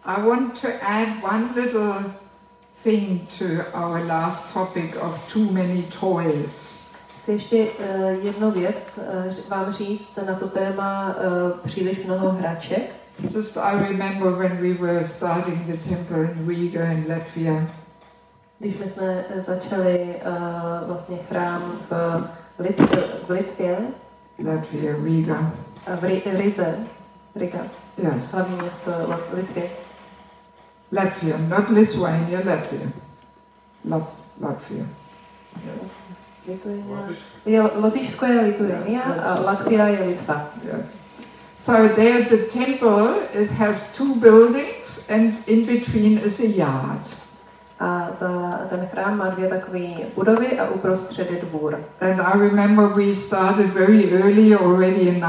I want to add one little thing to our last topic of too many toys. Chci ještě jednu věc vám říct na to téma příliš mnoho hraček. Just I remember when we were starting the temple in Riga in Latvia. Když my jsme začali vlastně chrám v Litvě. Latvia, Riga. V Rize, Riga. Yes. Hlavní město Litvě. Latvia, not Lithuania, Latvia. Latvia. Lotyšsko je Lithuania a Latvia je Litva. Yes. So there the temple has two buildings and in between is a yard. A ten chrám má dvě takové budovy a uprostřed je dvůr. And I remember we started very early, already in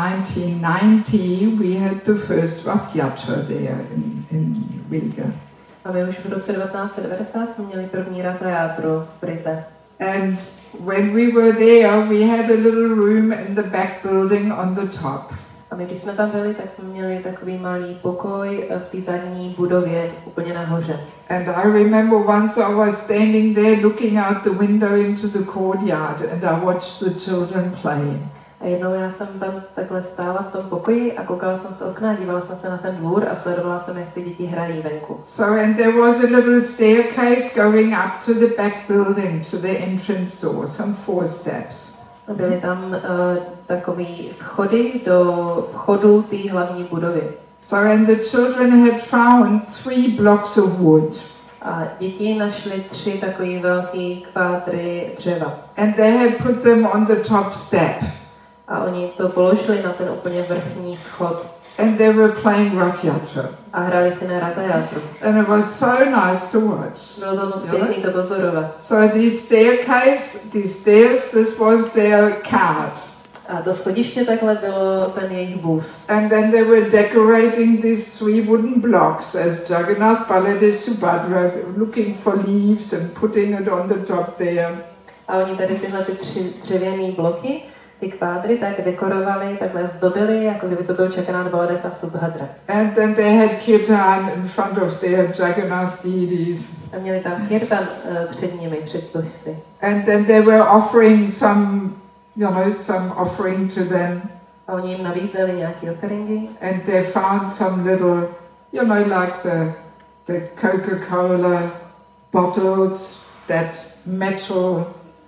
1990, we had the first Rath Yatra there in Riga. A my už v roce 1990 jsme měli první Ratha Játru v Rize. And when we were there, we had a little room in the back building on the top. A my, když jsme tam byli, tak jsme měli takový malý pokoj v té zadní budově úplně nahoře. And I remember once I was standing there looking out the window into the courtyard and I watched the children play. A jednou já jsem tam takhle stála v tom pokoji a koukala jsem z okna, dívala jsem se na ten dvůr a sledovala jsem, jak si děti hrají venku. So and there was a little staircase going up to the back building, to the entrance door, some 4 steps. Byly tam takový schody do vchodu té hlavní budovy. So and the children had found 3 blocks of wood. A děti našly 3 takové velké kvádry dřeva. And they had put them on the top step. A oni to položili na ten úplně vrchní schod. And they were playing Rath Yatra. A hráli si na Ratha Játru. And it was so nice to watch. Bylo to moc pěkný to pozorovat. So the staircase, the stairs, this was their cart. A to schodiště takhle bylo ten jejich vůz. And then they were decorating these 3 wooden blocks as Jagannath, Baladev, Subhadra, looking for leaves and putting it on the top there. A oni tady tyhle 3 dřevěné bloky, ty kvádry, tak dekorovali, takhle zdobili, jako kdyby to byl Jagannath, Baladev a Subhadra. And then they had kirtan in front of their Jagannath deities. A měli tam kirtan před nimi, před božství. And then they were offering some offering to them. A oni jim nabízeli nějaký offeringy. And they found some little, like the Coca-Cola bottles, that metal,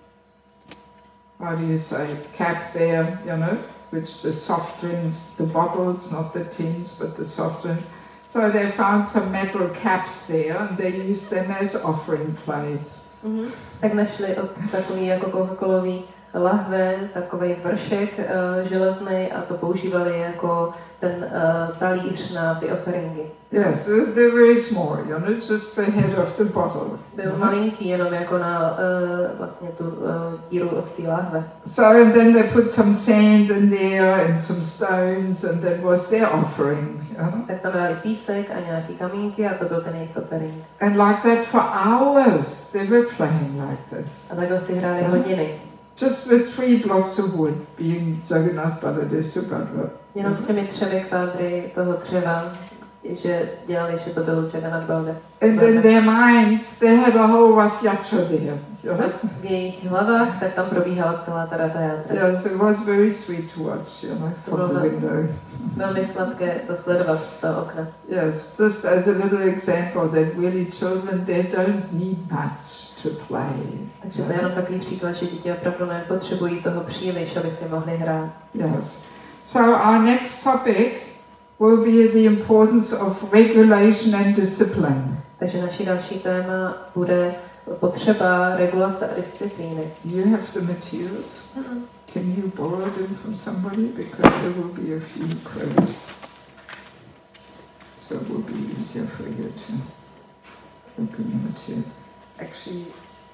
how do you say, cap there, which the soft drinks, the bottles, not the tins, but the soft drinks. So they found some metal caps there and they used them as offering plates. Tak našli takový jako Coca-Colový lahve, takový vršek železný a to používali jako ten talíř na ty offeringy. Yes, they're very small, just the head of the bottle. Byl malinký, jenom jako na vlastně tu díru od té lahve. So and then they put some sand in there and some stones and that was their offering. Tak tam dali písek a nějaký kamínky a to byl ten jejich offering. And like that for hours they were playing like this. A takhle si hráli hodiny. Just with 3 blocks of wood, being Jagannath, Baladev, Subhadra. Jenom s těmi 3 kvádry toho dřeva, že dělali, že to byl Jagannath, Baladev. And in their minds, they had a whole Rath Yatra there. V jejich hlavách, tak tam probíhala celá ta Ratha Jatra. Yes, it was very sweet to watch, from the window. Velmi sladké to sledovat z toho okna. Yes, just as a little example that really children, they don't need much to play. Takže to je jenom takový příklad, že děti opravdu nepotřebují toho příliš, aby si mohli hrát. Yes. So our next topic will be the importance of regulation and discipline. Takže naší další téma bude potřeba regulace a disciplíny. You have the materials? Can you borrow them from somebody? Because there will be a few quotes. So it will be easier for you to look at the materials. Actually,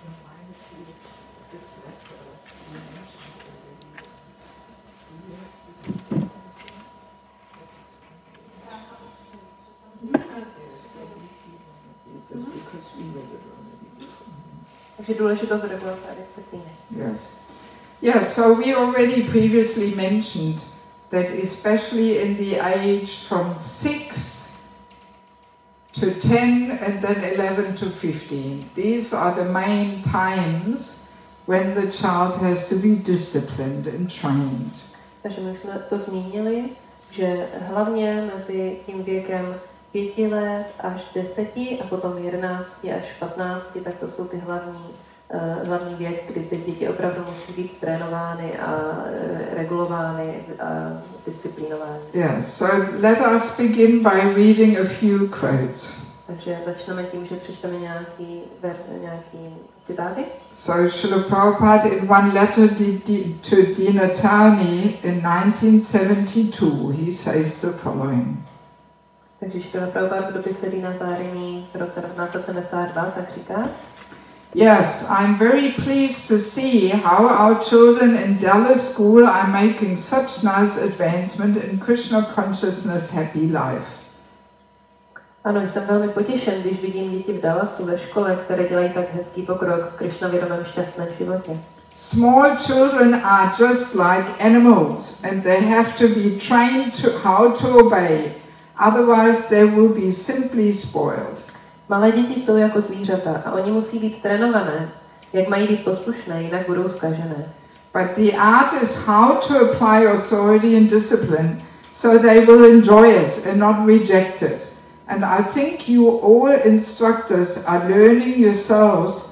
Takže důležitost regulace a disciplíny. Yes. Yeah, so we already previously mentioned that especially in the age from 6 to 10 and then 11 to 15. These are the main times when the child has to be disciplined and trained. Takže my jsme to zmínili, že hlavně mezi tím věkem 5 let až 10 a potom 11 až 15, tak to jsou ty hlavní věk, kdy ty děti opravdu musí být trénovány a regulovány a disciplinovány. Yes, so let us begin by reading a few quotes. Takže začneme tím, že přečteme nějaký citáty. So Srila Prabhupada in one letter to Dina Tani in 1972, he says the following. Takže Srila Prabhupada v dopise Dina Tarini v roce 1972 tak říká: Yes, I'm very pleased to see how our children in Dallas School are making such nice advancement in Krishna consciousness happy life. Ano, jsem velmi potěšen, když vidím děti v Dallasu ve škole, které dělají tak hezký pokrok v Krišnavědomém šťastném životě. Small children are just like animals and they have to be trained to how to obey, otherwise they will be simply spoiled. Malé děti jsou jako zvířata a oni musí být trénované, jak mají být poslušné, jinak budou zkažené. But the art is how to apply authority and discipline so they will enjoy it and not reject it. And I think you all instructors are learning yourselves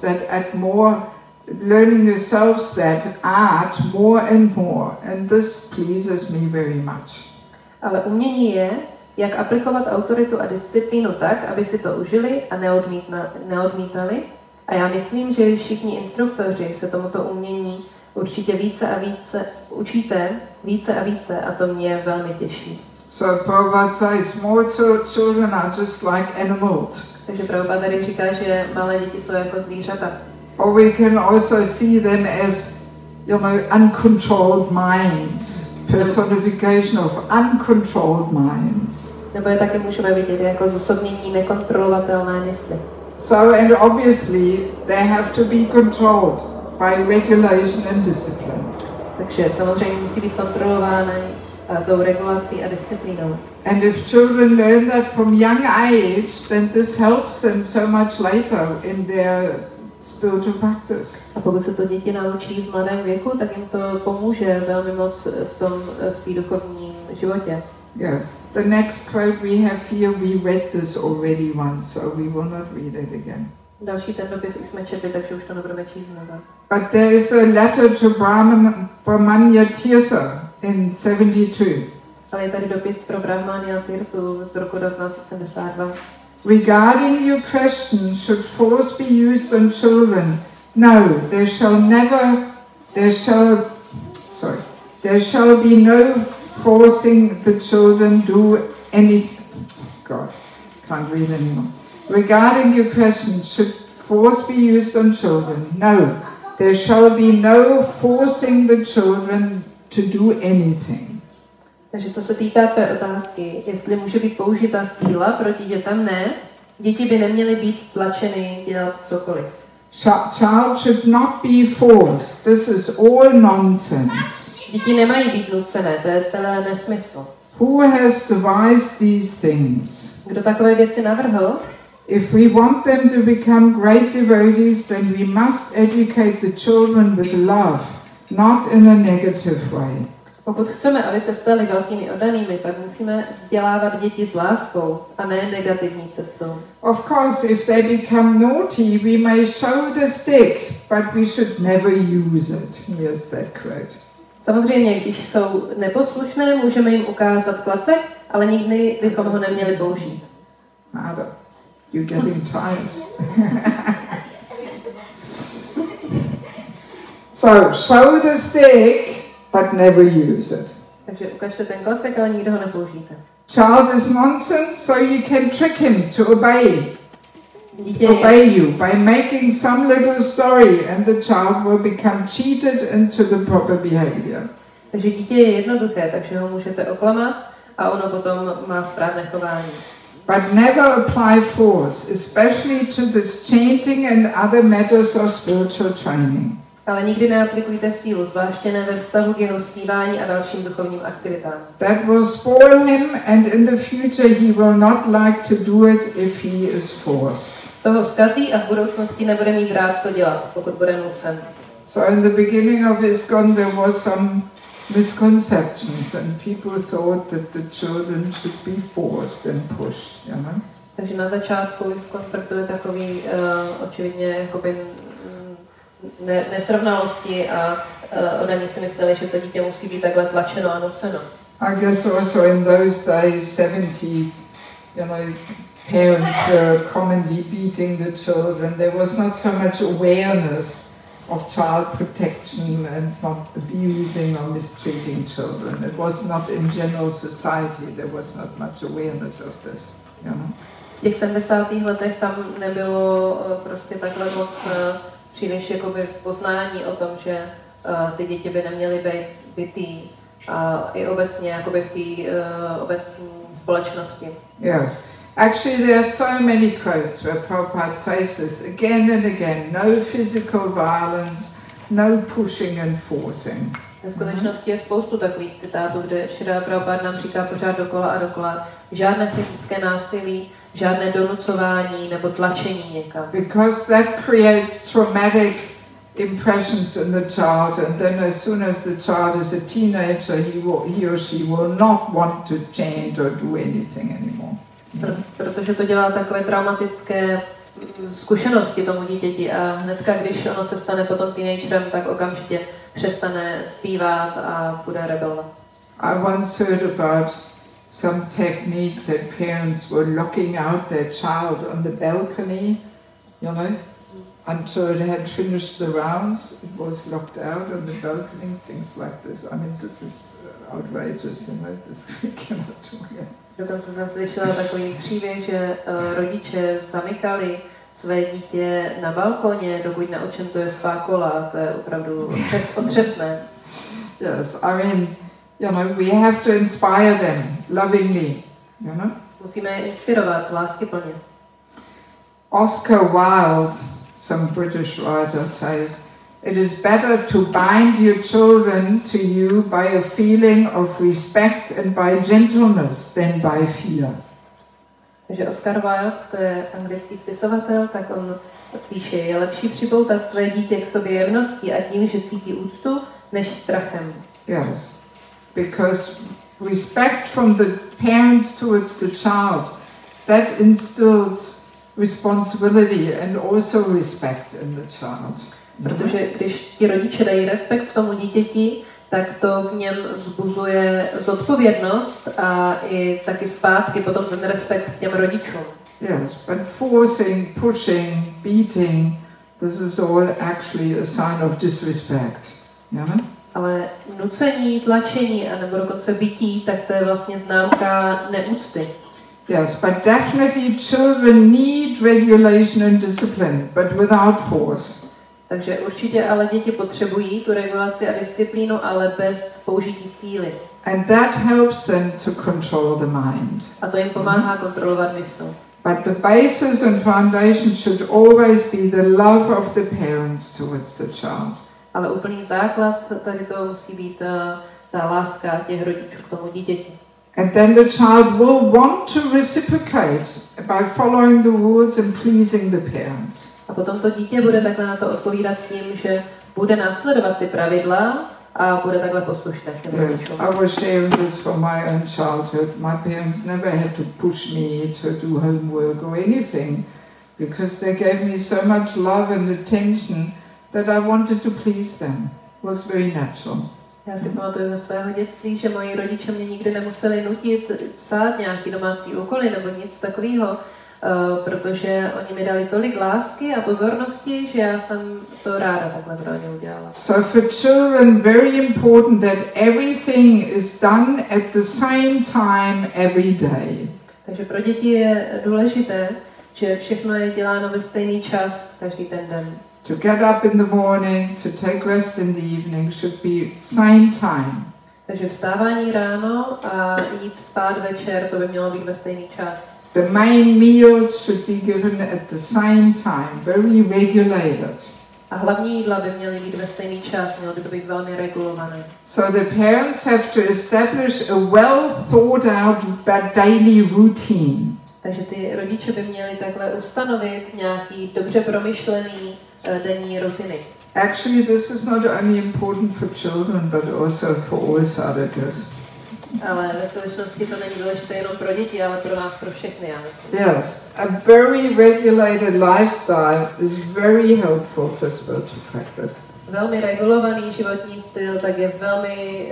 that art more and more, and this pleases me very much. Ale umění je, jak aplikovat autoritu a disciplínu tak, aby si to užili a neodmítali. A já myslím, že všichni instruktoři se tomuto umění určitě učíte více a více a to mě velmi těší. So Prabhupada says small children are just like animals. Takže Prabhupada tady říká, že malé děti jsou jako zvířata. Or we can also see them as, uncontrolled minds, personification of uncontrolled minds. Nebo je taky můžeme vidět jako zosobnění nekontrolovatelné mysli. So, and obviously they have to be controlled by regulation and discipline. Takže samozřejmě musí být kontrolovány tou regulací a disciplínou. And if children learn that from young age, then this helps them so much later in their spiritual practice. A pokud se to děti naučí v mladém věku, tak jim to pomůže velmi moc v té duchovním životě. Yes. The next quote we have here, we read this already once, so we will not read it again. Další ten dopis už jsme četli, takže už to nebudeme číst znova. But there is a letter to Brahmanya Tirtha in 72. Ale je tady dopis pro Brahmanya Tirthu z roku 1972. Regarding your question, should force be used on children? No, there shall be no forcing the children do anything. God, can't read anymore. Regarding your question, should force be used on children? No, there shall be no forcing the children to do anything. Takže co se týká té otázky, jestli může být použita síla proti dětem, ne. Děti by neměly být tlačeny dělat cokoliv. Child should not be forced. This is all nonsense. Děti nemají být nucené, to je celé nesmysl. Who has devised these things? Kdo takové věci navrhl? If we want them to become great devotees, then we must educate the children with love, not in a negative way. Pokud chceme, aby se stali velkými oddanými, pak musíme vzdělávat děti s láskou a ne negativní cestou. Of course, if they become naughty, we may show the stick, but we should never use it. Here's that quote. Samozřejmě, když jsou neposlušné, můžeme jim ukázat klacek, ale nikdy bychom ho neměli použít. Mother, you're getting tired. So, show the stick, but never use it. Takže ukažte ten klacek, ale nikdo ho nepoužijte. Child is nonsense, so you can trick him to obey you by making some little story, and the child will become cheated into the proper behavior. Takže dítě je jednoduché, takže ho můžete oklamat a ono potom má správné chování. But never apply force, especially to this chanting and other matters of spiritual training. Ale nikdy neaplikujte sílu, zvláště ne ve vztahu k jeho zpívání a dalším duchovním aktivitám. That will spoil him, and in the future he will not like to do it if he is forced. Toho zkazí a v budoucnosti nebude mít rád to dělat, pokud bude nucen. So in the beginning of ISKCON there was some misconceptions, and people thought that the children should be forced and pushed, you know. Takže na začátku ISKCON tak byly takový očividně jakoby nesrovnalosti a oni si mysleli, že to dítě musí být takhle tlačeno a nuceno. I guess also in those days, 70s, you know, parents were commonly beating the children. There was not so much awareness of child protection and not abusing or mistreating children. It was not in general society, there was not much awareness of this, you know. V těch 70. letech tam nebylo prostě takhle moc příliš jakoby poznání o tom, že ty děti by neměly být bitý a i obecně jakoby v té obecní společnosti. Yes. Actually, there are so many quotes where Prabhupada says this again and again. No physical violence, no pushing and forcing. V skutečnosti je spoustu takových citátů, kde Šrila Prabhupada nám říká pořád dokola a dokola, žádné fyzické násilí, žádné donucování nebo tlačení někam. Because that creates traumatic impressions in the child, and then as soon as the child is a teenager, he or she will not want to change or do anything anymore. Protože to dělá takové traumatické zkušenosti tomu dítěti a hnedka, když ono se stane potom teenagerem, tak okamžitě přestane zpívat a bude rebelovat. I once heard about some technique that parents were locking out their child on the balcony, you know, until it had finished the rounds. It was locked out on the balcony, things like this. I mean, this is outrageous, you know, this we cannot do it. Dokonce jsem slyšela takový příběh, že rodiče zamykali své dítě na balkoně, dokud neočentuje svá kola. To je opravdu otřesné. Yes, I mean, you know, we have to inspire them lovingly, you know. Musíme je inspirovat láskyplně. Oscar Wilde, some British writer, says, "It is better to bind your children to you by a feeling of respect and by gentleness than by fear." Takže Oscar Wilde, to je anglický spisovatel, tak on píše, je lepší připoutat své dítě k sobě jemností a tím, že cítí úctu, než strachem. Yes, because respect from the parents towards the child, that instills responsibility and also respect in the child. Protože když ti rodiče dají respekt tomu dítěti, tak to v něm vzbuzuje zodpovědnost a i taky zpátky potom ten respekt k těm rodičům. Yes, but forcing, pushing, beating, this is all actually a sign of disrespect. Yeah? Ale nucení, tlačení a nebo dokonce bití, tak to je vlastně známka neúcty. Yes, but definitely children need regulation and discipline, but without force. Takže určitě ale děti potřebují tu regulaci a disciplínu, ale bez použití síly. And that helps them to control the mind. A to jim pomáhá kontrolovat mysl. But the basis and foundation should always be the love of the parents towards the child. Ale úplný základ tady to musí být ta láska těch rodičů k tomu dítěti. And then the child will want to reciprocate by following the rules and pleasing the parents. A potom to dítě bude takhle na to odpovídat tím, že bude následovat ty pravidla a bude takhle poslušné. Yes, I was sharing this from my own childhood. My parents never had to push me to do homework or anything, because they gave me so much love and attention that I wanted to please them. It was very natural. Já si pamatuju ze svého dětství, že moji rodiče mě nikdy nemuseli nutit psát nějaký domácí úkoly nebo nic takového, protože oni mi dali tolik lásky a pozornosti, že já jsem to ráda takhle pro ně udělala. So for children, very important that everything is done at the same time every day. Takže pro děti je důležité, že všechno je děláno ve stejný čas každý ten den. To get up in the morning, to take rest in the evening should be same time. Takže vstávání ráno a jít spát večer, to by mělo být ve stejný čas. The main meals should be given at the same time, very regulated. A hlavní jídla by měly být ve stejný čas, mělo by to být velmi regulované. So the parents have to establish a well thought out daily routine. Takže ty rodiče by měli takhle ustanovit nějaký dobře promyšlený denní rutiny. Actually, this is not only important for children, but also for all sadhakas. Ale ve skutečnosti to není důležité jenom pro děti, ale pro nás, pro všechny. Já myslím. Yes, a very regulated lifestyle is very helpful for spiritual practice. Velmi regulovaný životní styl tak je velmi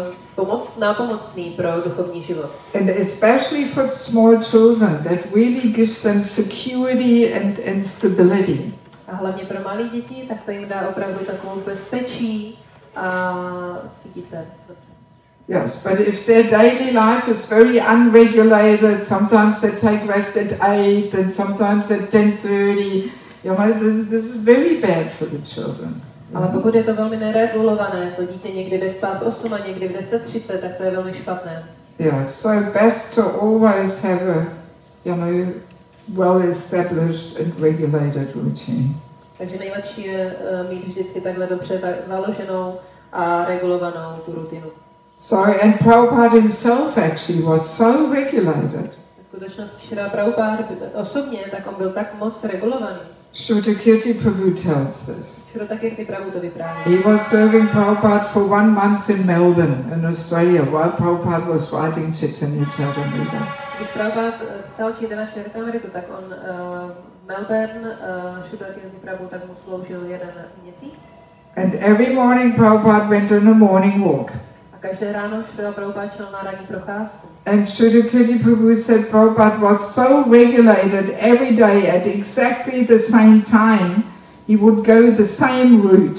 nápomocný pro duchovní život. And especially for small children, that really gives them security and stability. A hlavně pro malé děti, tak to jim dá opravdu takovou bezpečí a cítí se dobře. Yes, but if their daily life is very unregulated, sometimes they take rest at 8 and sometimes at 10:30, you know, this is very bad for the children. Ale pokud je to velmi neregulované, to dítě někdy jde spát 8 a někdy v 10:30, tak to je velmi špatné. Yes, so best to always have a, you know, well-established and regulated routine. Takže nejlepší je mít vždycky takhle dobře založenou a regulovanou tu rutinu. So, and Prabhupada himself actually was so regulated. V skutečnosti Šrila Prabhupada osobně, tak on byl tak moc regulovaný. Shrutakirti Prabhu tells this. Shrutakirti Prabhu to vypráví. He was serving Prabhupada for 1 month in Melbourne, in Australia, while Prabhupada was writing Chaitanya Charitamrita. Když Prabhupada psal Chaitanya Charitamritu, tak on Melbourne, Shrutakirti Prabhu, tak mu sloužil 1 měsíc. And every morning Prabhupada went on a morning walk. Každé ráno Šrila Prabhupada šel na ranní procházku. And Shrutakirti Prabhu said Prabhupada was so regulated every day at exactly the same time, he would go the same route.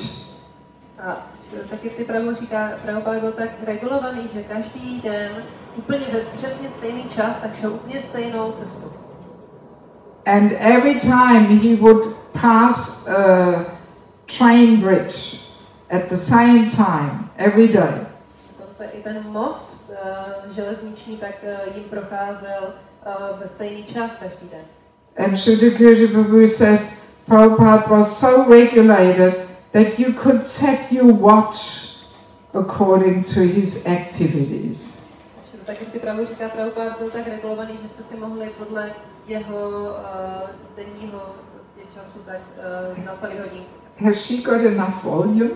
A Shrutakirti Prabhu říká, Prabhupada byl tak regulovaný, že každý den úplně ve přesně stejný čas, tak šel úplně stejnou cestu. And every time he would pass a train bridge at the same time, every day. I ten most železniční tak jim procházel ve stejný čas každý den. And Shrutakirti Prabhu said Prabhupada was so regulated that you could set your watch according to his activities. Shrutakirti Prabhu říká, Prabhupada byl tak regulovaný, že jste si mohli podle jeho denního času tak nastavit hodinky. Has she got enough volume?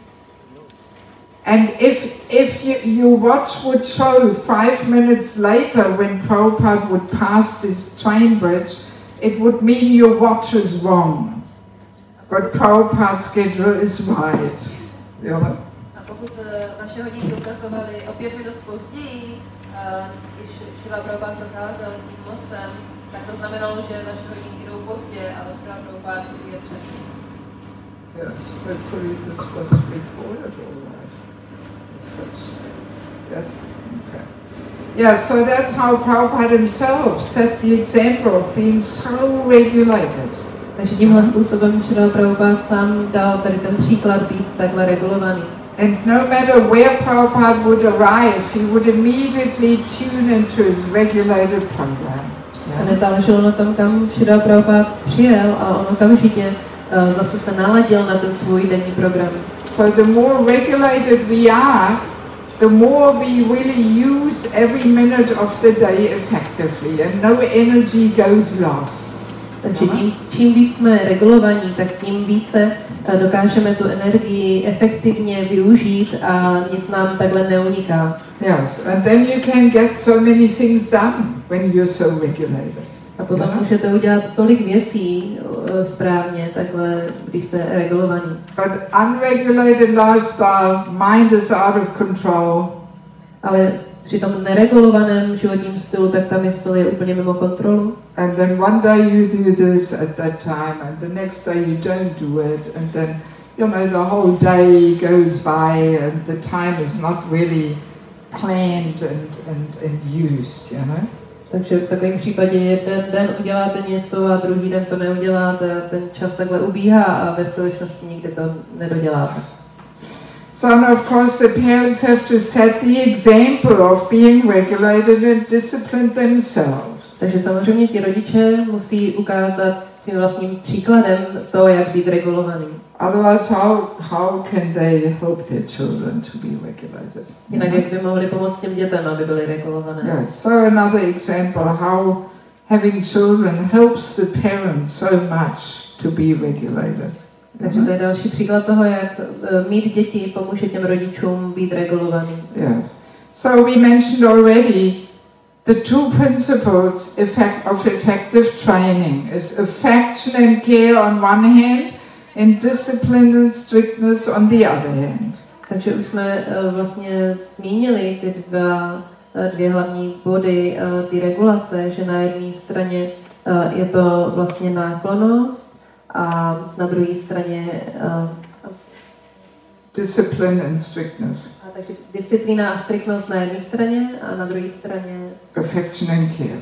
And if your watch would show 5 minutes later when Prabhupada would pass this train bridge, it would mean your watch is wrong. But Prabhupada's schedule is right. Yeah. A pokud vaše hodinky ukazovaly o 5 minut později, když Šrila Prabhupada procházel tím mostem, tak to znamenalo, že vaše hodinky jdou pozdě, ale Šrila Prabhupada je přesně. Yes, hopefully this was recorded all right. Yes. Okay. Yeah, so that's how Prabhupada himself set the example of being so regulated. Takže tímhle způsobem Šrila Prabhupada sám dal tady ten příklad být takhle regulovaný. And no matter where Prabhupada would arrive, he would immediately tune into his regulated program. A nezáleželo na tom, kam Šrila Prabhupada přijel, ale on okamžitě zase se naladil na ten svůj denní program. So the more regulated we are, the more we really use every minute of the day effectively and no energy goes lost. Takže čím víc jsme regulovaní, tak tím více dokážeme tu energii efektivně využít a nic nám takhle neuniká. Yes, and then you can get so many things done when you're so regulated. A potom můžete udělat tolik věcí správně, takhle, když jste regulovaní. But unregulated lifestyle, mind is out of control. Ale při tom neregulovaném životním stylu, tak ta mysl je úplně mimo kontrolu. And then one day you do this at that time, and the next day you don't do it, and then, you know, the whole day goes by, and the time is not really planned and used, you know. Takže v takovém případě jeden den uděláte něco a druhý den to neuděláte a ten čas takhle ubíhá a ve skutečnosti nikdy to nedoděláte. So of course the parents have to set the example of being regulated and disciplined themselves. Takže samozřejmě ti rodiče musí ukázat svým vlastním příkladem to, jak být regulovaný. Otherwise, how can they help their children to be regulated? Jinak jak by mohli pomoct těm dětem, aby byly regulované. Yes. So another example how having children helps the parents so much to be regulated. Takže to je další příklad toho, jak mít děti pomůže těm rodičům být regulovaným. Yes. So we mentioned already the two principles of effective training is affection and care on one hand and discipline and strictness on the other hand. Takže už jsme vlastně zmínili ty dvě hlavní body ty regulace, že na jedné straně je to vlastně náklonnost a na druhé straně discipline and strictness. Takže disciplína a striktnost na jedné straně a na druhé straně affection and care.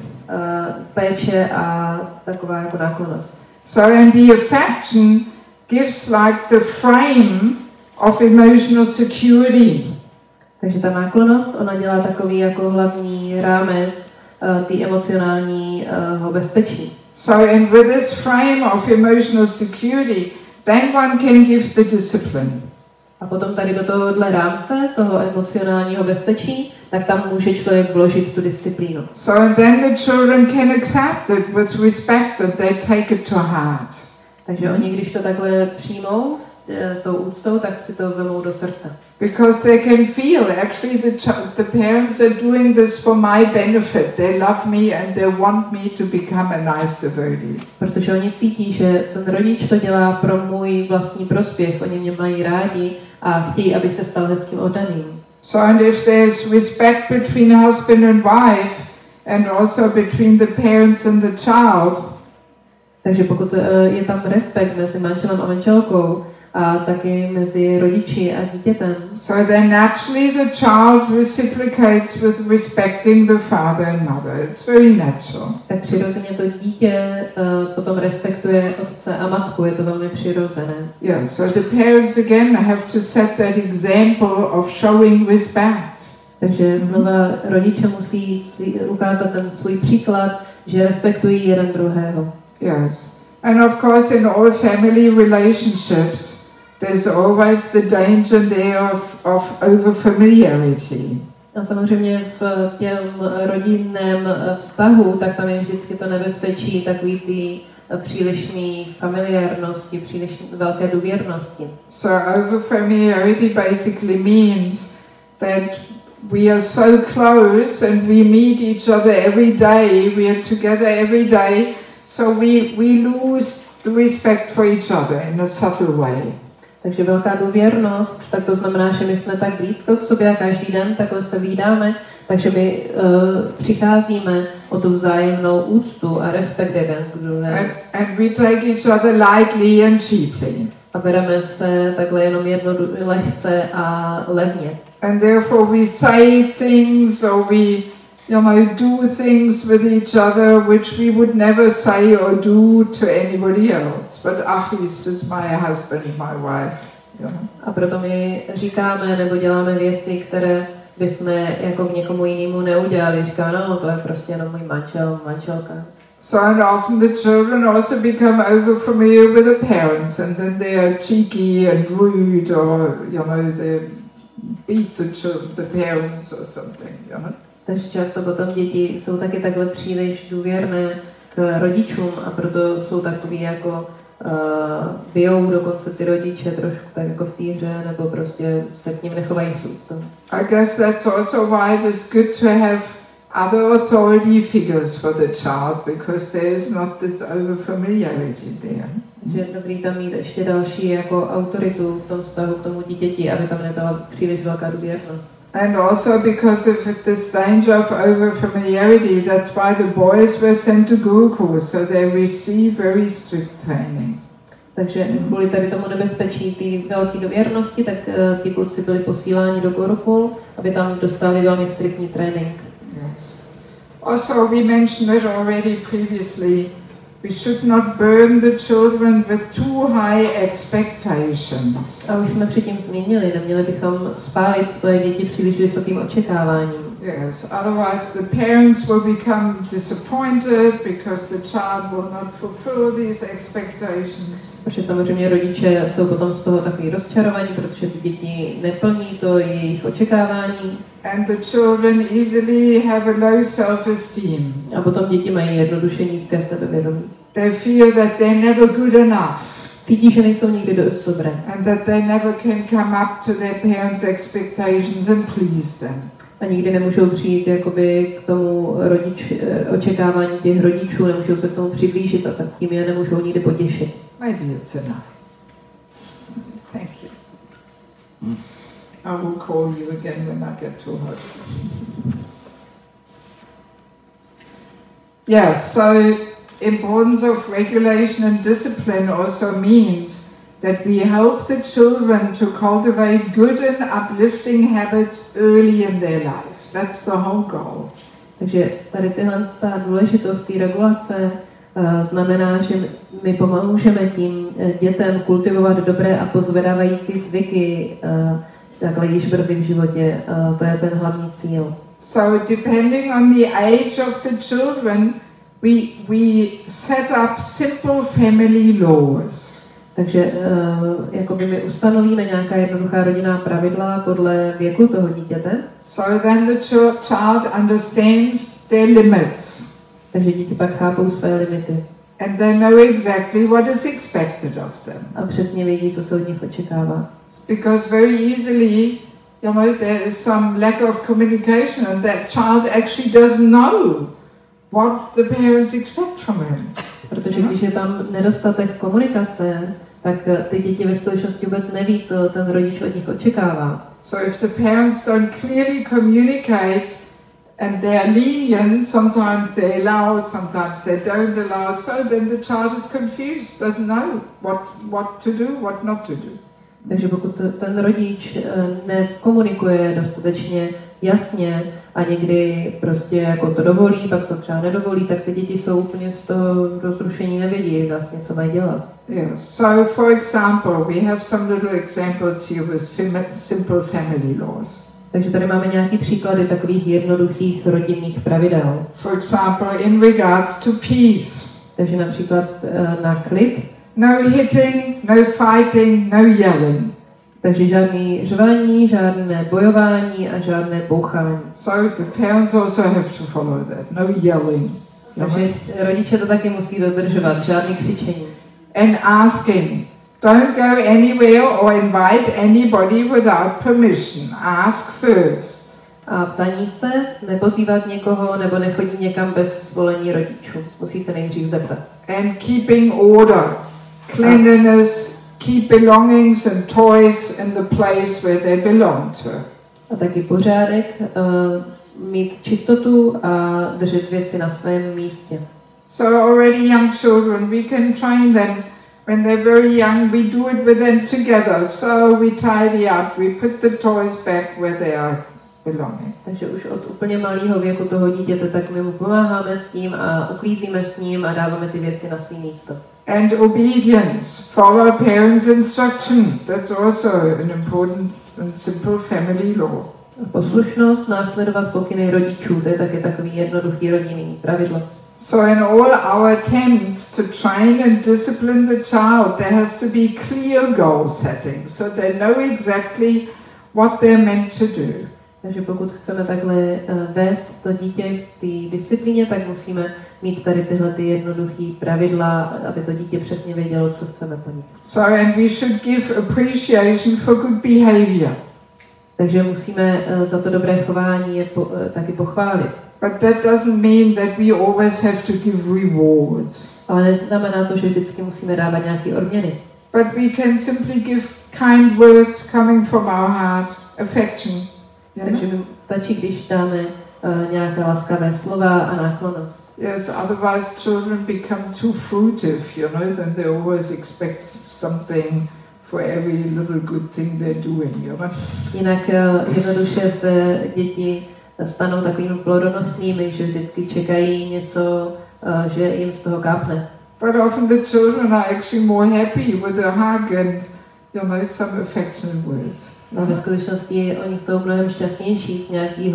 Péče a taková jako náklonnost. So and the affection gives like the frame of emotional security. Takže ta náklonnost, ona dělá takový jako hlavní rámec té emocionálního bezpečí. So and with this frame of emotional security, then one can give the discipline. A potom tady do tohohle rámce, toho emocionálního bezpečí, tak tam může člověk vložit tu disciplínu. So and then the children can accept it with respect and they take it to heart. Takže oni, když to takhle přijmou tou úctou, tak si to vemou do srdce. Because they can feel actually the parents are doing this for my benefit. They love me and they want me to become a nice devotee. Protože oni cítí, že ten rodič to dělá pro můj vlastní prospěch. Oni mě mají rádi a chtějí, abych se stal hezkým oddaným. So and if there's respect between husband and wife and also between the parents and the child, takže pokud je tam respekt mezi manželem a manželkou a taky mezi rodiči a dítětem, so then naturally the child reciprocates with respecting the father and mother. It's very natural. Tak přirozeně to dítě potom respektuje otce a matku, je to velmi přirozené. Yeah, so the parents again have to set that example of showing respect. Takže znova rodiče musí ukázat ten svůj příklad, že respektují jeden druhého. Yes. And of course in all family relationships there's always the danger there of overfamiliarity. A samozřejmě v těm rodinném vztahu, tak tam je vždycky to nebezpečí takový ty přílišné familiárnosti, příliš velké důvěrnosti. So overfamiliarity basically means that we are so close and we meet each other every day, we are together every day, so we lose the respect for each other in a subtle way. Takže velká důvěrnost, tak to znamená, že my jsme tak blízko k sobě a každý den takhle se vídáme, takže my přicházíme o tu vzájemnou úctu a respekt jeden k druhému. And we take each other lightly and cheaply. A bereme se takhle jenom lehce a levně. And therefore we say things or we do things with each other which we would never say or do to anybody else. But he's just my husband, my wife. A proto my říkáme nebo děláme věci, které bychom jako k někomu jinému neudělali. Říká, no, to je prostě jenom můj manžel, manželka. So and often the children also become overfamiliar with the parents and then they are cheeky and rude or, they beat the parents or something, Takže často potom děti jsou taky takhle příliš důvěrné k rodičům a proto jsou takový jako bijou dokonce ty rodiče trošku tak jako v té hře, nebo prostě se k ním nechovají s úctou. I guess that's also why it is good to have other authority figures for the child because there is not this overfamiliarity there. Že je dobrý tam mít ještě další jako autoritu v tom vztahu k tomu dítěti, aby tam nebyla příliš velká důvěrnost. And also because of this danger of overfamiliarity, that's why the boys were sent to Gurukul, so they receive very strict training. Takže kvůli tady tomu nebezpečí té velké důvěrnosti, tak ti kluci byli posíláni do Gurukul, aby tam dostali velmi striktní trénink. Yes. Also, we mentioned it already previously. We should not burn the children with too high expectations. A už jsme předtím zmínili, neměli bychom spálit svoje děti příliš vysokým očekáváním. Yes, otherwise the parents will become disappointed because the child will not fulfill these expectations. Protože samozřejmě rodiče jsou potom z toho takový rozčarovaní, protože ty děti neplní to jejich očekávání. And the children easily have a low self-esteem. A potom děti mají jednoduše nízké sebevědomí. They feel that they're never good enough. Cítí, že nejsou nikdy dost dobré. And that they never can come up to their parents' expectations and please them. A nikdy nemůžou přijít jakoby k tomu očekávání těch rodičů, nemůžou se k tomu přiblížit a tak tím je nemůžou nikdy potěšit. Maybe it's enough. Thank you. I will call you again when I get too hot. Yes, so importance of regulation and discipline also means that we help the children to cultivate good and uplifting habits early in their life. That's the whole goal. Takže tady ta důležitost té regulace znamená, že my pomůžeme tím dětem kultivovat dobré a pozvedávající zvyky takhle již brzy v životě. To je ten hlavní cíl. So depending on the age of the children, we set up simple family laws. Takže jakoby my ustanovíme nějaká jednoduchá rodinná pravidla podle věku toho dítěte. So then the child understands their limits. Takže děti pak chápou své limity. And they know exactly what is expected of them. A přesně vědí, co se od nich očekává. Because very easily, you know, there is some lack of communication and that child actually doesn't know what the parents expect from him. Protože když je tam nedostatek komunikace, tak ty děti ve skutečnosti vůbec neví, co ten rodič od nich očekává. So if the parents don't clearly communicate and they are lenient, sometimes they allow, sometimes they don't allow, so then the child is confused, doesn't know what to do, what not to do. Takže pokud ten rodič nekomunikuje dostatečně jasně a někdy prostě jako to dovolí, pak to třeba nedovolí, tak ty děti jsou úplně z toho rozrušení, nevědí vlastně, co mají dělat. Yes. So, for example, we have some little examples here with simple family laws. Takže tady máme nějaký příklady takových jednoduchých rodinných pravidel. For example, in regards to peace. Takže například na klid. No hitting, no fighting, no yelling. Takže žádný řvání, žádné bojování a žádné bouchání. So the parents also have to follow that. No yelling. Takže rodiče to taky musí dodržovat, žádný křičení. And asking. Don't go anywhere or invite anybody without permission. Ask first. A ptaní se, nepozývat někoho nebo nechodit někam bez svolení rodičů. Musí se nejdřív zeptat. And keeping order. Cleanliness, keep belongings and toys in the place where they belong to. A taky pořádek, mít čistotu a držet věci na svém místě. So already young children, we can train them. When they're very young, we do it with them together. So we tidy up, we put the toys back where they are belonging. Takže už od úplně malého věku toho dítěte, tak my mu pomáháme s tím a uklízíme s ním a dáváme ty věci na svý místo. And obedience, follow parents' instruction. That's also an important and simple family law. Poslušnost, následovat pokyny rodičů, to je taky takový jednoduchý rodinný pravidlo. So in all our attempts to train and discipline the child, there has to be clear goal setting, so they know exactly what they're meant to do. Takže pokud chceme takhle vést to dítě k té disciplíně, tak musíme mít tady tyhle ty jednoduché pravidla, aby to dítě přesně vědělo, co chceme po nich. So and we should give appreciation for good behavior. Takže musíme za to dobré chování je taky pochválit. But that doesn't mean that we always have to give rewards. Ale neznamená to, že vždycky musíme dávat nějaké odměny. But we can simply give kind words coming from our heart, affection. Takže mi stačí, když dáme nějaké laskavé slova a náklonnost. Yes, otherwise children become too fruitive, you know, then they always expect something for every little good thing they're doing, you know. Jinak jednoduše se děti stanou takovými plodonostnými, že vždycky čekají něco, že jim z toho kápne. But often the children are actually more happy with a hug and, you know, some affectionate words. A ve skutečnosti oni jsou mnohem šťastnější z nějakého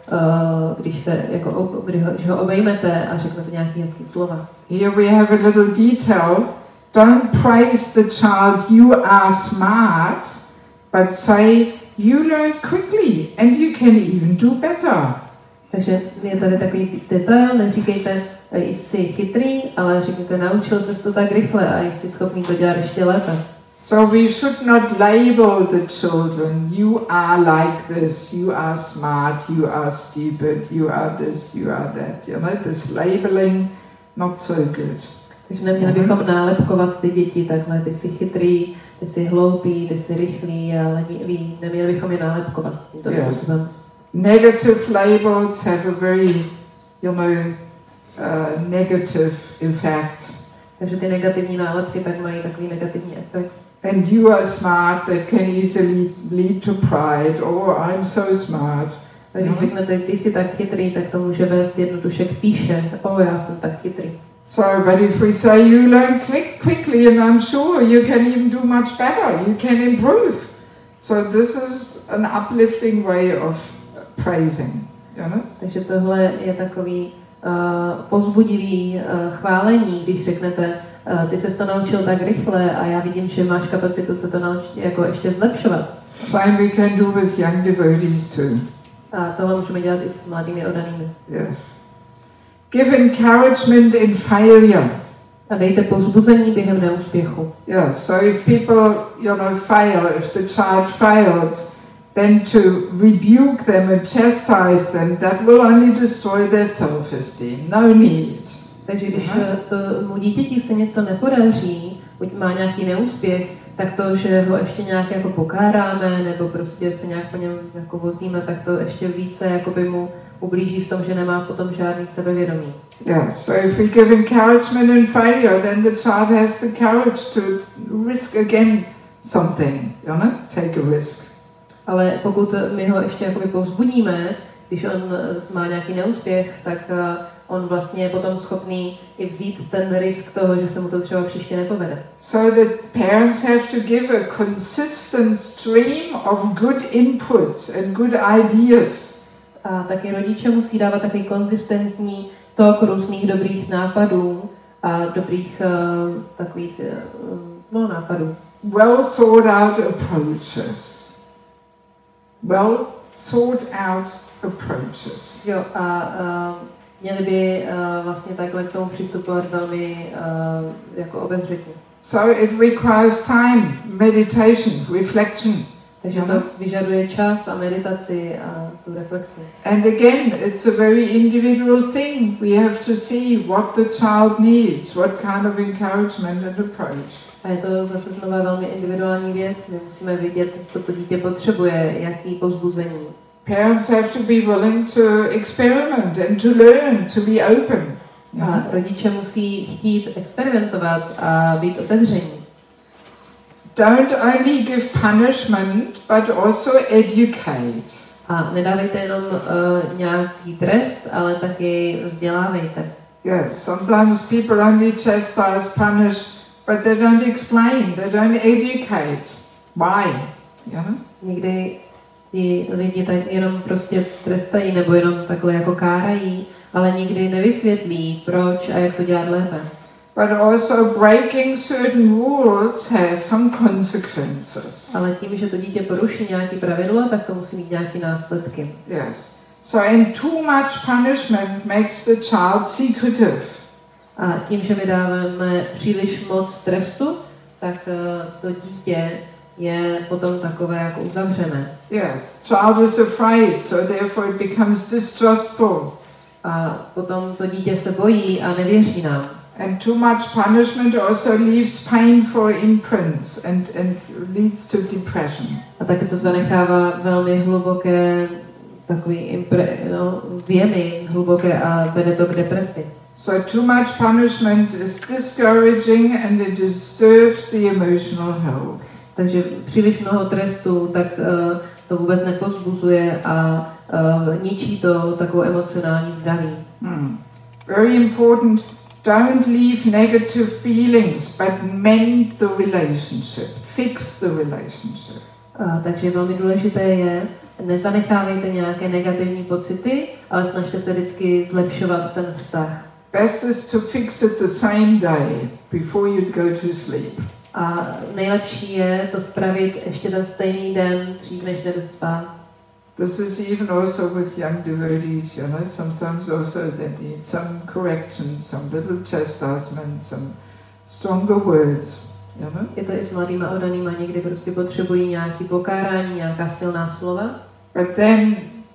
když ho obejmete a řeknete nějaký hezký slova. Here we have a little detail. Don't praise the child, you are smart, but say you learn quickly and you can even do better. Takže je tady takový detail, neříkejte, jsi chytrý, ale řekněte, naučil ses to tak rychle a jsi schopný to dělat ještě lépe. So we should not label the children, you are like this, you are smart, you are stupid, you are this, you are that. You know, this labeling, not so good. Takže neměli bychom nálepkovat ty děti takhle, ty jsi chytrý, ty jsi hloupý, ty jsi rychlý a lenivý. Neměli bychom je nálepkovat tímto způsobem. Negative labels have a very, negative effect. Takže ty negativní nálepky tak mají takový negativní efekt. And you are smart, that can easily lead to pride. Oh, I'm so smart. A když řeknete, ty jsi tak chytrý, tak to může vést jednoduše k píše. Já jsem tak chytrý. So, but if we say you learn quickly, and I'm sure you can even do much better, you can improve. So this is an uplifting way of praising. Takže tohle je takový povzbudivý chválení, když řeknete, ty ses to naučil tak rychle a já vidím, že máš kapacitu se to naučit jako ještě zlepšovat. Same we can do with young devotees too. A tohle můžeme dělat i s mladými oddanými. Yes. Give encouragement in failure. A dejte povzbuzení během neúspěchu. Yeah, so if people, fail, if the child fails, then to rebuke them and chastise them, that will only destroy their self-esteem. No need. Takže když tomu dítěti se něco nepodaří, buď má nějaký neúspěch, tak to, že ho ještě nějak jako pokáráme, nebo prostě se nějak po něm jako vozíme, tak to ještě více jakoby mu ublíží v tom, že nemá potom žádný sebevědomí. Yeah, so if we give encouragement in failure, then the child has the courage to risk again something, take a risk. Ale pokud my ho ještě jakoby povzbudíme, když on má nějaký neúspěch, tak on vlastně je potom schopný i vzít ten risk toho, že se mu to třeba příště nepovede. So the parents have to give a consistent stream of good inputs and good ideas. A taky rodiče musí dávat takový konzistentní tok různých dobrých nápadů a dobrých takových nápadů. Well thought out approaches. Well thought out approaches. Jo, a měli by vlastně takhle k tomu přistupovat velmi jako obezřetně. So it requires time, meditation, reflection. Takže to vyžaduje čas a meditaci a tu reflexi. And again, it's a very individual thing. We have to see what the child needs, what kind of encouragement and approach. A je to zase znova velmi individuální věc. My musíme vidět, co to dítě potřebuje, jaký povzbuzení. Parents have to be willing to experiment and to learn, to be open. A rodiče musí chtít experimentovat a být otevření. Don't only give punishment, but also educate. A nedávejte jenom nějaký trest, ale taky vzdělávejte. Yes, sometimes people only chastise, punish, but they don't explain, they don't educate. Why? Někdy ti lidi tak jenom prostě trestají nebo jenom takhle jako kárají, ale nikdy nevysvětlí, proč a jak to dělat lépe. But also breaking certain rules has some consequences. Ale tím, že to dítě poruší nějaké pravidlo, tak to musí mít nějaké následky. Yes. So and too much punishment makes the child secretive. A tím, že my dáváme příliš moc trestu, tak to dítě je potom takové jako uzavřené. Yes, child is afraid, so therefore it becomes distrustful. A potom to dítě se bojí a nevěří nám. And too much punishment also leaves painful imprints and leads to depression. A taky to zanechává velmi hluboké takový věmy hluboké a vede to k depresi. So too much punishment is discouraging and it disturbs the emotional health. Takže příliš mnoho trestu, tak to vůbec nepovzbuzuje a ničí to takovou emocionální zdraví. Very important. Don't leave negative feelings, but mend the relationship. Fix the relationship. Takže velmi důležité je, nezanechávejte nějaké negativní pocity, ale snažte se vždycky zlepšovat ten vztah. Best is to fix it the same day before you go to sleep. A nejlepší je to spravit ještě ten stejný den, dřív než jdete spát. This is even also with young devotees, you know, sometimes also they need some correction, some little chastisement, some stronger words, you know. Je to i s mladýma oddanýma, někdy prostě potřebují nějaký pokárání, nějaká silná slova. But then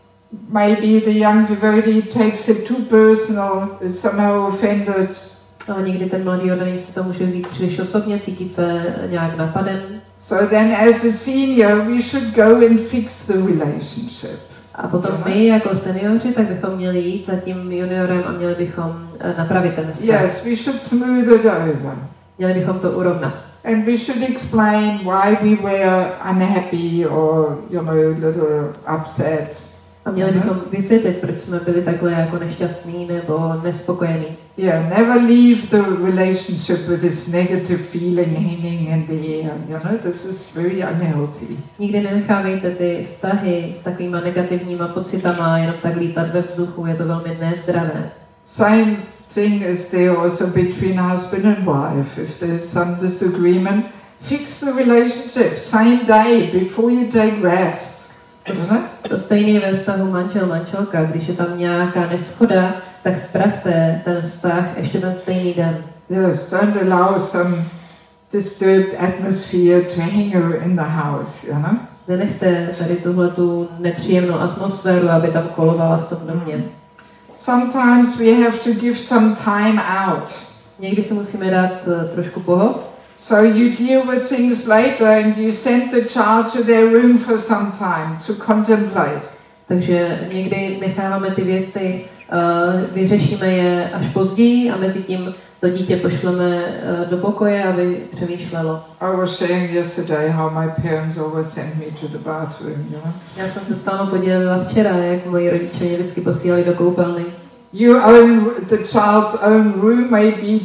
maybe the young devotee takes it too personal, is somehow offended. Ale někdy ten mladý oddaný si to může vzít příliš osobně, cítí se nějak napaden. So then as a senior we should go and fix the relationship. A potom my jako seniori, tak bychom měli jít za tím juniorem a měli bychom napravit ten vztah. Yes, we should smooth it over. Měli bychom to urovnat. And we should explain why we were unhappy or, you know, a little upset. A měli bychom vysvětlit, proč jsme byli takhle jako nešťastní nebo nespokojení. Yeah, never leave the relationship with this negative feeling hanging in the air. You know, this is very unhealthy. Nikdy nenechávejte ty vztahy s takovýma negativníma pocitama jenom tak lítat ve vzduchu, je to velmi nezdravé. Same thing is there also between husband and wife. If there's some disagreement, fix the relationship same day before you take rest. To stejné ve vztahu manžel-manželka, když je tam nějaká neschoda, tak spravte ten vztah ještě ten stejný den. Yes, don't allow some disturbed atmosphere to hang in the house, you know? Nenechte tady tuhletu nepříjemnou atmosféru, aby tam kolovala v tom domě. Sometimes we have to give some time out. Někdy si musíme dát trošku pohod. So you deal with things later and you send the child to their room for some time to contemplate. Takže někdy necháváme ty věci, vyřešíme je až později a mezi tím to dítě pošleme do pokoje, aby přemýšlelo. I was sharing yesterday how my parents always sent me to the bathroom, you know. Já jsem se s vámi podělila včera, jak moji rodiče mě vždycky posílali do koupelny. You own the child's own room may be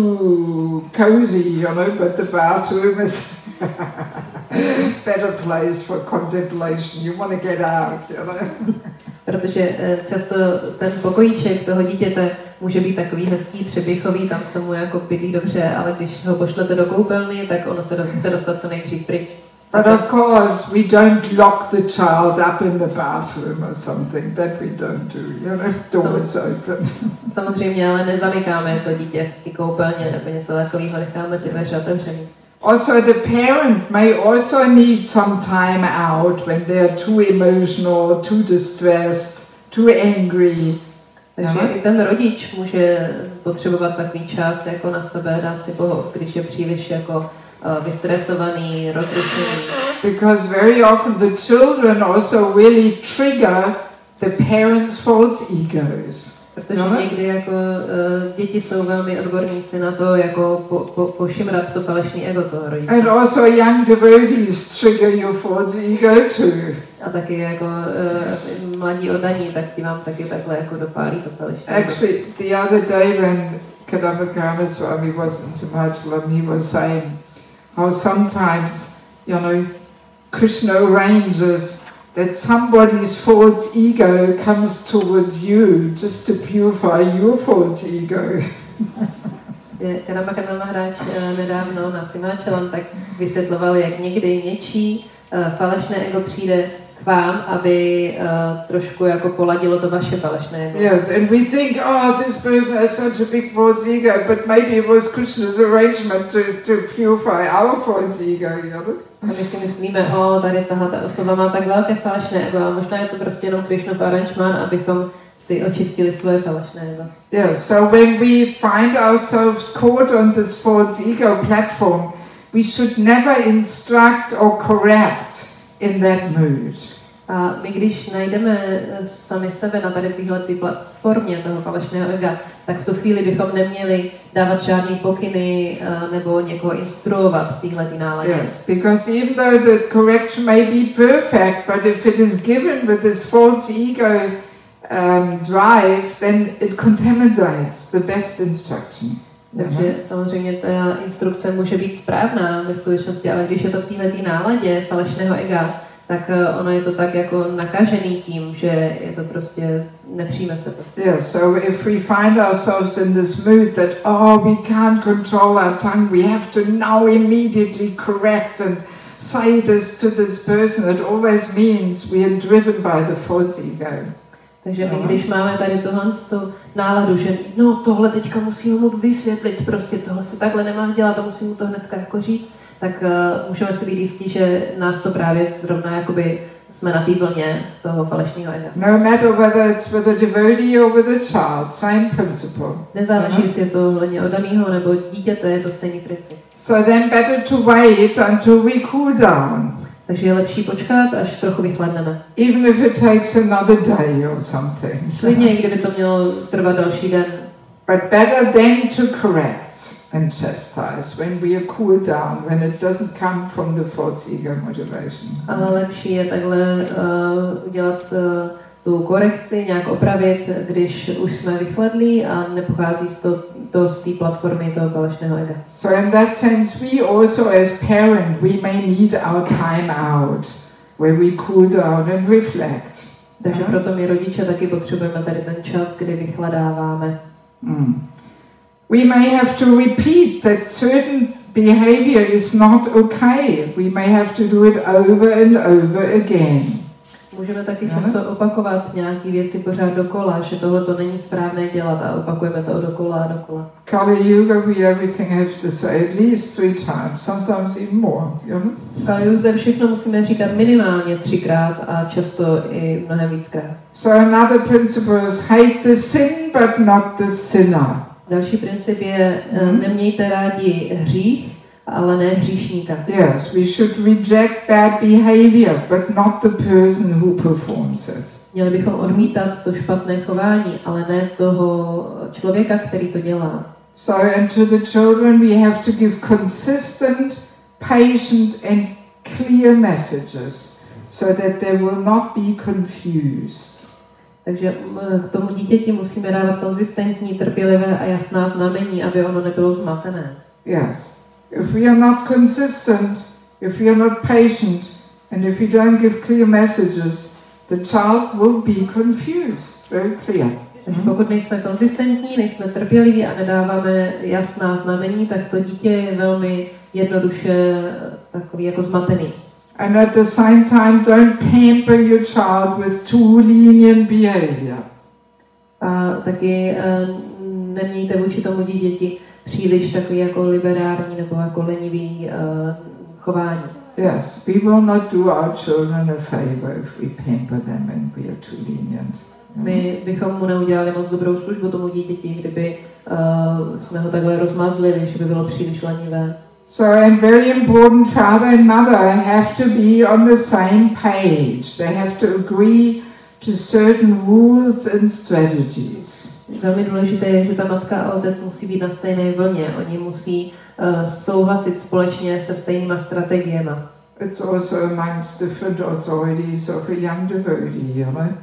too cozy, you know, but the bathroom is better place for contemplation. You want to get out, you know. Protože často ten pokojíček toho dítěte může být takový hezký, přepichový, tam se mu jako bydlí dobře, ale když ho pošlete do koupelny, tak ono se chce dostat co nejdřív pryč. But of course, we don't lock the child up in the bathroom or something. That we don't do. You know, door is open. Samozřejmě, ale nezamykáme to dítě v té koupelně nebo něco takového, necháme ty dveře otevřený. Also, the parent may also need some time out when they are too emotional, too distressed, too angry. Takže i ten rodič může potřebovat takový čas jako na sebe, dát si pohod, když je příliš jako vystresovaný, rozrušený. Because very often the children also really trigger the parents' false egos. Protože někdy jako děti jsou velmi odborníci na to, jako pošimrat to falešný ego toho rodiče. And also young devotees trigger your false ego too. A taky jako mladí oddaní, tak ti vám taky takhle jako dopálí to falešný ego. Actually, the other day when Kadambakana Swami was in Simachalam, he was saying how sometimes, you know, Krishna arranges that somebody's false ego comes towards you just to purify your false ego. Kadambakana Maharaj nedávno na Simachalam tak vysvětloval, jak někdy něčí falešné ego přijde k vám, aby trošku jako poladilo to vaše falešné ego. Yes, and we think, oh, this person has such a big false ego, but maybe it was Krishna's arrangement to purify our false ego, you know? A my si myslíme, tady tahle osoba má tak velké falešné ego, ale možná je to prostě jenom Krishnův aranžmán, abychom si očistili svoje falešné ego. Yes, so when we find ourselves caught on this false ego platform, we should never instruct or correct in that mood. A my když najdeme sami sebe na tady téhle platformě toho falešného ega, tak v tu chvíli bychom neměli dávat žádný pokyny nebo někoho instruovat v téhle náladě. Yes, because even though the correction may be perfect, but if it is given with this false ego drive, then it contaminates the best instruction. Takže samozřejmě ta instrukce může být správná ve skutečnosti, ale když je to v této náladě falešného ega, tak ono je to tak jako nakažený tím, že je to prostě, nepřijme se to. Yeah, so if we find ourselves in this mood that, we can't control our tongue, we have to now immediately correct and say this to this person, it always means we are driven by the false ego. Takže my, když máme tady tu náladu, že no tohle teďka musíme mu vysvětlit, prostě tohle se takhle nemá dělat a musím mu to hnedka jako říct, tak můžeme si být jistí, že nás to právě zrovna jakoby jsme na té vlně toho falešného ega. No matter whether it's with a devotee or with a child, same principle. Nezáleží, jestli je to hledně oddaného nebo dítěte, je to stejný princip. So then better to wait until we cool down. Takže je lepší počkat, až trochu vychladneme. Even if it takes another day or something. Klidně, i kdyby to mělo trvat další den. But better then to correct and chastise when we are cooled down, when it doesn't come from the false ego motivation. Ale lepší je takhle udělat tu korekci, nějak opravit, když už jsme vychladlí a nepochází z té platformy toho falešného ega. So in that sense, we also as parents, we may need our time out, where we cool down and reflect. Takže proto my rodiče taky potřebujeme tady ten čas, kdy vychladáváme. We may have to repeat that certain behavior is not okay. We may have to do it over and over again. Můžeme taky často opakovat nějaké věci pořád dokola, že tohle to není správné dělat a opakujeme to dokola a dokola. Kali Yuga, we everything have to say at least 3 times, sometimes even more. V Kali Yuga všechno musíme říkat minimálně 3krát a často i mnohem víckrát. So another principle is hate the sin but not the sinner. Další princip je nemějte rádi hřích, ale ne hříšníka. Yes, we should reject bad behavior, but not the person who performs it. Měli bychom odmítat to špatné chování, ale ne toho člověka, který to dělá. So, and to the children we have to give consistent, patient and clear messages, so that they will not be confused. Takže k tomu dítěti musíme dávat konzistentní, trpělivé a jasná znamení, aby ono nebylo zmatené. Yes. If we are not consistent, if we are not patient, and if we don't give clear messages, the child will be confused. Very clear. Takže pokud nejsme konzistentní, nejsme trpěliví a nedáváme jasná znamení, tak to dítě je velmi jednoduše takový jako zmatený. And at the same time, don't pamper your child with too lenient behavior. A taky nemějte vůči tomu dítěti příliš takový jako liberální nebo jako lenivý chování. Yes, we will not do our children a favor if we pamper them and we are too lenient. My bychom mu neudělali moc dobrou službu tomu dítěti, kdyby jsme ho takhle rozmazlili, že by bylo příliš lenivé. So, and very important, father and mother have to be on the same page. They have to agree to certain rules and strategies. Velmi důležité je, že ta matka a otec musí být na stejné vlně. Oni musí souhlasit společně se stejnýma strategiemi. It's also amongst different authorities of a young devotee, you know?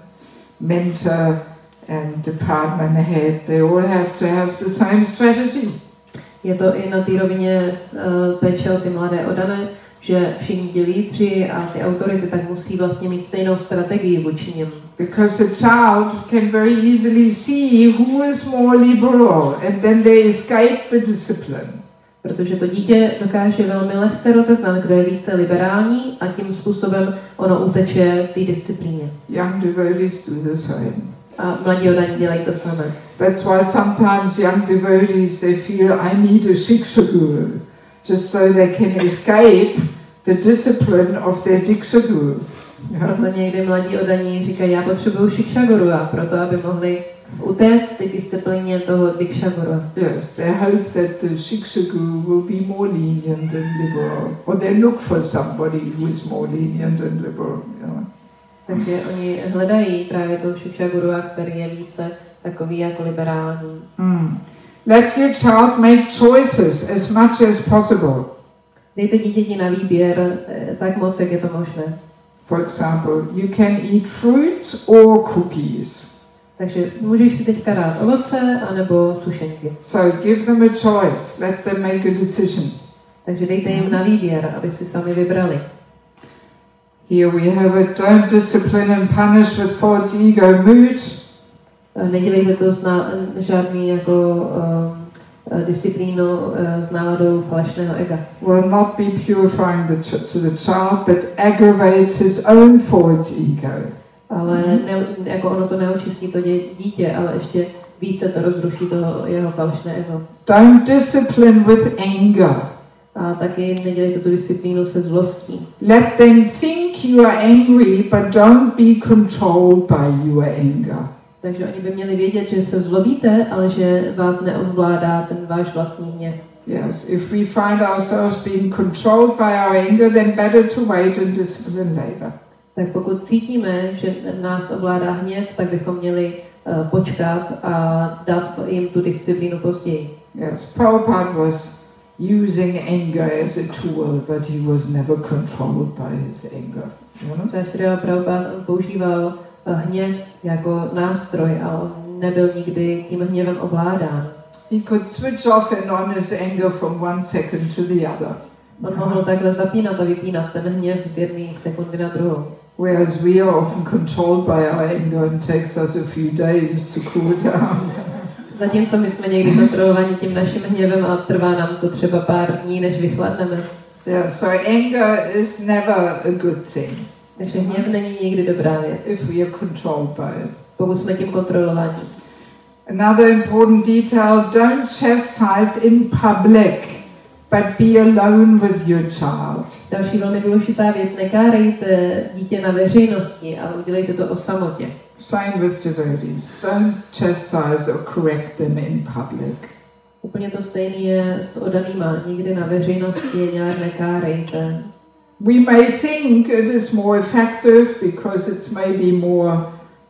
Mentor and department head, they all have to have the same strategy. Je to i na té rovině péče o ty mladé oddané, že všichni ti lídři a ty autority tak musí vlastně mít stejnou strategii vůči něm. Because the child can very easily see who is more liberal and then they escape the discipline. Protože to dítě dokáže velmi lehce rozeznat, kdo je více liberální a tím způsobem ono uteče té disciplíně. Young devotees do the same. A mladí oddaní dělají to samé. That's why sometimes young devotees, they feel I need a Shiksha guru, just so they can escape the discipline of their Diksha guru. Proto někdy mladí oddaní říkají, já potřebuju Shiksha guru, a proto, aby mohli utéct ty disciplíně toho Diksha guru. Yes, they hope that the Shiksha guru will be more lenient and liberal, or they look for somebody who is more lenient and liberal. Takže oni hledají právě toho Shiksha guru, který je více takový jako liberální. Let your child make choices as much as possible. Dejte dítěti na výběr tak moc, jak je to možné. For example, you can eat fruits or cookies. Takže můžeš si teďka dát ovoce anebo sušenky. So give them a choice. Let them make a decision. Takže dejte jim na výběr, aby si sami vybrali. Here we have it. Don't discipline and punish with false ego mood. Nedělejte to žádný jako disciplínu s náladou falešného ega. Will not be purifying to the child, but aggravates his own false ego. Ale jako ono to neočistí to dítě, ale ještě více to rozruší toho jeho falešné ego. Don't discipline with anger. A taky nedělejte tu disciplínu se zlostí. Let them think you are angry, but don't be controlled by your anger. Takže oni by měli vědět, že se zlobíte, ale že vás neovládá ten váš vlastní hněv. Yes, if we find ourselves being controlled by our anger, then better to wait and discipline later. Tak pokud cítíme, že nás ovládá hněv, tak bychom měli počkat a dát jim tu disciplínu později. Yes, Prabhupada was using anger as a tool, but he was never controlled by his anger. Třeba Srila Prabhupada používal hněv jako nástroj, ale on nebyl nikdy tím hněvem ovládán. He could switch off and on his anger from one second to the other. On mohl takhle zapínat a vypínat ten hněv z jedné sekundy na druhou. Whereas we are often controlled by our anger and takes us a few days to cool down. Zatímco my jsme někdy kontrolovaní tím naším hněvem a trvá nám to třeba pár dní, než vychladneme. Yeah, so anger is never a good thing. Takže hněv není nikdy dobrá věc. If we are controlled by it. Pokud jsme tím kontrolovaní. Another important detail, don't chastise in public, but be alone with your child. Další velmi důležitá věc, nekárejte dítě na veřejnosti, ale udělejte to o samotě. Same with devotees. Don't chastise or correct them in public. Úplně to stejné je s oddanýma. Nikdy na veřejnosti je nějak nekárejte. We may think it is more effective because it's maybe more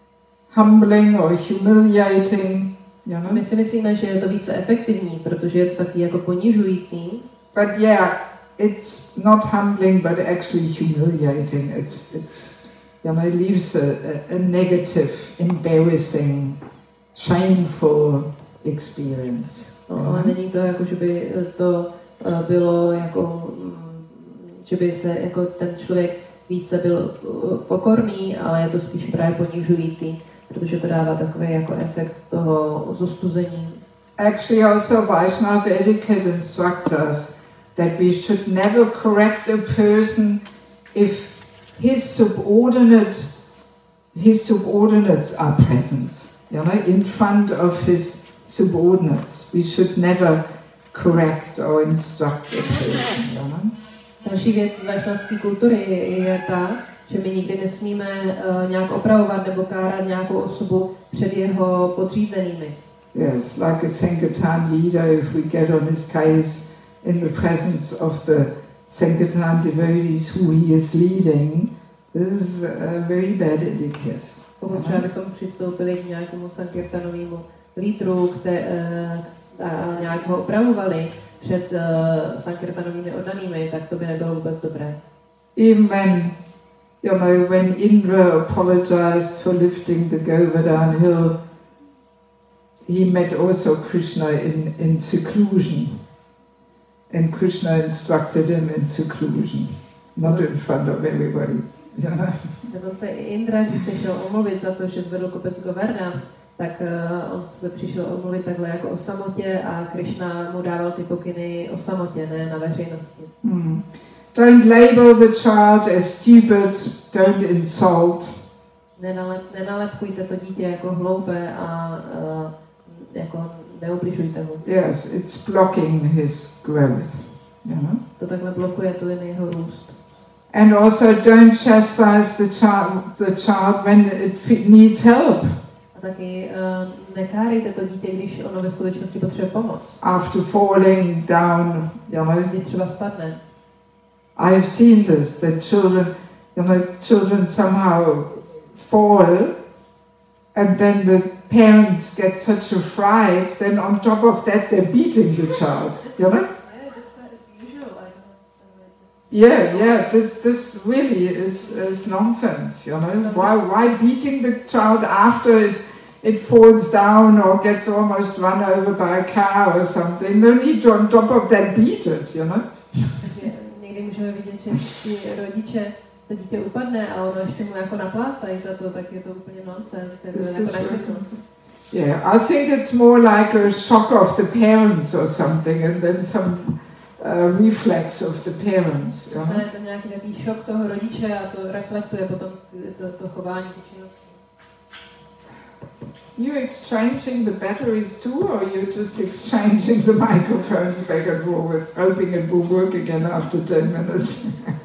humbling or humiliating. You know? My si myslíme, že je to více efektivní, protože je to taky jako ponižující. But yeah, it's not humbling, but actually humiliating. It's you know, it leaves a negative, embarrassing, shameful experience. No, ale není to jako, že by to bylo jako, že by se jako ten člověk více byl pokorný, ale je to spíš právě ponižující, protože to dává takový jako efekt toho zostuzení. Actually, also Vaishnava etiquette instructs us that we should never correct a person if his subordinates are present. You know, in front of his subordinates, we should never correct or instruct a person. You know? Další věc z vašnaské kultury je ta, že my nikdy nesmíme nějak opravovat nebo kárat nějakou osobu před jeho podřízenými. Yes, like a Sankirtan leader, if we get on his case in the presence of the Sankirtan devotees who he is leading, this is a very bad etiquette. Pokud třeba bychom přistoupili k nějakému Sankirtanovému lídru a nějak ho opravovali před Sankirtanovými oddanými, tak to by nebylo vůbec dobré. Even when Indra apologized for lifting the Govardhan hill, he met also Krishna in seclusion. And Krishna instructed him in seclusion, not in front of everybody. Dokonce i Indra, když se šel omluvit za to, že zvedl kopec Govardhan, tak on se přišel omluvit takhle jako o samotě a Krishna mu dával ty pokyny o samotě, ne na veřejnosti. Don't label the child as stupid, don't insult. Nenalepkujte to dítě jako hloupé a jako neubližujte mu. Yes, it's blocking his growth. You know? To takhle blokuje tu jen jeho růst. And also don't chastise the child when it needs help. A taky nekárejte to dítě, když ono ve skutečnosti potřebuje pomoc. After falling down, you know. Když třeba spadne. I have seen this, that children somehow fall, and then the parents get such a fright, then on top of that they're beating the child, you know? Yeah, this really is nonsense, you know? Why beating the child after it falls down or gets almost run over by a car or something, no need to on top of that beat it, you know. Takže někdy můžeme vidět, že ti rodiče to dítě upadne a ono ještě mu jako naplácají za to, tak je to úplně nonsense, je to jako nesmysl. Yeah, I think it's more like a shock of the parents or something, and then some reflex of the parents. You know? Je to nějaký takový šok toho rodiče a to reflektuje potom to chování, tu činnosti. You exchanging the batteries too, or you just exchanging the microphones back and forwards, hoping it will work again after 10 minutes?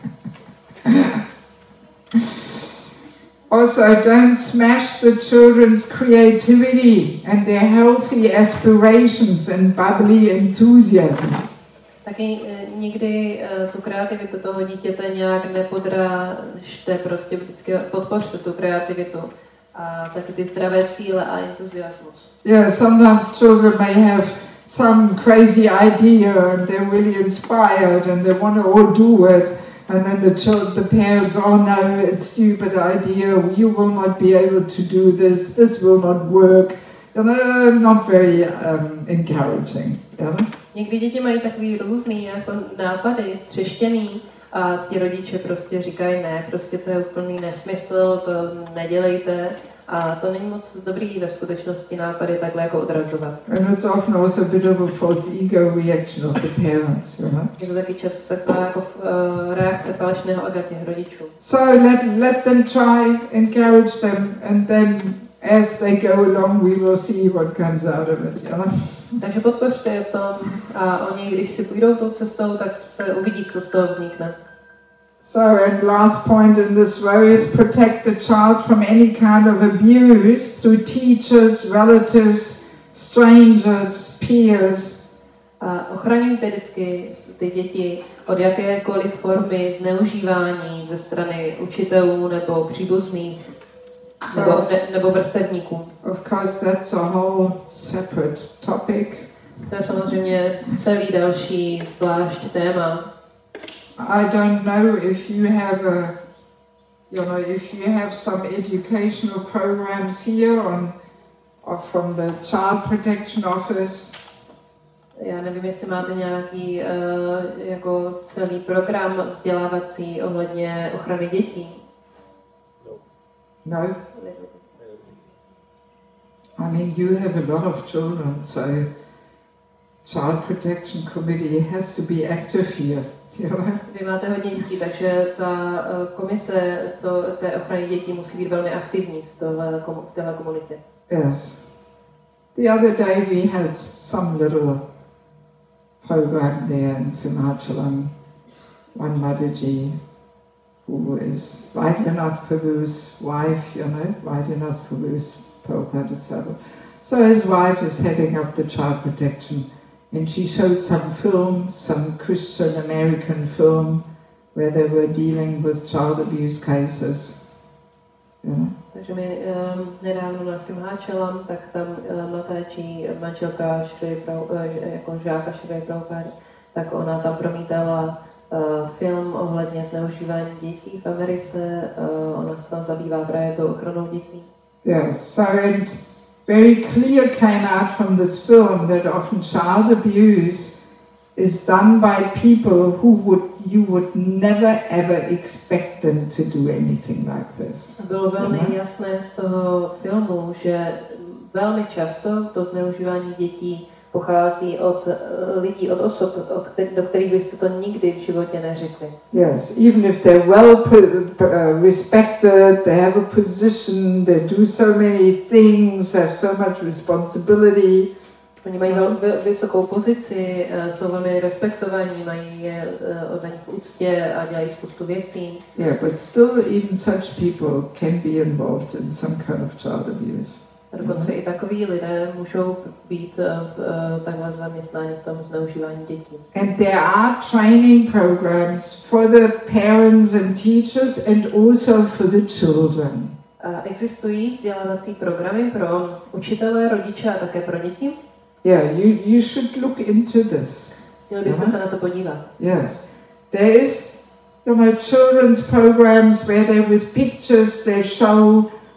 Also, don't smash the children's creativity and their healthy aspirations and bubbly enthusiasm. Taky nikdy tu kreativitu toho dítěte nějak nepodrážte, prostě vždycky podpořte tu kreativitu a taky ty zdravé cíle a entuziasmus. Yeah, sometimes children may have some crazy idea and they're really inspired and they want to all do it, and then the parents, oh no, it's a stupid idea, you will not be able to do this, this will not work. Not very encouraging. Yeah? Někdy děti mají takový různý jako nápady, střeštěný, a ti rodiče prostě říkají ne, prostě to je úplný nesmysl, to nedělejte. A to není moc dobrý ve skutečnosti nápady takhle jako odrazovat. And it's often also a bit of a false ego reaction of the parents, you know? Je to taky často taková jako reakce falešného ega těch rodičů. So let them try, encourage them, and then as they go along we will see what comes out of it, you know? Takže podpořte je v tom a oni, když si půjdou tou cestou, tak se uvidí, co z toho vznikne. So, and last point in this row is protect the child from any kind of abuse through teachers, relatives, strangers, peers. A ochraňujte vždycky ty děti od jakékoliv formy zneužívání ze strany učitelů nebo příbuzných nebo vrstevníků. Of course, that's a whole separate topic. To je samozřejmě celý další zvlášť téma. I don't know if you have if you have some educational programs here or from the Child Protection Office. Já nevím, jestli máte nějaký jako celý program vzdělávací ohledně ochrany dětí. No. I mean, you have a lot of children, so Child Protection Committee has to be active here. Vy máte hodně dětí, takže ta komise té ochrany dětí musí být velmi aktivní v téhle komunitě. Yes. The other day we had some little program there in Simachalam. One Mataji, who is Vaidyanatha Prabhu's wife, Vaidyanatha Prabhu's Prabhupada disciple. So his wife is heading up the child protection. And she showed some Christian American film, where they were dealing with child abuse cases. Yeah. Takže my nedávno na Simhachalam, tak tam Mataji, manželka jako žáka Šri Prabhupády, tak ona tam promítala film ohledně zneužívání dětí v Americe. Ona se tam zabývá právě tou ochranou dětí. Yes, so and very clear came out from this film that often child abuse is done by people you would never ever expect them to do anything like this. Bylo velmi jasné z toho filmu, že velmi často to zneužívání dětí pochází od lidí, od osob, do kterých byste to nikdy v životě neřekli. Yes, even if they're well respected, they have a position, they do so many things, have so much responsibility. Oni mají vysokou pozici, jsou velmi respektovaní, mají oddaní v úctě a dělají spoustu věcí. Yeah, but still even such people can be involved in some kind of child abuse. A dokonce i takoví lidé můžou být takhle zaměstnáni v tom zneužívání dětí. And there are training programs for the parents and teachers and also for the children. A existují vzdělávací programy pro učitele, rodiče a také pro děti. Yeah, you should look into this. Měli byste se na to podívat. Yes. There is, children's programs where they with pictures they show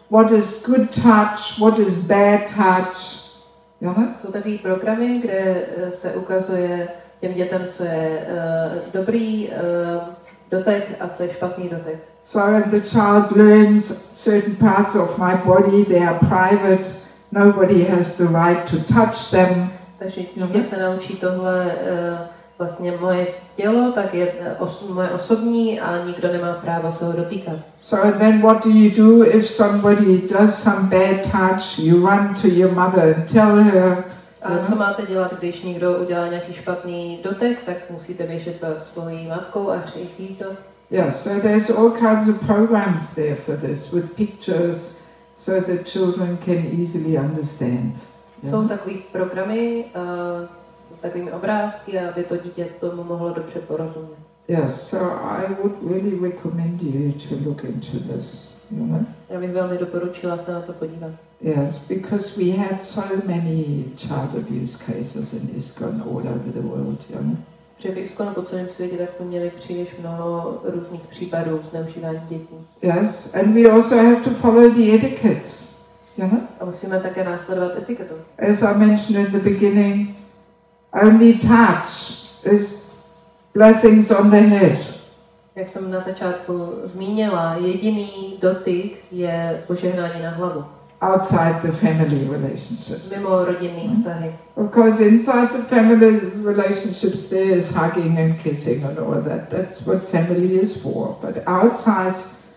what is good touch, what is bad touch. Jsou takový programy, kde se ukazuje těm dětem, co je dobrý dotek a co je špatný dotek. So the child learns certain parts of my body, they are private, nobody has the right to touch them. Takže dítě se naučí tohle vlastně moje tělo, tak je moje osobní a nikdo nemá práva se ho dotýkat. So then what do you do if somebody does some bad touch? You run to your mother and tell her. A co máte dělat, když někdo udělá nějaký špatný dotek, tak musíte běžet za svojí matkou a říct jí to. Yeah, so there's all kinds of programs there for this with pictures so that children can easily understand. Jsou takový programy s takovými obrázky, aby to dítě tomu mohlo dobře porozumět. Yes, so I would really recommend you to look into this. Já bych velmi doporučila se na to podívat. Yes, because we had so many child abuse cases in ISKCON all over the world, Protože v ISKCONu po celém světě tak jsme měli příliš mnoho různých případů zneužívání dětí. Yes, and we also have to follow the etiquettes. A musíme také následovat etiketu. As I mentioned in the beginning, only touch is blessings on the head. Jak jsem na začátku zmínila, jediný dotyk je požehnání na hlavu. Outside the family relationships. Mimo rodinný vztahy. Of course, inside the family relationships there is hugging and kissing and all that. That's what family is for. But outside,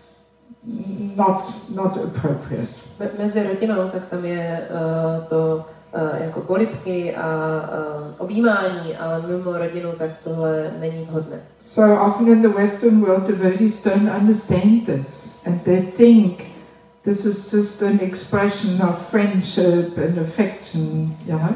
not appropriate. Mezi rodinou, tak tam je to jako polibky a objímání, ale mimo rodinu, tak tohle není vhodné. So often in the Western world, devotees don't understand this, and they think this is just an expression of friendship and affection,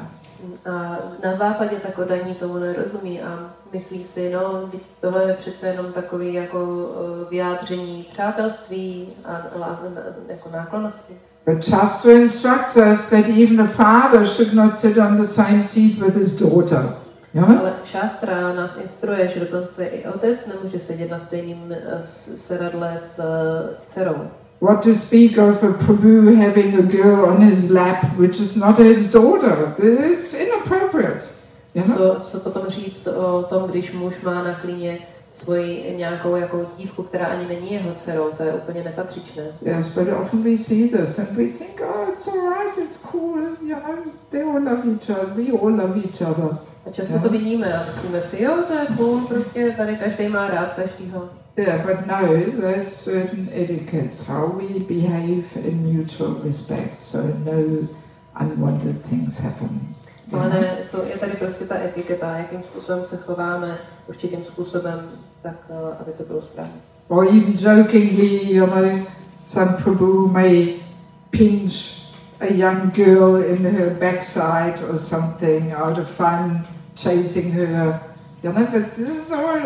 A na západě tak oddaní tomu nerozumí a myslí si, no, tohle je přece jenom takový jako vyjádření přátelství a jako náklonnosti. But Shastra instructs us that even a father should not sit on the same seat with his daughter. Ale Šástra nás instruuje, že dokonce i otec nemůže sedět na stejném sedadle s dcerou. What to speak of a Prabhu having a girl on his lap, which is not his daughter? It's inappropriate. Co potom říct o tom, když muž má na klíně svoji nějakou jako dívku, která ani není jeho dcerou, to je úplně nepatřičné. Yes, but often we see this and we think, oh, it's all right, it's cool, they all love each other, we all love each other. A často to vidíme a myslíme si, jo, to je cool, prostě tady každý má rád každýho. Yeah, but no, there's certain etiquettes, how we behave in mutual respect, so no unwanted things happen. Ale ne, je tady prostě ta etiketa, jakým způsobem se chováme, určitým způsobem, tak aby to bylo správně. Or even jokingly, some Prabhu may pinch a young girl in her backside or something out of fun, chasing her. But this is all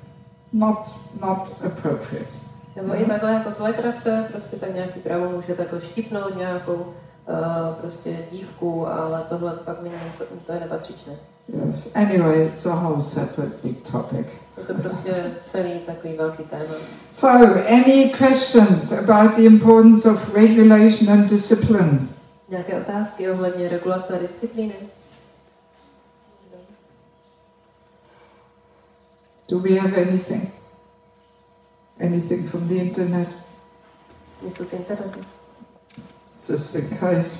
not appropriate. Nebo i takhle jako z legrace, prostě tak nějaký pravo může takhle štipnout nějakou prostě dívku, ale tohle pak není, to je nepatřičné. Yes. Anyway, it's a whole separate big topic. Je to prostě celý takový velký téma. So, any questions about the importance of regulation and discipline? Nějaké otázky ohledně regulace a disciplíny? Do we have anything? Anything from the internet? Něco z internetu? Just in case.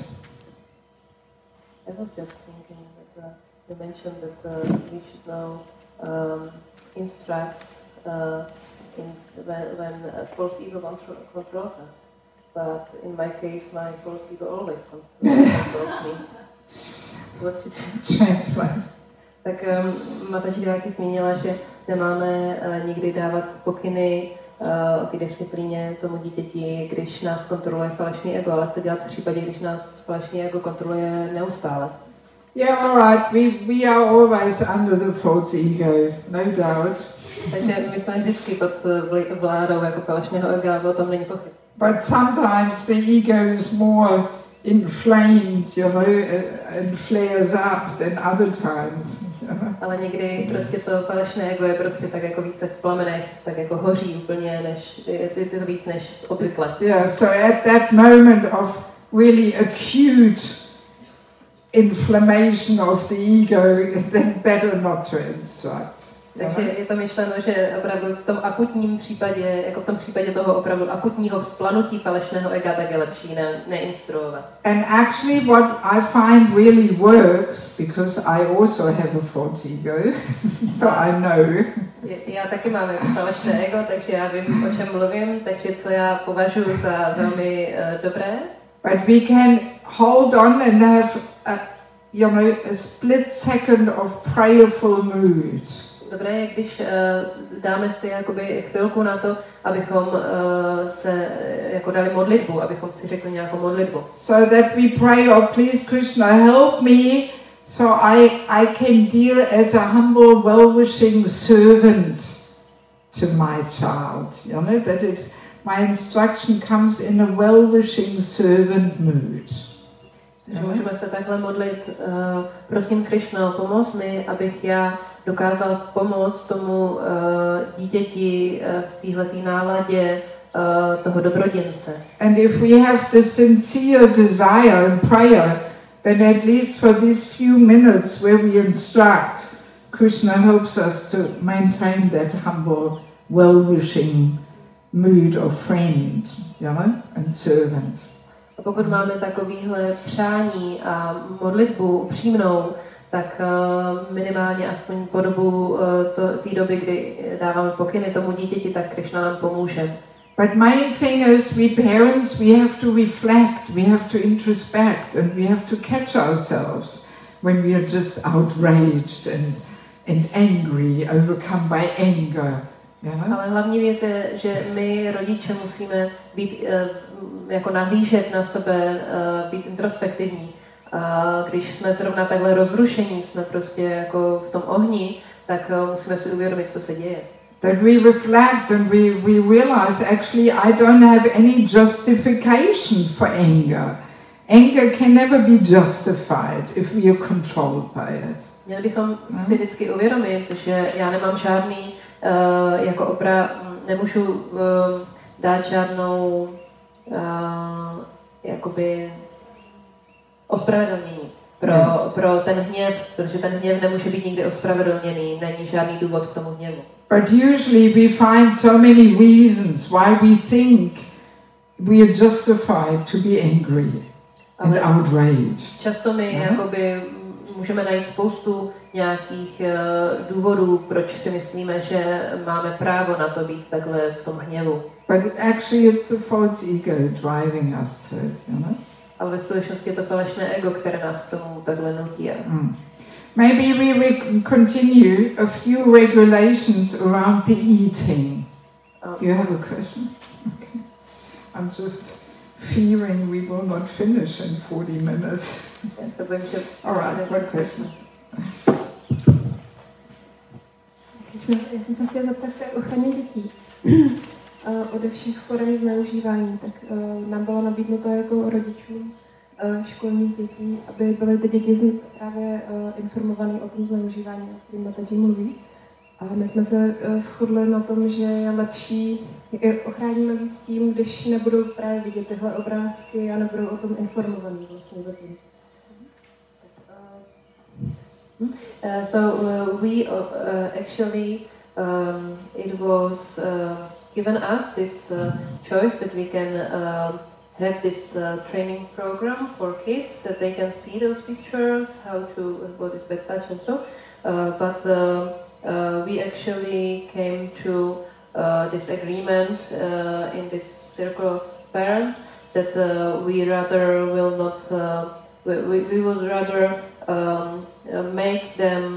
I was just thinking that you mentioned that we should now instruct when false ego controls us. But in my case, my false ego always controls me. What should translate? Tak Mataji Diváky zmínila, že nemáme nikdy dávat pokyny o té disciplíně tomu dítěti, když nás kontroluje falešný ego, ale co dělat v případě, když nás falešný ego kontroluje neustále? Yeah, all right. We are always under the false ego, no doubt. Takže my jsme vždycky pod vládou jako falešného ega, o tom není pochyb. But sometimes the ego is more inflamed, you know, and flares up than other times. Ale někdy prostě to falešné ego je prostě tak jako více v plamenech, tak jako hoří úplně, než je to víc než obvykle. Yeah, so at that moment of really acute inflammation of the ego, then better not to instruct. Takže je to myšleno, že opravdu v tom akutním případě, jako v tom případě toho opravdu akutního vzplanutí falešného ega, tak je lepší neinstruovat. And actually what I find really works, because I also have a false ego, so I know. Já taky mám jako falešné ego, takže já vím, o čem mluvím, takže co já považuji za velmi dobré. But we can hold on and have a split second of prayerful mood. Dobré je, když dáme si jakoby chvilku na to, abychom se jako dali modlitbu, abychom si řekli nějakou modlitbu. So that we pray, oh please Krishna help me, so I can deal as a humble, well-wishing servant to my child. You know, that my instruction comes in a well-wishing servant mood. Můžeme se takhle modlit, prosím Krishno, pomoz mi, abych já dokázal pomoct tomu dítěti v téhletý náladě toho dobroděnce. And if we have the sincere desire and prayer, then at least for these few minutes where we instruct, Krishna helps us to maintain that humble, well-wishing mood of friend, you know, and servant. A pokud máme takovýhle přání a modlitbu upřímnou, tak minimálně aspoň po dobu té doby, kdy dáváme pokyny tomu dítěti, tak Krishna nám pomůže. But main thing is, we parents, we have to reflect, we have to introspect, and we have to catch ourselves when we are just outraged and angry, overcome by anger. Ale hlavní věc je, že my rodiče musíme být jako nahlížet na sebe, být introspektivní. Když jsme zrovna takhle rozrušení, jsme prostě jako v tom ohni, tak musíme si uvědomit, co se děje. That we reflect and we realize actually I don't have any justification for anger. Anger can never be justified if we are controlled by it. Měli bychom si vždycky uvědomit, že já nemám žádný jako nemůžu dát žádnou jakoby ospravedlnění pro ten hněv, protože ten hněv nemůže být nikdy ospravedlněný, není žádný důvod k tomu hněvu. But usually we find so many reasons why we think we are justified to be angry and outraged. Často my jakoby můžeme najít spoustu nějakých důvodů, proč si myslíme, že máme právo na to být takhle v tom hněvu. But actually it's the false ego driving us to it, you know? Ale ve skutečnosti je to falešné ego, které nás k tomu takhle nutí. Maybe we will continue a few regulations around the eating. You have a question? Okay. I'm just fearing we will not finish in 40 minutes. All right, what question? Já jsem se chtěla zeptat o ochraně dětí. Ode všech forem zneužívání, tak nám bylo nabídnuto jako rodičům školních dětí, aby byly ty děti právě informované o tom zneužívání, o kterém Mataji mluví. A my jsme se shodli na tom, že je lepší, ochráníme víc tím, když nebudou právě vidět tyhle obrázky a nebudou o tom informovaní vlastně zatím. Actually it was given us this choice that we can have this training program for kids, that they can see those pictures, what is bad touch and so. But we actually came to this agreement in this circle of parents that we rather will not, we would rather make them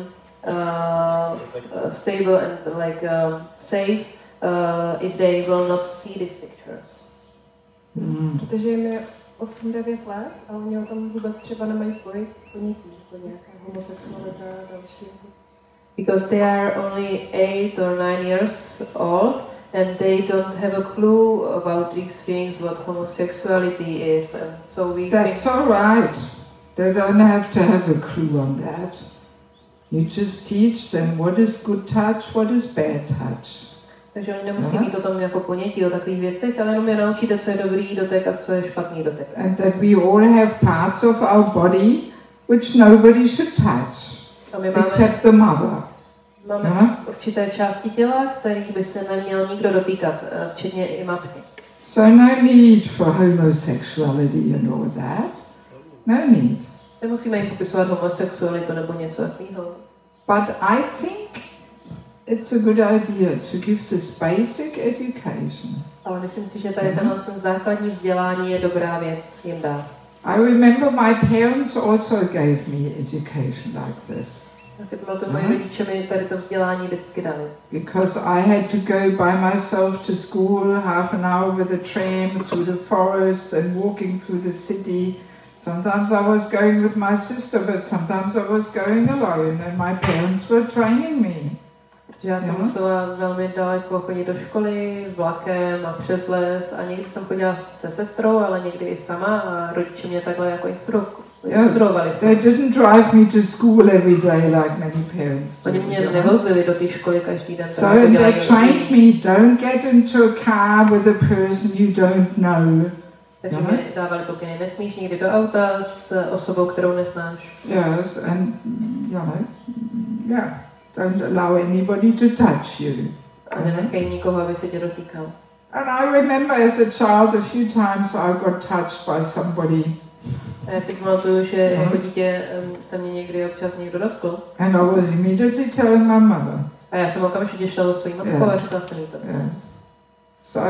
stable and safe if they will not see these pictures. Protože jim je 8-9 let a oni o tom vůbec třeba nemají ponětí, to nějaká homosexualita a další. Because they are only 8 or 9 years old and they don't have a clue about these things, what homosexuality is, and so we That's think, all right. They don't have to have a clue on that. You just teach them what is good touch, what is bad touch. takže oni nemusí mít o tom jako ponětí o takových věcech, ale jenom je naučíte, co je dobrý dotek a co je špatný dotek. And that we all have parts of our body which nobody should touch, A my except the mother. máme určité části těla, kterých by se neměl nikdo dotýkat, včetně i matky. So no need for homosexuality and all that. No need. Nemusíme jim popisovat homosexualitu nebo něco takového. But I think it's a good idea to give this basic education. Ale myslím si, že tady tenhle základní vzdělání je dobrá věc jim dát. I remember my parents also gave me education like this. Já si pamatuju, moji rodiče mi tady to vzdělání vždycky dali. Because I had to go by myself to school, half an hour with a tram through the forest and walking through the city. Sometimes I was going with my sister, but sometimes I was going alone, and my parents were training me. Že já jsem musela velmi daleko chodit do školy, vlakem a přes les a někdy jsem chodila se sestrou, ale někdy i sama a rodiče mě takhle jako instruovali. They didn't drive me to school every day like many parents do. Oni mě nevozili do té školy každý den. So and they trained me, don't get into a car with a person you don't know. Takže mě dávali pokyny, nesmíš nikdy do auta s osobou, kterou neznáš. Yes, and don't allow anybody to touch you. A nenechej nikoho, aby se tě dotýkal. And I remember as a child a few times I got touched by somebody. A já si pamatuju, že jako dítě se mě někdy občas někdo dotkl. And I was immediately telling my mother. A já jsem okamžitě šla do svým matkou a říkala jsem jí to. So,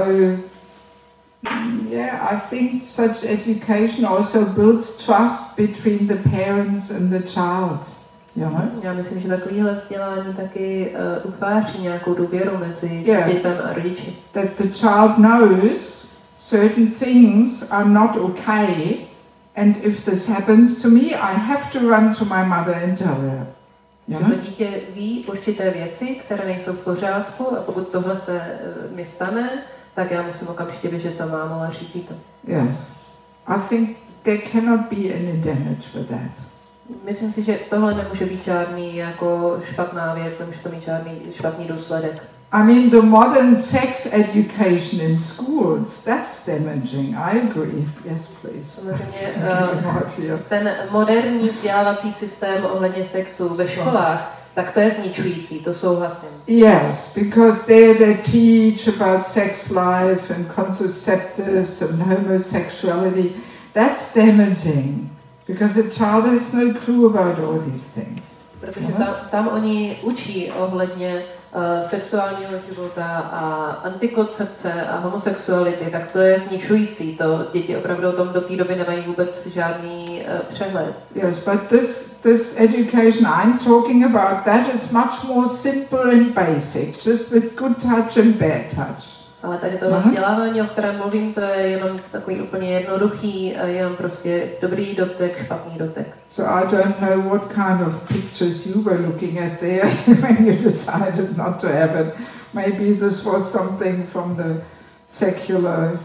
yeah, I think such education also builds trust between the parents and the child. Já myslím, že takovýhle vzdělání taky utváří nějakou důvěru mezi dětem a rodiči. That the child knows certain things are not okay, and if this happens to me, I have to run to my mother and tell her. To dítě ví určité věci, které nejsou v pořádku, a pokud tohle se mi stane, tak já musím okamžitě běžet za mámou a říct jí to. Yes. I think there cannot be any damage with that. Myslím si, že tohle nemůže být žádný jako špatná věc, nemůže to mít žádný špatný důsledek. I mean, the modern sex education in schools, that's damaging. I agree. Yes, please. Samozřejmě, ten moderní vzdělávací systém ohledně sexu ve školách, tak to je zničující, to souhlasím. Yes, because they teach about sex life and contraceptives and homosexuality. That's damaging, because a child has no clue about all these things. Protože tam oni učí ohledně sexuálního života a antikoncepce a homosexuality, tak to je zničující. To děti opravdu o tom do té doby nemají vůbec žádný přehled. Yes, but this education I'm talking about, that is much more simple and basic, just with good touch and bad touch. Ale tady tohle vzdělávání, o kterém mluvím, to je jenom takový úplně jednoduchý, jenom prostě dobrý dotek, špatný dotek. So I don't know what kind of pictures you were looking at there when you decided not to have it. Maybe this was something from the secular,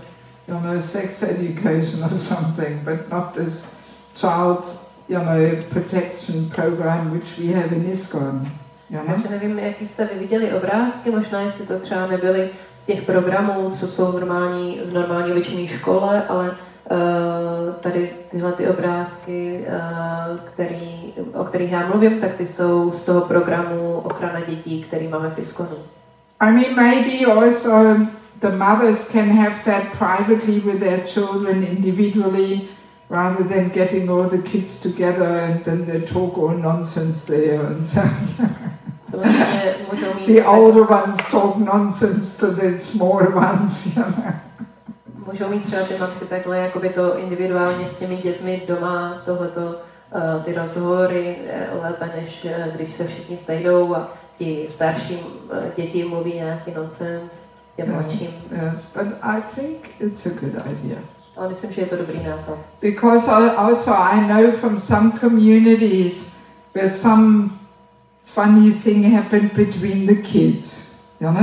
sex education or something, but not this child, protection program which we have in ISKCON. Takže nevím, jaký jste vy viděli obrázky, možná jestli to třeba nebyly z těch programů, co jsou v normální obyčejné škole, ale tady tyhle ty obrázky, o kterých já mluvím, tak ty jsou z toho programu ochrana dětí, který máme v ISKCONu. I mean, maybe also the mothers can have that privately with their children individually, rather than getting all the kids together and then they talk all nonsense there and so. The older ones talk nonsense to the smaller ones. Můžou mít třeba ty matky takhle jakoby to individuálně s těmi dětmi doma, tohleto, ty rozhovory lépe, než když se všichni sejdou a ti starší děti mluví nějaký nonsens těm mladším. Yes, but I think it's a good idea. Ale myslím, že je to dobrý nápad. Because also I know from some communities where some funny thing happened between the kids,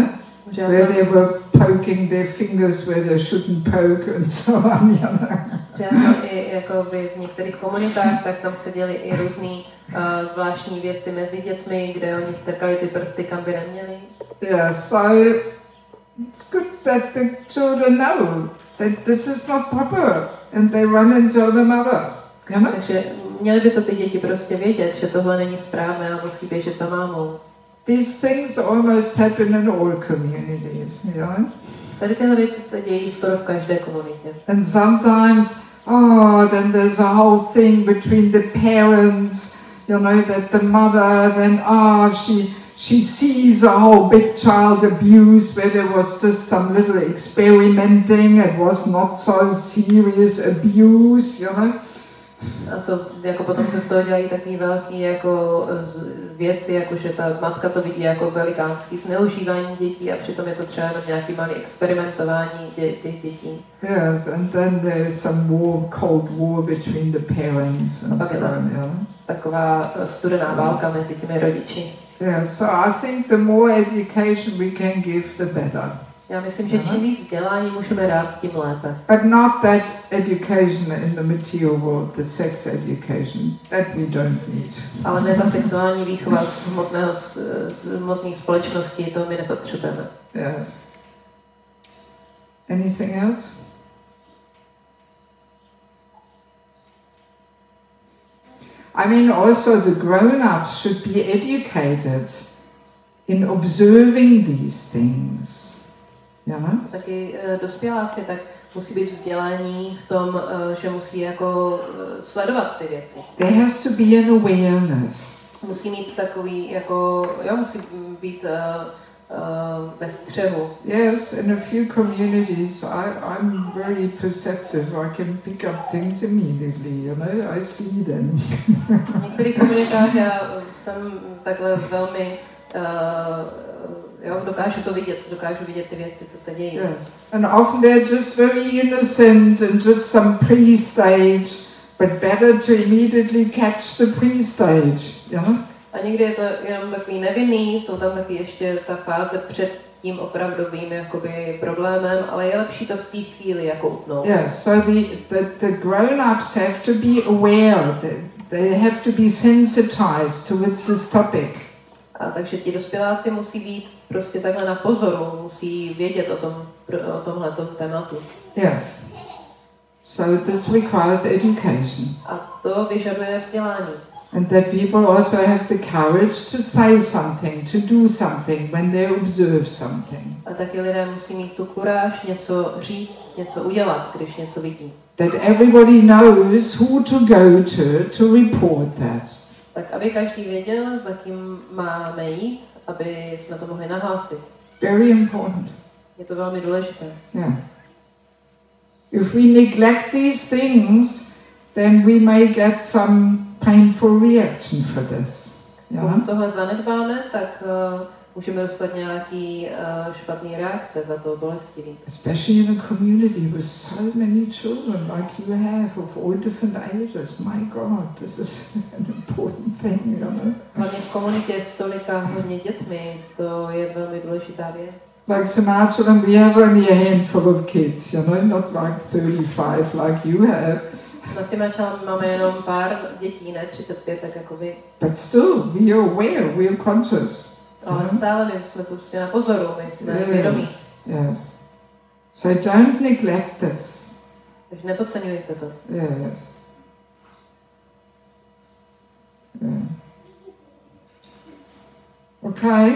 where they were poking their fingers where they shouldn't poke and so on. I jako v některých komunitách, tak tam se děly i různý zvláštní věci mezi dětmi, kde oni strkali ty prsty, kam by neměli. Yeah, so it's good that the children know that this is not proper and they run and tell the mother. Takže měly by to ty děti prostě vědět, že tohle není správné a musí běžet za mámou. These things almost happen in all communities, Tady tyhle věci se dějí skoro v každé komunitě. And sometimes, then there's a whole thing between the parents, that the mother then, she sees a whole big child abuse where there was just some little experimenting, it was not so serious abuse, A jako potom se z toho dělají takový velký jako věci, jako že ta matka to vidí jako velikánský zneužívání dětí a přitom je to třeba jenom nějaký malý experimentování těch dětí. Yes, and then there's some cold war between the parents and so on. Taková studená válka mezi těmi rodiči. Yeah, so I think the more education we can give, the better. Já myslím, že čím víc vzdělání můžeme dát, tím lépe. But not that education in the material world, the sex education, that we don't need. Ale ne ta sexuální výchova z hmotné společnosti, to my nepotřebujeme. Yes. Anything else? I mean, also the grown-ups should be educated in observing these things. Taky dospěláci tak musí být vzdělání v tom, že musí jako sledovat ty věci. There has to be an awareness. Musí mít takový jako, musí být ve střehu. Yes, in a few communities I'm very perceptive. I can pick up things immediately, I see them. V některých komunitách já jsem takhle velmi dokážu vidět ty věci, co se dějí. Yes. And often they're just very innocent and just some pre-stage, but better to immediately catch the pre-stage, A někdy je to jenom takový nevinný, jsou tam taky ještě ta fáze před tím opravdovým jakoby problémem, ale je lepší to v té chvíli jako utnout. Yes, so the grown-ups have to be aware, they have to be sensitized towards this topic. A takže ti dospěláci musí být prostě takhle na pozoru, musí vědět o tomhletom tématu. Yes. So this requires education. A to vyžaduje vzdělání. And that people also have the courage to say something, to do something when they observe something. A taky lidé musí mít tu kuráž něco říct, něco udělat, když něco vidí. That everybody knows who to go to report that. Tak aby každý věděl, za kým máme jít, aby jsme to mohli nahlásit. Very important. Je to velmi důležité. Yeah. If we neglect these things, then we may get some painful reaction for this. Pokud tohle zanedbáme, tak můžeme dostat nějaký špatný reakce za to bolestivý. Especially in a community with so many children like you have of all different ages. My God, this is an important thing, Hlavně v komunitě s tolika hodně dětmi, to je velmi důležitá věc. Like Sinatra, we have only a handful of kids, not like 35 like you have. Na Simačan máme jenom pár dětí, ne 35, tak jako vy. But still, we are aware, we are conscious. Ale stále my jsme prostě na pozoru, my jsme vědomí. Yes. So don't neglect this. Takže nepodceňujte to. Yes. Yeah. Okay.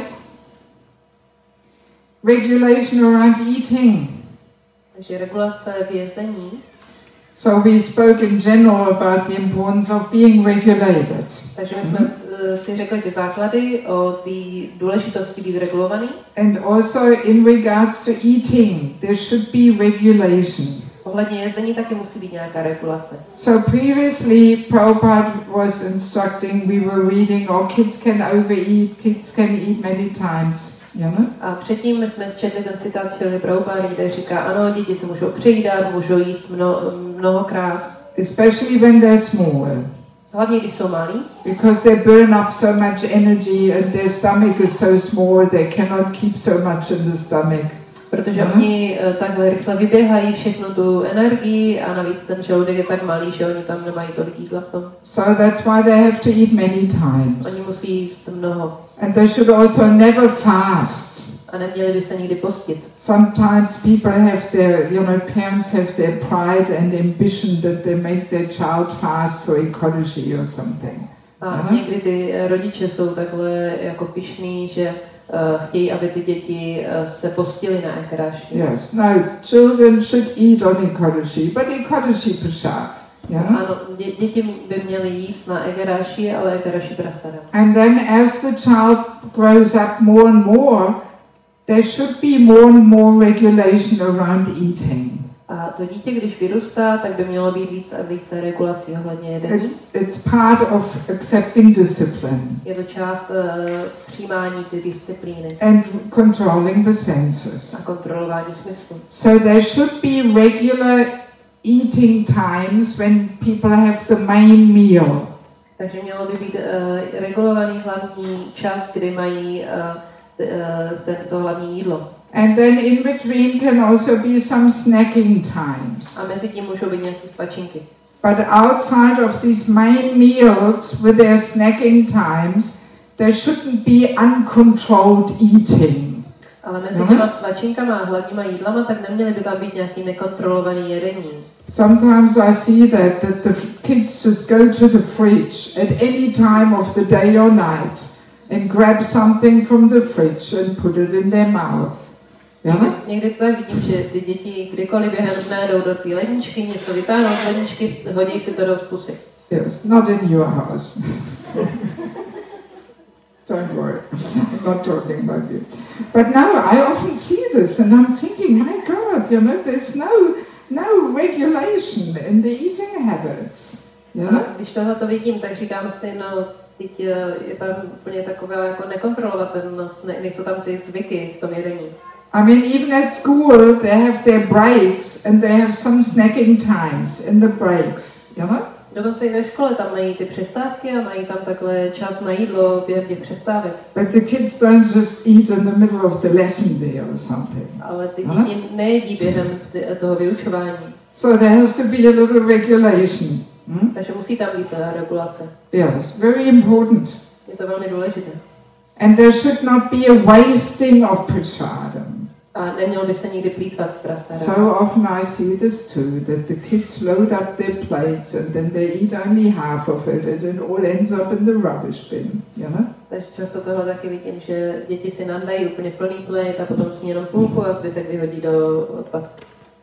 Regulation around eating. Takže regulace v jezení. So we spoke in general about the importance of being regulated. Takže my jsme si řekli ty základy o té důležitosti být regulovaný. And also in regards to eating, there should be regulation. Ohledně jezení taky musí být nějaká regulace. So previously Prabhupada was instructing, we were reading, kids can overeat, kids can eat many times. A předtím my jsme četli ten citát Šrily Prabhupády, kde říká, ano, děti se můžou přejídat, můžou jíst mnohokrát. Especially when they're small. hlavně když jsou malí, because they burn up so much energy and their stomach is so small they cannot keep so much in the stomach. protože oni takhle rychle vyběhají všechnu tu energii a navíc ten žaludek je tak malý, že oni tam nemají tolik jídla v tom. So that's why they have to eat many times. Oni musí jíst mnoho. And they should also never fast. A neměli by se nikdy postit. Sometimes people have their, parents have their pride and ambition that they make their child fast for ecology or something. A někdy ty rodiče jsou takhle jako pyšný, že chtějí, aby ty děti se postily na ekaráši. Yes, no, children should eat on ecology, but ecology prasad. Yeah? Ano, děti by měly jíst na ekaráši, ale ekaráši prasada. And then as the child grows up more and more, there should be more and more regulation around eating. A to dítě, když vyrůstá, tak by mělo být více a více regulací ohledně jedení. It's part of accepting discipline. Je to část přijímání ty disciplíny. And controlling the senses. A kontrolování smyslu. So there should be regular eating times when people have the main meal. Takže mělo by být regulovaný hlavní čas, kdy mají to hlavní jídlo. And then in between can also be some snacking times. A mezi tím můžou být nějaké svačinky. But outside of these main meals with their snacking times, there shouldn't be uncontrolled eating. Ale mezi těma svačinkama a hlavníma jídlama, tak neměly by tam být nějaký nekontrolovaný jedení. Sometimes I see that the kids just go to the fridge at any time of the day or night and grab something from the fridge and put it in their mouth. Někdy to tak vidím, že ty děti kdykoliv během dne jdou do té ledničky, něco vytáhnou z ledničky, hodí si to do pusy. Yes, not in your house. Don't worry, I'm not talking about you. But now I often see this and I'm thinking, my God, there's no regulation in the eating habits. Když tohle to vidím, tak říkám si, no, teď je tam úplně taková jako nekontrolovatelnost, nejsou tam ty zvyky v tom jedení. I mean, even at school, they have their breaks and they have some snacking times in the breaks, Dokonce i ve škole tam mají ty přestávky a mají tam takhle čas na jídlo během těch přestávek. But the kids don't just eat in the middle of the lesson day or something. Ale ty děti nejedí během toho vyučování. So there has to be a little regulation. Takže musí tam být ta regulace. Yes, very important. Je to velmi důležité. And there should not be a wasting of prasadam. A nemělo by se nikdy plýtvat s prasadem. So often I see this too, that the kids load up their plates and then they eat only half of it and it all ends up in the rubbish bin, Takže často tohle taky vidím, že děti si nandají úplně plný plate a potom sní jenom půlku a zbytek vyhodí do odpadku.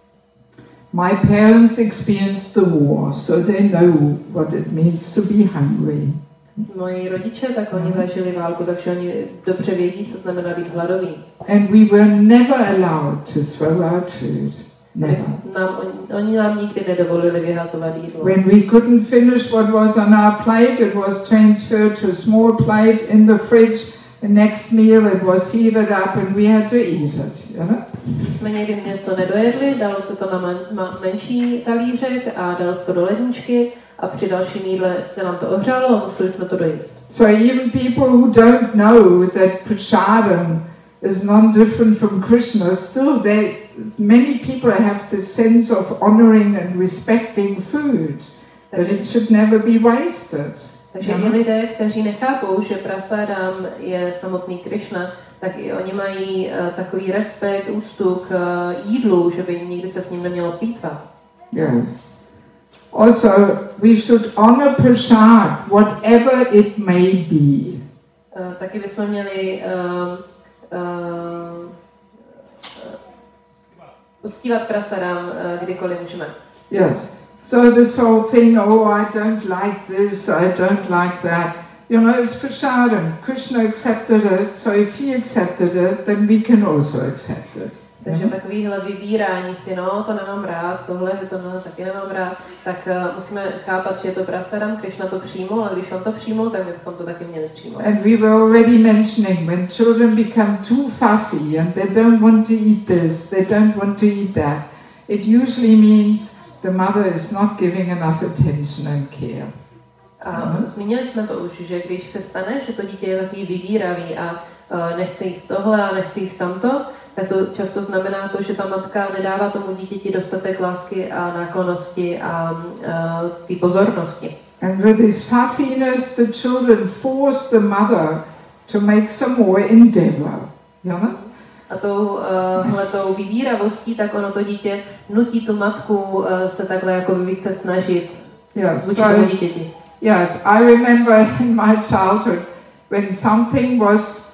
My parents experienced the war, so they know what it means to be hungry. Moji rodiče, tak oni zažili válku, takže oni dobře vědí, co znamená být hladový. And we were never allowed to throw out food. Never. Oni nám nikdy nedovolili vyhazovat jídlo. When we couldn't finish what was on our plate, it was transferred to a small plate in the fridge. The next meal it was heated up and we had to eat it. Když jsme někdy něco nedojedli, dalo se to na menší talířek a dalo se to do ledničky. A při dalším jídle se nám to ohřálo a museli jsme to dojíst. So even people who don't know that prasadam is non-different from Krishna, still many people have the sense of honoring and respecting food, that it should never be wasted. Takže i lidé, kteří nechápou, že prasadam je samotný Krishna, tak i oni mají takový respekt, úctu k jídlu, že by nikdy se s ním nemělo plýtvat. Yes. Also, we should honor prasad, whatever it may be. Taky bychom měli uctívat prasadam, kdykoliv můžeme. Yes. So this whole thing, I don't like this, I don't like that. It's prasadam. Krishna accepted it, so if he accepted it, then we can also accept it. Takže takovýhle vybírání si, to nemám rád, tohle, že to taky nemám rád, tak musíme chápat, že je to prasadam, Krishna to přijmul, a když on to přijmul, tak bychom to taky měli přijmout. And we were already mentioning when children become too fussy and they don't want to eat this, they don't want to eat that, it usually means the mother is not giving enough attention and care. A zmínili jsme to už, že když se stane, že to dítě je takový vybíravý a nechce jíst tohle a nechce jíst tamto, tak to často znamená to, že ta matka nedává tomu dítěti dostatek lásky a náklonnosti a té pozornosti. And with this fussiness, the children force the mother to make some more endeavor. You know? A touhletou vybíravostí, tak ono to dítě nutí tu matku se takhle jako více snažit vůči tomu dítěti. Yes, I remember in my childhood when something was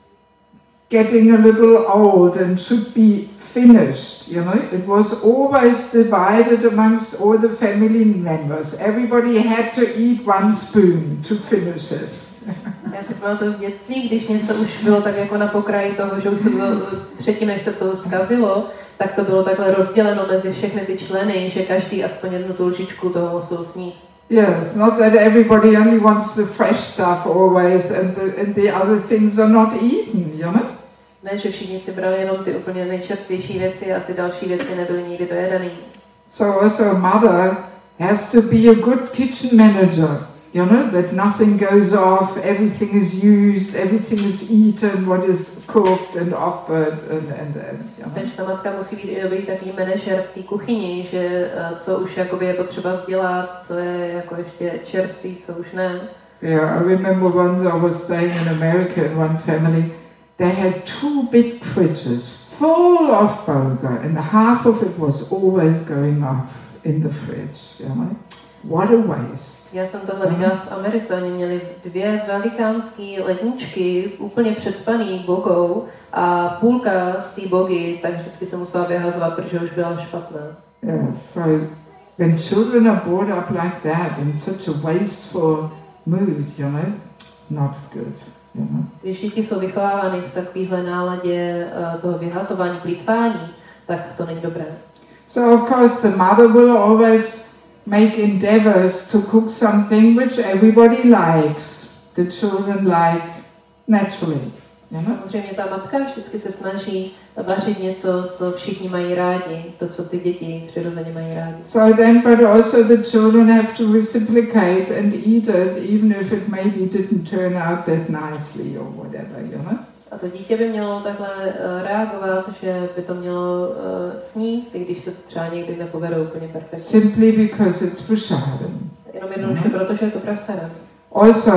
getting a little old and should be finished, you know, it was always divided amongst all the family members. Everybody had to eat one spoon to finish it. Já si pamatuju v dětství, když něco už bylo tak jako na pokraji toho, že už se to, předtím, než se to zkazilo, tak to bylo takhle rozděleno mezi všechny ty členy, že každý aspoň jednu tu lžičku toho musel sníst. Yes, not that everybody only wants the fresh stuff always and the other things are not eaten, you know? Ne, že všichni si brali jenom ty úplně nejčerstvější věci a ty další věci nebyly nikdy dojedaný. So also a mother has to be a good kitchen manager, you know, that nothing goes off, everything is used, everything is eaten, what is cooked and offered and you know. Takže ta matka musí být i dobrý takový manažer v té kuchyni, že co už jakoby je potřeba dělat, co je jako ještě čerstvý, co už ne. Yeah, I remember once I was staying in America in one family. They had 2 big fridges full of burger and half of it was always going off in the fridge, you know? What a waste. Já jsem tohle viděla v Americe, oni měli 2 velikánský ledničky, úplně předpaný bogou a půlka z té bogy, tak vždycky se musela vyhazovat, protože už byla špatná. Yeah, so when children are brought up like that in such a wasteful mood, you know, not good. Když děti jsou vychovávány v takovéhle náladě toho vyhazování, plýtvání, tak to není dobré. So of course the mother will always make endeavors to cook something which everybody likes. The children like naturally. Samozřejmě ta matka vždycky se snaží vařit něco, co všichni mají rádi, to, co ty děti přirozeně mají rádi. So then, but also the children have to reciprocate and eat it, even if it maybe didn't turn out that nicely or whatever, you know? A to dítě by mělo takhle reagovat, že by to mělo sníst, i když se to třeba někdy nepovede úplně perfektně. Simply because it's prasadam. Jenom jednoduše, protože je to prasadam. Also,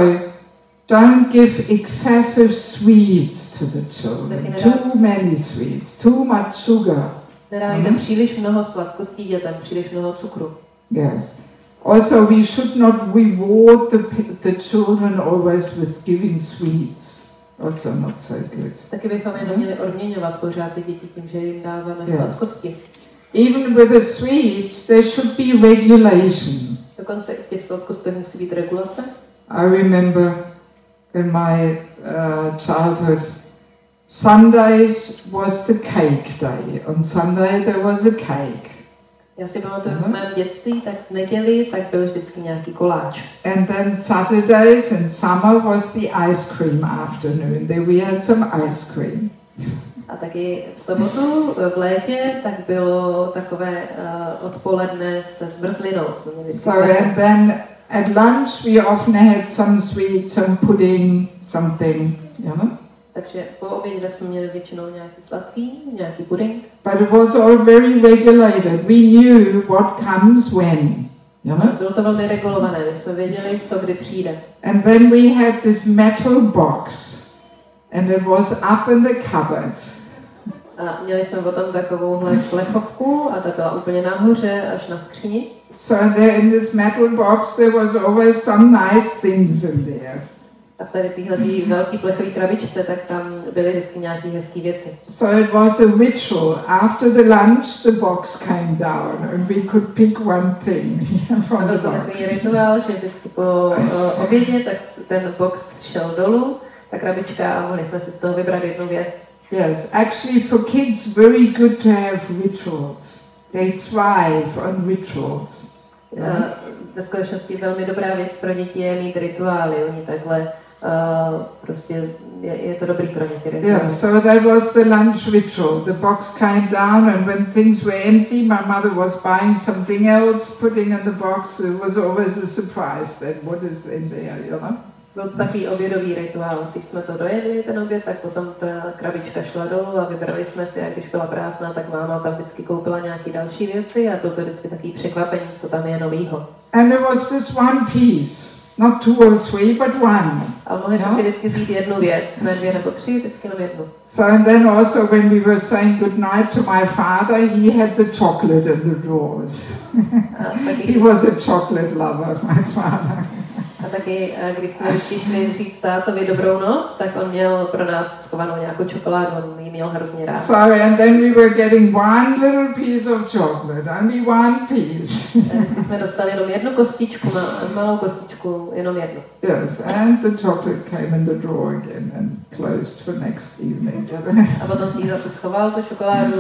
don't give excessive sweets to the children. Too many sweets, too much sugar. Nedávejte příliš mnoho sladkostí dětem, příliš mnoho cukru. Yes. Also, we should not reward the children always with giving sweets. Also not so good. Taky bychom je neměli odměňovat pořád ty děti tím, že jim dáváme sladkosti. Even with the sweets, there should be regulation. Dokonce i v těch sladkostech musí být regulace. I remember in my childhood, Sundays was the cake day. On Sunday there was a cake. Já si pamatuju v mém dětství, tak v neděli tak byl vždycky nějaký koláč. And then Saturdays in summer was the ice cream afternoon. There we had some ice cream. A taky v sobotu v létě tak bylo takové odpoledne se zmrzlinou. So and then at lunch we often had some sweet, some pudding, something, you know. Takže po obědě jsme měli většinou nějaký sladký, nějaký puding. But it was all very regulated. We knew what comes when, you know. Bylo to velmi regulované, my jsme věděli, co kdy přijde. And then we had this metal box, and it was up in the cupboard. A měli jsme potom takovouhle plechovku a ta byla úplně nahoře až na skříni. So there in this metal box there was always some nice things in there. A tady tyhle velký plechový krabičce, tak tam byly vždycky nějaké hezké věci. So it was a ritual. After the lunch, the box came down, and we could pick one thing from the box. Byl to takový rituál, že vždycky po obědě, tak ten box šel dolů, ta krabička, a mohli jsme si z toho vybrat jednu věc. Yes, actually for kids, very good to have rituals. They thrive on rituals. Ve skutečnosti velmi dobrá věc pro děti je mít rituály. Oni takhle prostě je to dobrý pro ně. Yeah, so that was the lunch ritual. The box came down, and when things were empty, my mother was buying something else, putting in the box. It was always a surprise that what is in there, you know. Byl to takový obědový rituál. Když jsme to dojedli, ten oběd, tak potom ta krabička šla dolů a vybrali jsme si, a když byla prázdná, tak máma tam vždycky koupila nějaké další věci a bylo to vždycky takový překvapení, co tam je novýho. And there was this one piece, not two or three, but one. Ale mohli jsme si vždycky vzít jednu věc, ne dvě nebo tři, vždycky jenom jednu. So and then also when we were saying goodnight to my father, he had the chocolate in the drawers. He was a chocolate lover, my father. A taky, když jsme vždycky šli říct tátovi dobrou noc, tak on měl pro nás schovanou nějakou čokoládu, on ji měl hrozně rád. So and then we were getting one little piece of chocolate, only one piece. Vždycky jsme dostali jenom jednu kostičku, malou kostičku, jenom jednu. Yes, and the chocolate came in the drawer again and closed for next evening. A potom si zase schoval tu čokoládu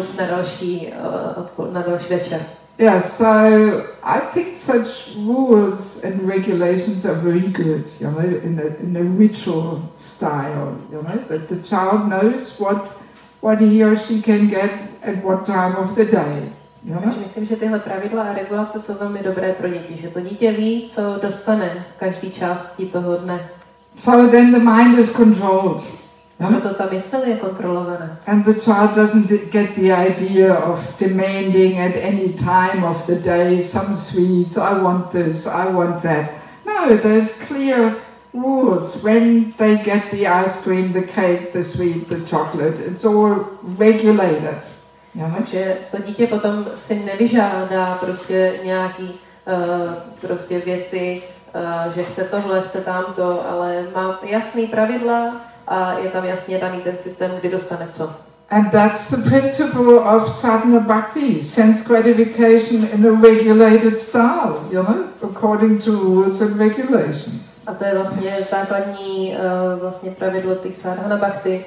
na další večer. Yeah, so I think such rules and regulations are very good, you know, in a ritual style, you know, that the child knows what he or she can get at what time of the day. You know? Myslím, že tyhle pravidla a regulace jsou velmi dobré pro děti, že to dítě ví, co dostane v každé části toho dne. So then the mind is controlled. Proto ta mysl je kontrolovaná. And the child doesn't get the idea of demanding at any time of the day some sweets, I want this, I want that. No, there's clear rules. When they get the ice cream, the cake, the sweet, the chocolate, it's all regulated. Takže to dítě potom si nevyžádá prostě nějaký prostě věci, že chce tohle, chce tamto, ale má jasný pravidla a je tam jasně daný ten systém, kdy dostane co. And that's the principle of sadhana bhakti, sense gratification in a regulated style, you know, according to rules and regulations. A to je vlastně základní vlastně pravidlo těch sadhana bhakti,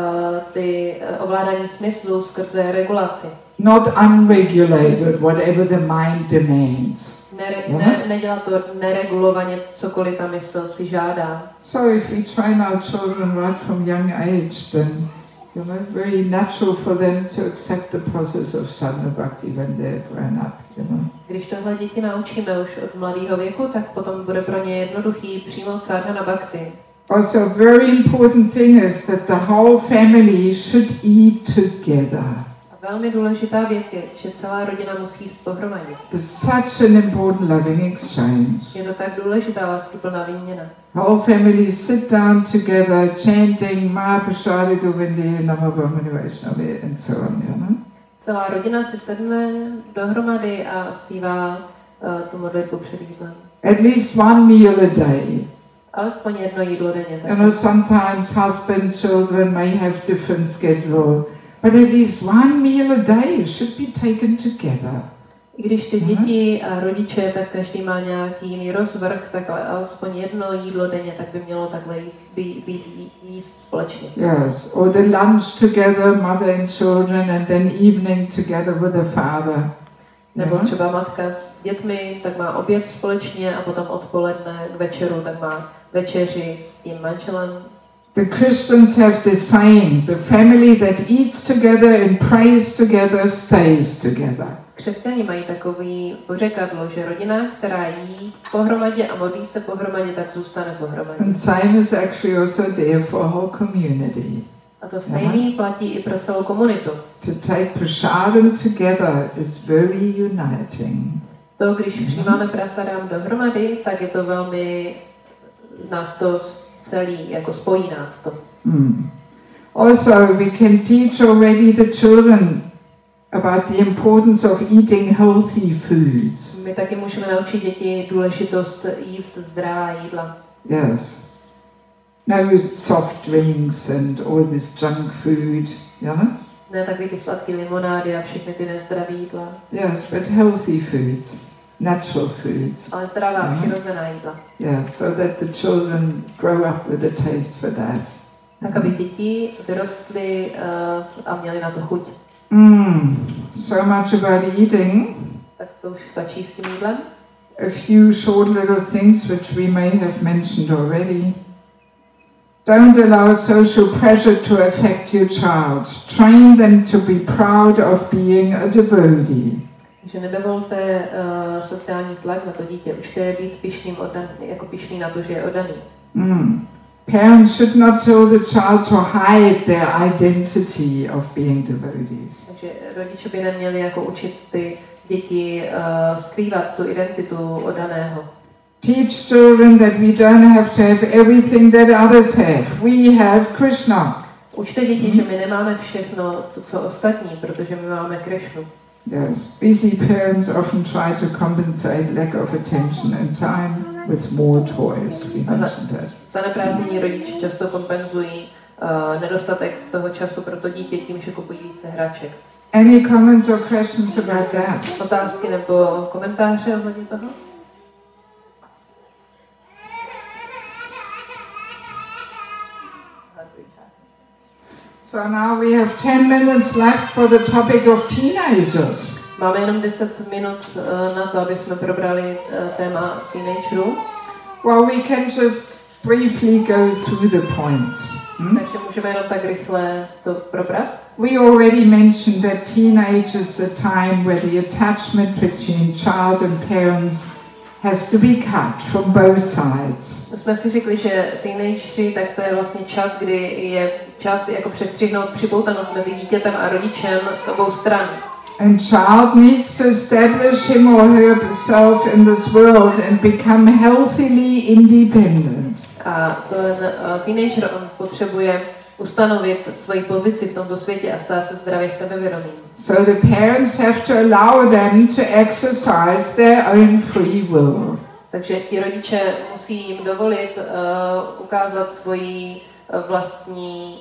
ty ovládání smyslu skrze regulaci. Not unregulated, whatever the mind demands. Nedělat to neregulovaně, cokoliv ta mysl si žádá. So if we train our children right from young age, then you know, very natural for them to accept the process of sadhana bhakti when they're grown up, you know. Když tohle děti naučíme už od mladého věku, tak potom bude pro ně jednoduchý přijmout sadhana bhakti. Also, a very important thing is that the whole family should eat together. Velmi důležitá věc je, že celá rodina musí jíst pohromadě. There's such an important loving exchange. Je to tak důležitá láskyplná výměna. Whole family sit down together, chanting Mahaprasada Govindi, Namo Brahmani Vaishnavi, and so on, you know? Celá rodina si sedne dohromady a zpívá tu modlitbu před jídlem. At least one meal a day. Alespoň jedno jídlo denně. You know, sometimes husband, children may have different schedule, but at least one meal a day should be taken together. I když ty děti a rodiče, tak každý má nějaký jiný rozvrh, tak alespoň jedno jídlo denně, tak by mělo takhle jíst společně. Yes, or the lunch together, mother and children, and then evening together with the father. Nebo třeba matka s dětmi, tak má oběd společně a potom odpoledne k večeru, tak má večeři s tím manželem. The Christians have the saying, the family that eats together and prays together stays together. Křesťané mají takový pořekadlo, že rodina, která jí pohromadě a modlí se pohromadě, tak zůstane pohromadě. And same is actually also there for a whole community. A to stejný platí i pro celou komunitu. To take prasadam together is very uniting. To, když přijímáme prasadam dohromady, tak je to velmi, nás to celý, jako spojí nás to. Also, we can teach already the children about the importance of eating healthy foods. My taky můžeme naučit děti důležitost jíst zdravá jídla. Yes. No soft drinks and all this junk food, yeah? Ne takový ty sladké limonády a všechny ty nezdravé jídla. Yes, but healthy foods, natural foods. Ale zdravá, přirozená jídla. Yes, so that the children grow up with a taste for that. Tak aby děti vyrostly a měly na to chuť. So much about eating. Tak to už stačí s tím jídlem. A few short little things which we may have mentioned already. Don't allow social pressure to affect your child. Train them to be proud of being a devotee. Že nedovolte sociální tlak na to dítě. Učte je být pyšný na to, že je oddaný. Parents should not tell the child to hide their identity of being devotees. Takže rodiče by neměli jako učit ty děti skrývat tu identitu oddaného. Teach children that we don't have to have everything that others have. We have Krishna. Učte děti, že my nemáme všechno, to co ostatní, protože my máme Krishnu. Yes, busy parents often try to compensate lack of attention and time with more toys. We mentioned that. Zaneprázdnění rodiče často kompenzují nedostatek toho času pro to dítě tím, že kupují více hraček. Any comments or questions about that? Otázky nebo komentáře ohledně toho? So now we have 10 minutes left for the topic of teenagers. Máme jenom 10 minut na to, aby jsme probrali téma teenagerů. Well, we can just briefly go through the points. Takže můžeme jenom tak rychle to probrat. We already mentioned that teenage is the time where the attachment between child and parents has to be cut from both sides. Jsme si řekli, že teenageři, tak to je vlastně čas, kdy je čas jako přestřihnout připoutanost mezi dítětem a rodičem z obou stran. And child needs to establish him or herself in this world and become healthily independent. A ten teenager, on potřebuje ustanovit svoji pozici v tomto světě a stát se zdravě sebevědomým. So the parents have to allow them to exercise their own free will. Takže ti rodiče musí jim dovolit ukázat svoji vlastní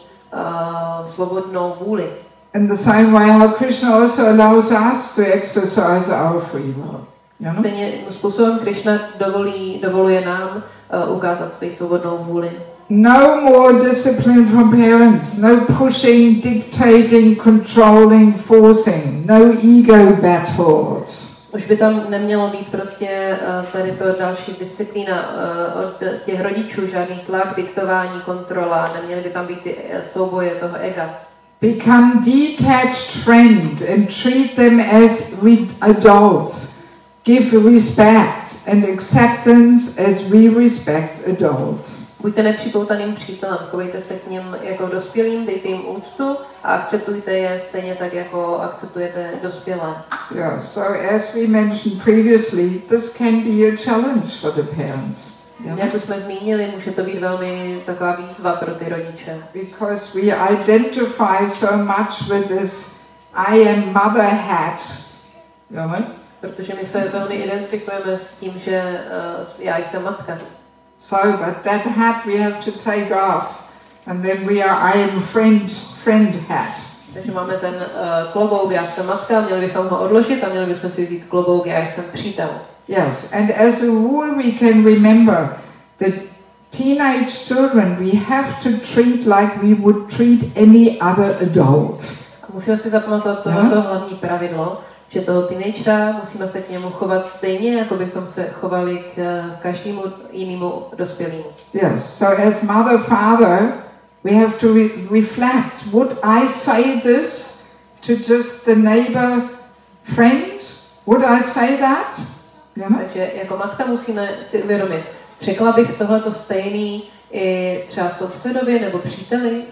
svobodnou vůli. In the same way how Krishna also allows us to exercise our free will. You know? Stejným způsobem Krishna dovoluje nám ukázat svoji svobodnou vůli. No more discipline from parents, no pushing, dictating, controlling, forcing, no ego battles. Už by tam nemělo být prostě tady to další disciplína od těch rodičů, žádný tlak, diktování, kontrola, neměly by tam být ty souboje toho ega. Become detached friend and treat them as adults. Give respect and acceptance as we respect adults. Buďte nepřipoutaným přítelem, chovejte se k nim jako dospělým, dejte jim úctu a akceptujte je stejně tak, jako akceptujete dospělé. Yeah, so as we mentioned previously, this can be a challenge for the parents. Jak už jsme zmínili, může to být velmi taková výzva pro ty rodiče. Because we identify so much with this I am mother hat. You know? Protože my se velmi identifikujeme s tím, že já jsem matka. So, but that hat we have to take off, and then we are I am friend hat. Takže máme ten klobouk, já jsem matka, měli bychom ho odložit a měli bychom si vzít klobouk, já jsem přítel. Yes, and as a rule we can remember that teenage children we have to treat like we would treat any other adult. A musíme si zapamatovat tohoto hlavní pravidlo, že toho teenagera musíme se k němu chovat stejně, jako bychom se chovali k každému jinému dospělému. Yes, so as mother, father, we have to reflect. Would I say this to just the neighbor friend? Would I say that? Yeah. Takže jako matka musíme si uvědomit, řekla bych tohleto stejný i třeba sousedovi nebo příteli?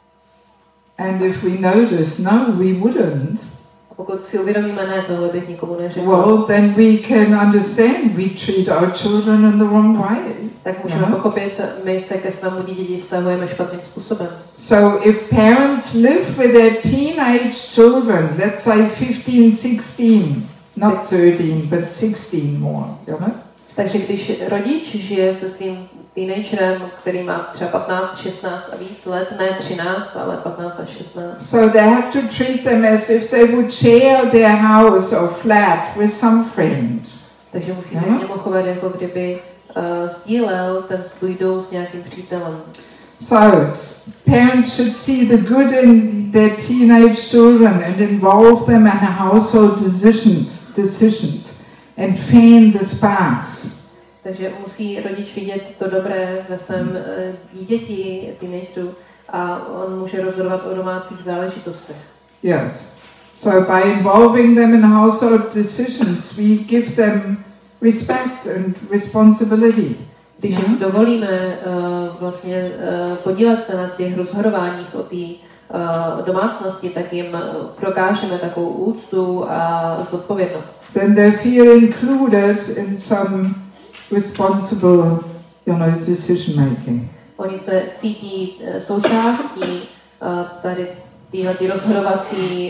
And if we notice, no, we wouldn't. Pokud si uvědomíme, ne, tohle bych nikomu neřekl. Well, then we can understand we treat our children in the wrong way. Tak můžeme pochopit, my se ke svému dítěti vztahujeme špatným způsobem. So if parents live with their teenage children, let's say 15, 16, not 13, but 16 more, you know? Takže když rodič žije se svým teenagerem, který má třeba 15, 16 a víc let, ne 13, ale 15 až 16. So they have to treat them as if they would share their house or flat with some friend. Takže musí se k němu chovat, jako kdyby sdílel ten svůj dům s nějakým přítelem. So parents should see the good in their teenage children and involve them in household decisions and fan the sparks. Takže musí rodič vidět to dobré ve svém dítěti, teenageru, a on může rozhodovat o domácích záležitostech. Yes. So by involving them in household decisions, we give them respect and responsibility. Když jim dovolíme vlastně podílet se na těch rozhodováních o té domácnosti, tak jim prokážeme takovou úctu a zodpovědnost. Then they feel included in some responsible, decision making. Oni se cítí součástí tady téhletý rozhodovací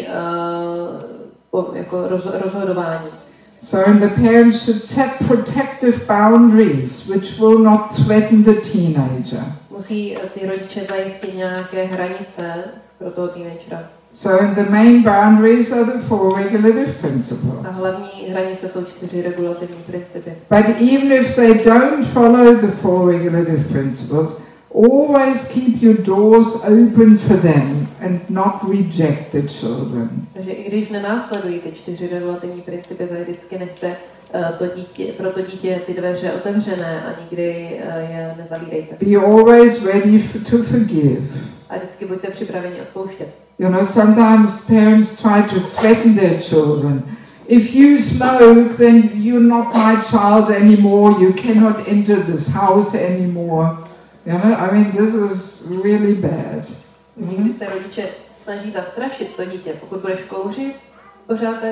jako rozhodování. So the parents should set protective boundaries which will not threaten the teenager. Musí ty rodiče zajistit nějaké hranice pro toho teenagera. So the main boundaries are the 4 regulative principles. A hlavní hranice jsou 4 regulativní principy. But even if they don't follow the 4 regulative principles, always keep your doors open for them and not reject the children. Takže i když nenásledují ty 4 regulativní principy, tak vždycky nechte pro to dítě ty dveře otevřené a nikdy je nezavírejte. Be always ready to forgive. A vždycky buďte připraveni odpouštět. Sometimes parents try to threaten their children. If you smoke, then you're not my child anymore. You cannot enter this house anymore. This is really bad. Někdy se rodiče snaží zastrašit to dítě. Pokud budeš kouřit pořád, tak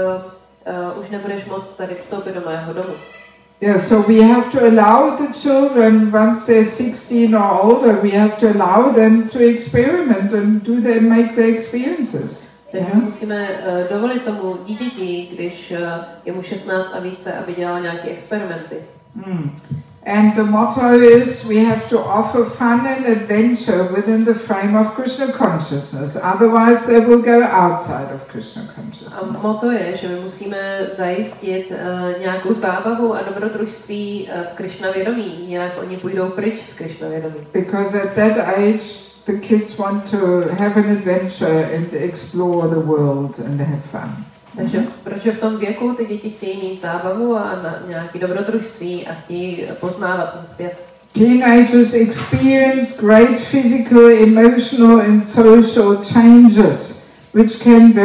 už nebudeš moct tady vstoupit do mého domu. Yeah, so we have to allow the children, once they're 16 or older, we have to allow them to experiment and make their experiences. Takže musíme dovolit tomu dítěti, když je mu 16 a více, aby dělal nějaké experimenty. And the motto is we have to offer fun and adventure within the frame of Krishna consciousness. Otherwise they will go outside of Krishna consciousness. A motto je, že my musíme zajistit nějakou zábavu a dobrodružství v Krishna vědomí, jinak oni půjdou pryč z Krishna vědomí. Because at that age the kids want to have an adventure and explore the world and have fun. Takže protože v tom věku ty děti chtějí mít zábavu a nějaké dobrodružství a chtějí poznávat ten svět. Teenagers experience great physical, emotional and social changes, which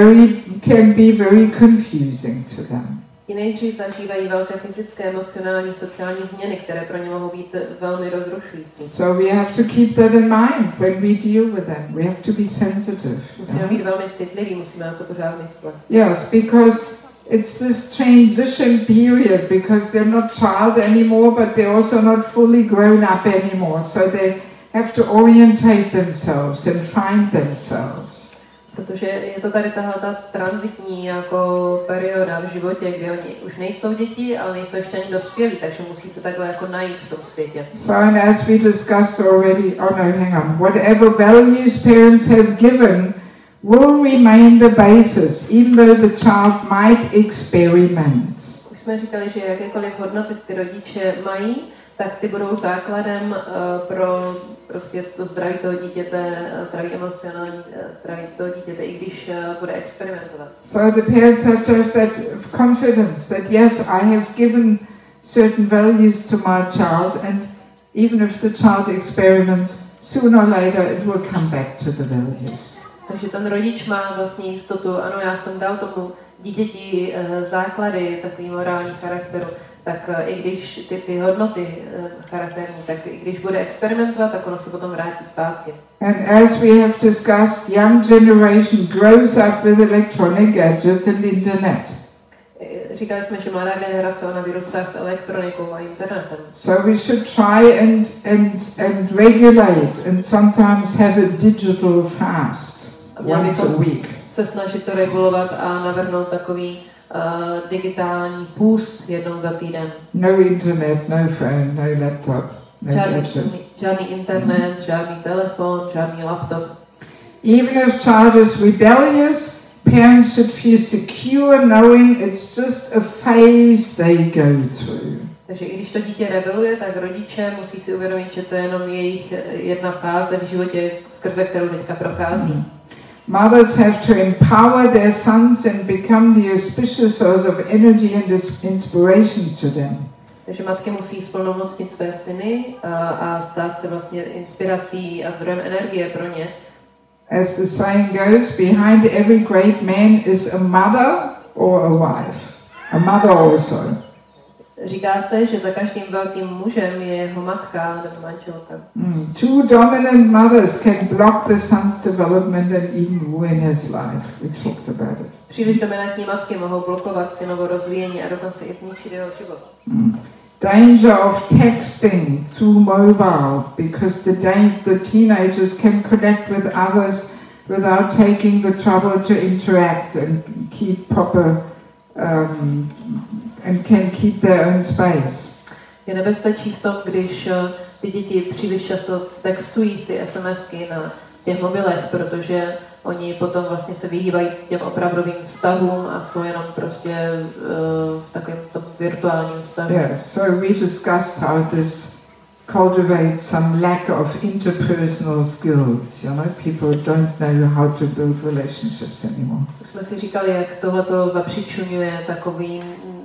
can be very confusing to them. Teenageři zažívají velké fyzické, emocionální, sociální změny, které pro ně mohou být velmi rozrušující. So we have to keep that in mind when we deal with them. We have to be sensitive. Musíme být velmi citliví, musíme na to pořád myslet. Yes, because it's this transition period, because they're not child anymore, but they're also not fully grown up anymore. So they have to orientate themselves and find themselves. Protože je to tady tahle tranzitní jako perioda v životě, kdy oni už nejsou děti, ale nejsou ještě ani dospělí, takže musí se takhle jako najít v tom světě. So and as we discussed already, whatever values parents have given will remain the basis, even though the child might experiment. Už jsme říkali, že jakékoliv hodnoty ty rodiče mají, tak ty budou základem pro prostě to zdraví toho dítěte, zdraví emocionální zdraví toho dítěte, i když bude experimentovat. So the parents have to have that confidence that yes, I have given certain values to my child, and even if the child experiments, sooner or later it will come back to the values. Takže ten rodič má vlastně jistotu, ano, já jsem dal tomu dítěti základy takový morální charakteru, tak i když ty hodnoty charakterní, tak i když bude experimentovat, tak ono se potom vrátí zpátky. And as we have discussed, young generation grows up with electronic gadgets and internet. Říkali jsme, že mladá generace, ona vyrůstá s elektronikou a internetem. So we should try and regulate and sometimes have a digital fast once a week. Se snažit to regulovat a navrhnout takový digitální půst jednou za týden. No internet, no phone, no laptop, no gadget. Žádný internet, žádný telefon, žádný laptop. Even if child is rebellious, parents should feel secure knowing it's just a phase they go through. Takže i když to dítě rebeluje, tak rodiče musí si uvědomit, že to je jenom jejich jedna fáze v životě, skrze kterou teďka prochází. Mothers have to empower their sons and become the auspicious source of energy and inspiration to them. Takže matky musí splnomocnit své syny a stát se vlastně inspirací a zdrojem energie pro ně. As the saying goes, behind every great man is a mother or a wife. A mother also. Říká se, že za každým velkým mužem je jeho matka nebo manželka. Two dominant mothers can block the son's development and even ruin his life. We talked about it. Příliš dominantní matky mohou blokovat synovo rozvíjení a dokonce i zničit jeho život. Danger of texting through mobile, because the teenagers can connect with others without taking the trouble to interact and keep proper and can keep their own space. Je nebezpečí v tom, když ty děti příliš často textují si SMSky na těch mobilech, protože oni potom vlastně se vyhýbají těm opravdovým vztahům a jsou jenom prostě v takovém tom virtuálním vztahu. Yes, so we discussed how this cultivates some lack of interpersonal skills. You know, people don't know how to build relationships anymore. Jsme si říkali, jak tohleto zapříčuňuje takový,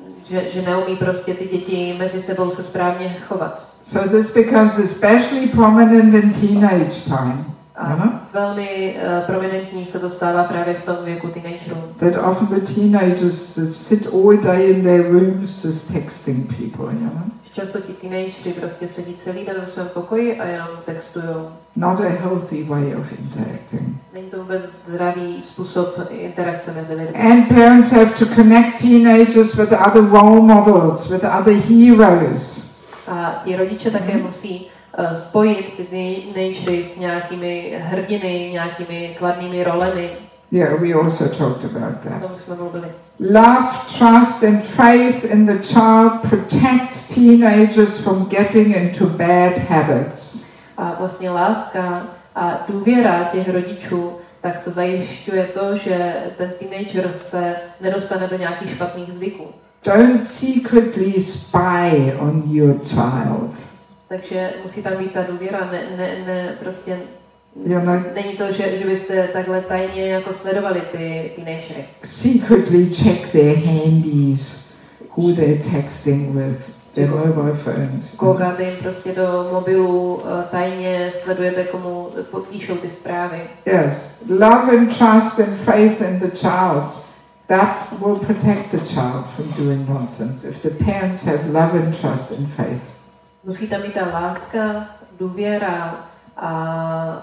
že neumí prostě ty děti mezi sebou se správně chovat. So this becomes especially prominent in teenage time. A velmi prominentní se to stává právě v tom věku teenagerů. That often the teenagers sit all day in their rooms just texting people, you know. Často ti teenageři prostě sedí celý den v svém pokoji a jenom textujou. Not a healthy way of interacting. Není to vůbec zdravý způsob interakce mezi lidmi. And parents have to connect teenagers with other role models, with other heroes. A ti rodiče také musí spojit ty teenagery s nějakými hrdiny, nějakými kladnými rolemi. Yeah, we also talked about that. O tom jsme mluvili. Love, trust and faith in the child protects teenagers from getting into bad habits. A vlastně láska a důvěra těch rodičů, tak to zajišťuje to, že ten teenager se nedostane do nějakých špatných zvyků. Don't secretly spy on your child. Takže musí tam být ta důvěra, prostě know, není to, že byste takhle tajně jako sledovali ty teenagery. Secretly check their handies, who they're texting with, their mobile phones. Koukáte jim prostě do mobilu, tajně sledujete, komu píšou ty zprávy. Yes, love and trust and faith in the child. That will protect the child from doing nonsense if the parents have love and trust and faith. Musí tam být ta láska, důvěra a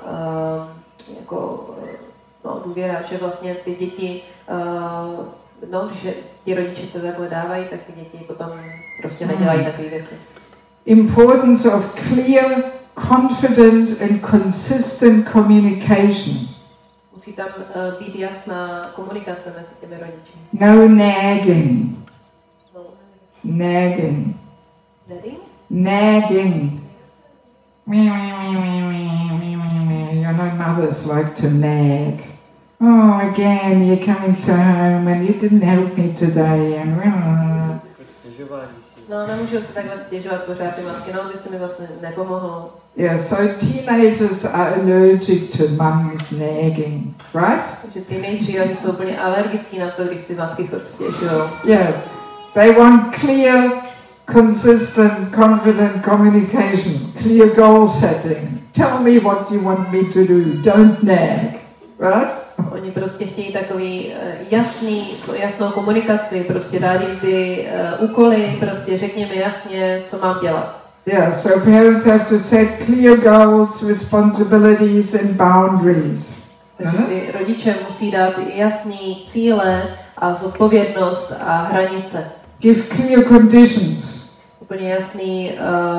důvěra, že vlastně ty děti, když ti rodiče to takhle dávají, tak ty děti potom prostě nedělají takové věci. Importance of clear, confident and consistent communication. Musí tam být jasná komunikace mezi těmi rodiči. No nagging. Nagging. Nagging. You know, mothers like to nag. Oh, again, you're coming so home and you didn't help me today. No, nemůžu si takhle stěžovat pořád ty matky, no, ty jsi mi vlastně nepomohl. Yeah, so teenagers are allergic to mum's nagging, right? Takže teenageři, oni jsou úplně alergický na to, když si matky stěžují. Yes, they want clear, consistent, confident communication, clear goal setting. Tell me what you want me to do, don't nag, right? Oni prostě chtějí takový jasnou komunikaci, prostě dát jim ty úkoly, prostě řekni mi jasně, co mám dělat. Yeah, so parents have to set clear goals, responsibilities and boundaries. Takže ty rodiče musí dát jasný cíle a zodpovědnost a hranice. Give clear conditions. Úplně jasný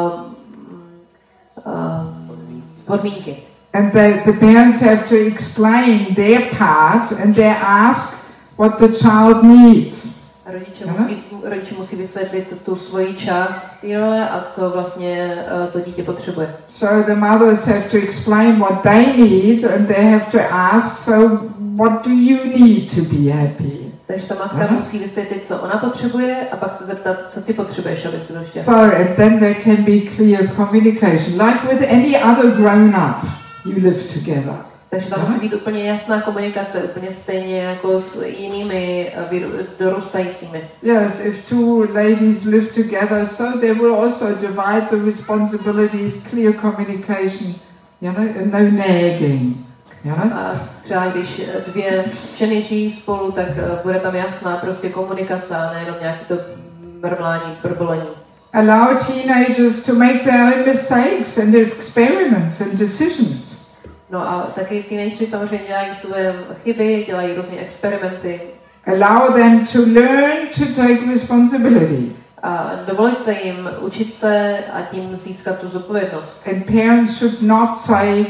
podmínky. And the parents have to explain their part and they ask what the child needs. A rodiče musí vysvětlit tu svoji část té role a co vlastně to dítě potřebuje. So the mothers have to explain what they need and they have to ask, so what do you need to be happy? Takže ta matka musí vysvětlit, co ona potřebuje a pak se zeptat, co ty potřebuješ, aby si to šťastný. So and then there can be clear communication, like with any other grown-up. You live together. Takže tam musí být úplně jasná komunikace, úplně stejně jako s jinými dorůstajícími. Yes, if two ladies live together, so they will also divide the responsibilities, clear communication, you know, and no nagging. You know? A třeba když dvě ženy žijí spolu, tak bude tam jasná prostě komunikace a nejenom nějaký to mrmlání, brbolení. Allow teenagers to make their own mistakes and experiments and decisions. No a taky teenageři samozřejmě dělají své chyby, dělají různé experimenty. Allow them to learn to take responsibility. A dovolte jim učit se a tím získat tu zodpovědnost. And parents should not say,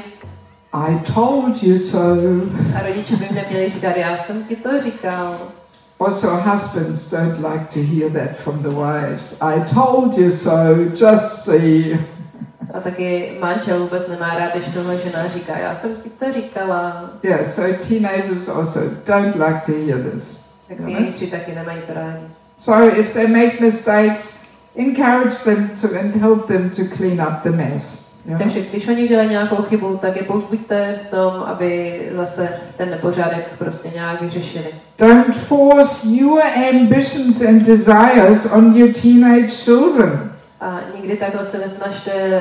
I told you so. A rodiče by neměli říkat, já jsem ti to říkal. Also, husbands don't like to hear that from the wives. I told you so, just see. A taky manžel vůbec nemá rád, když tohle žena říká, já jsem ti to říkala. Yeah, so teenagers also don't like to hear this. Tak teenageři taky nemají to rádi. So if they make mistakes, encourage them to and help them to clean up the mess. Takže když oni dělají nějakou chybu, tak je povzbuďte v tom, aby zase ten nepořádek prostě nějak vyřešili. Don't force your ambitions and desires on your teenage children. A nikdy takhle se nesnažte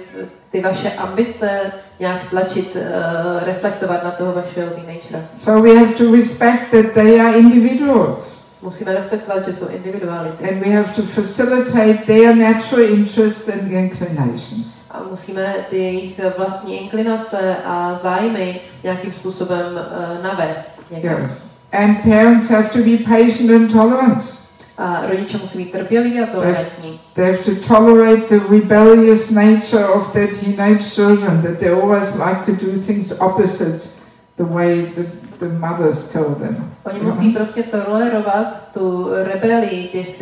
ty vaše ambice nějak tlačit, reflektovat na toho vašeho teenagera. So we have to respect that they are individuals. Musíme respektovat, že jsou individuality. And we have to facilitate their natural interests and inclinations. A musíme ty jejich vlastní inklinace a zájmy nějakým způsobem navést někam. Yes. And parents have to be patient and tolerant. A rodiče musí být trpěliví a tolerantní. They have to tolerate the rebellious nature of their teenage children, that they always like to do things opposite the way the mothers tell them. Oni musí prostě tolerovat tu rebelii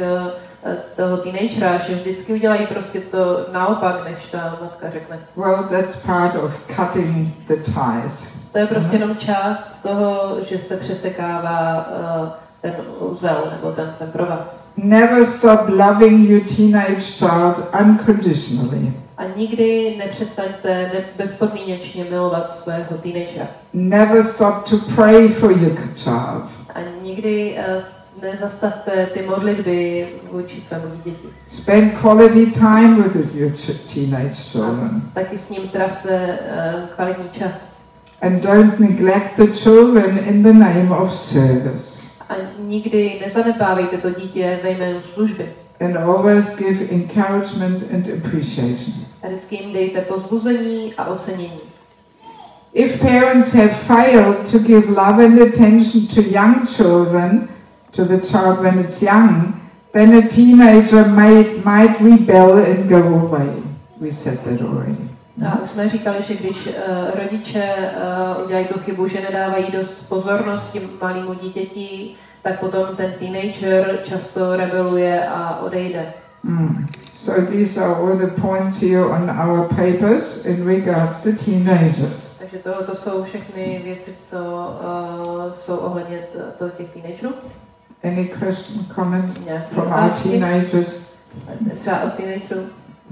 toho teenagera, že vždycky udělají prostě to naopak, než ta matka řekne. Well, that's part of cutting the ties. To je prostě jenom část toho, že se přesekává ten úzel nebo ten provaz. Never stop loving your teenage child unconditionally. A nikdy nepřestaňte bezpodmínečně milovat svého teenagera. Never stop to pray for your child. A nikdy nezastavte ty modlitby vůči svému dítěti. Spend quality time with your teenage children. A taky s ním trávte kvalitní čas. And don't neglect the children in the name of service. A nikdy nezanedbávejte to dítě ve jménu služby. And always give encouragement and appreciation. A vždycky jim dejte povzbuzení a ocenění. If parents have failed to give love and attention to young children, to the child when it's young, then a teenager might rebel and go away. We said that already. A už jsme říkali, že když rodiče udělají tu chybu, že nedávají dost pozornosti malému dítěti, tak potom ten teenager často rebeluje a odejde. So these are all the points here on our papers in regards to teenagers. Takže tohle jsou všechny věci, co jsou ohledně těch teenagerů. Any question, comment Nějaké from our otázky? teenagers? Třeba od teenagerů.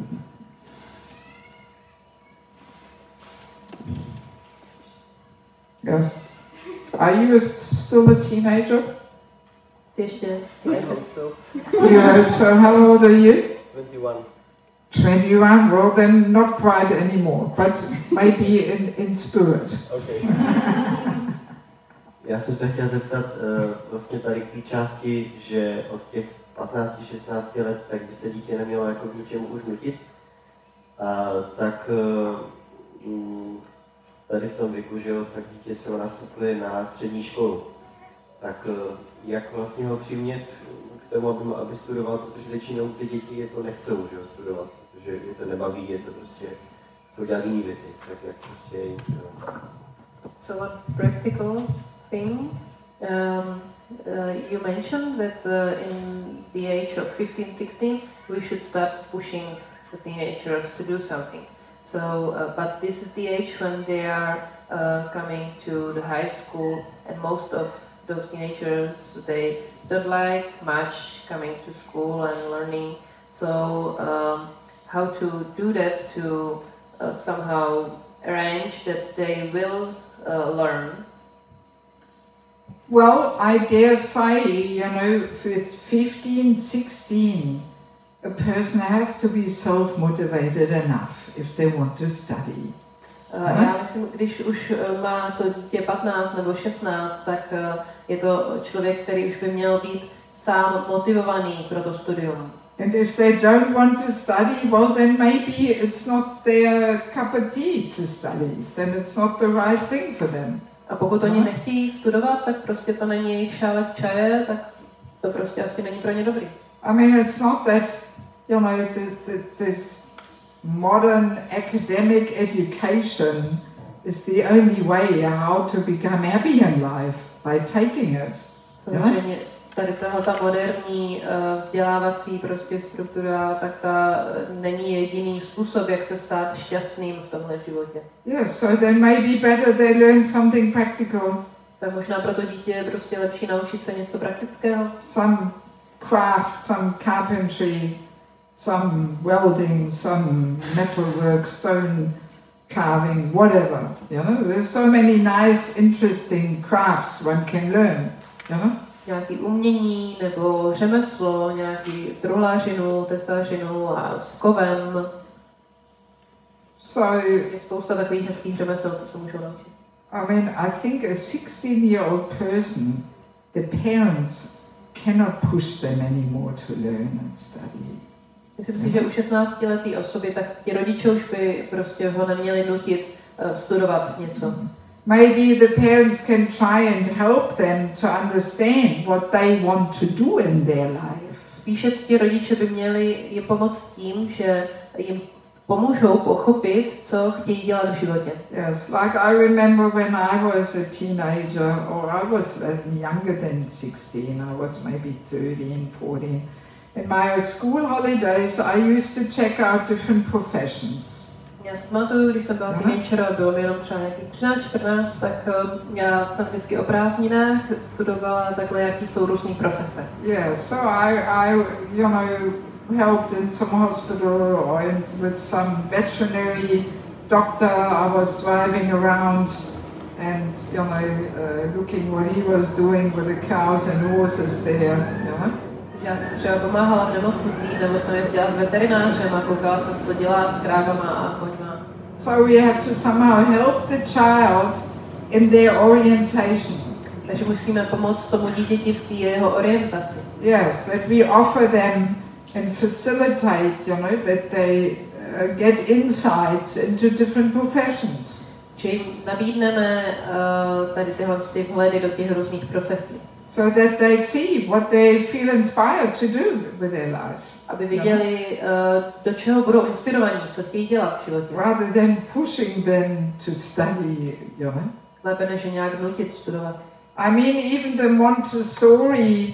Yes. Are you still a teenager? Jsi ještě I teenager? hope so. You hope so. How old are you? 21. 21. Well, then not quite anymore, but maybe in spirit. Okay. Já jsem se chtěl zeptat vlastně tady k té části, že od těch 15-16 let tak by se dítě nemělo jako k ničemu už nutit. Tak tady v tom věku, že jo, tak dítě třeba nastupuje na střední školu. Tak jak vlastně ho přimět k tomu, aby studoval, protože většinou ty děti jako nechcou, že jo, studovat, protože je to nebaví, je to prostě, chcou dělat jiné věci, tak jak prostě So one practical thing, you mentioned that in the age of 15-16 we should start pushing the teenagers to do something. So, but this is the age when they are coming to the high school, and most of those teenagers, they don't like much coming to school and learning. So, how to do that to somehow arrange that they will learn? Well, I dare say, if it's 15, 16, a person has to be self-motivated enough if they want to study. Já myslím, když už má to dítě 15 nebo 16, tak je to člověk, který už by měl být sám motivovaný pro to studium. And if they don't want to study, well, then maybe it's not their cup of tea to study. Then it's not the right thing for them. A pokud oni nechtějí studovat, tak prostě to není jejich šálek čaje, tak to prostě asi není pro ně dobrý. I mean, it's not that, this modern academic education is the only way how to become happy in life, by taking it. Samozřejmě tady ta moderní vzdělávací prostě struktura, tak ta není jediný způsob, jak se stát šťastným v tomhle životě. Yes, so then maybe better they learn something practical. Tak možná pro to dítě je prostě lepší naučit se něco praktického. Some craft, some carpentry, some welding, some metalwork, stone carving, whatever. There's so many nice, interesting crafts one can learn. Nějaký umění nebo řemeslo, nějaký truhlářinu, tesařinu a s kovem. So je spousta takových hezkých řemesel, co se můžou naučit. I mean, I think a 16-year-old person, the parents cannot push them anymore to learn and study. Myslím si, že u 16letý osoby, tak ti rodiče už by prostě ho neměli nutit studovat něco. Maybe the parents can try and help them to understand what they want to do in their life. Spíše ti rodiče by měli jim pomoct tím, že jim pomůžou pochopit, co chtějí dělat v životě. Yes, like I remember when I was a teenager, or I was younger than 16, I was maybe 13, 14. In my school holidays, I used to check out different professions. Já si pamatuju, když jsem byla teenager a bylo mi jenom třeba nějakých 13-14, tak já jsem vždycky o prázdninách studovala takhle, jaký jsou různý profese. Yeah, so I helped in some hospital or with some veterinary doctor. I was driving around and looking what he was doing with the cows and horses there. Já jsem třeba pomáhala v nemocnicích, nebo jsem jezdila s veterinářem a koukala jsem, co dělá s krávama a koňma. So we have to somehow help the child in their orientation. Takže musíme pomoct tomu dítěti v té jeho orientaci. Yes, that we offer them and facilitate, that they get insights into different professions. Že jim nabídneme tady tyhle vhledy do těch různých profesí. So that they see what they feel inspired to do with their life. Aby viděli, do čeho budou inspirovaní, co chtějí dělat v životě. Rather than pushing them to study, Lépe než nějak nutit studovat. I mean, even the Montessori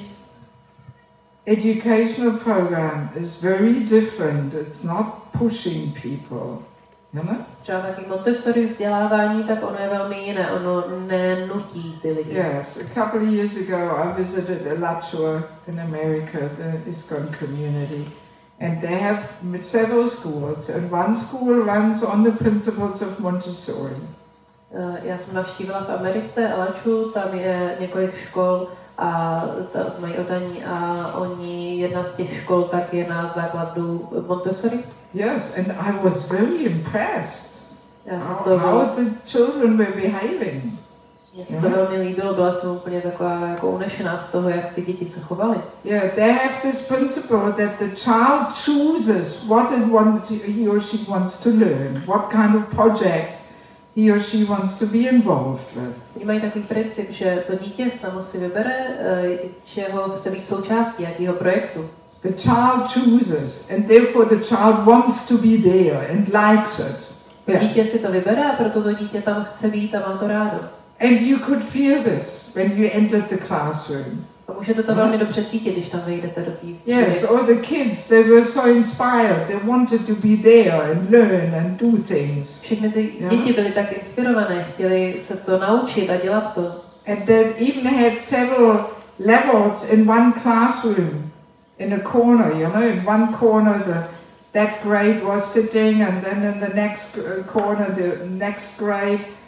educational program is very different. It's not pushing people, Třeba taky Montessori vzdělávání, tak ono je velmi jiné, ono nenutí ty lidi. Yes, a couple of years ago I visited Alachua in America, the ISKCON community, and they have several schools, and one school runs on the principles of Montessori. Já jsem navštívila v Americe Alachua, tam je několik škol a mají oddaní a jedna z těch škol tak je na základu Montessori. Yes, and I was very impressed how the children were behaving. Mně se to velmi líbilo, byla jsem úplně taková jako unešená z toho, jak ty děti se chovaly. Yeah, they have this principle that the child chooses what he or she wants to learn, what kind of project he or she wants to be involved with. Oni mají takový princip, že to dítě samo si vybere, čeho chce být součástí, jakého projektu. The child chooses, and therefore the child wants to be there and likes it. To dítě si to vybere a proto to dítě tam chce být a má to rádo. And you could feel this when you entered the classroom. A můžete to velmi dobře cítit, když tam vejdete do té. Yes, or the kids, they were so inspired. They wanted to be there and learn and do things. Všechny ty děti byly tak inspirované, chtěli se to naučit a dělat to. And they even had several levels in one classroom. In a corner, in one corner that grade was sitting, and then in the next corner the next grade,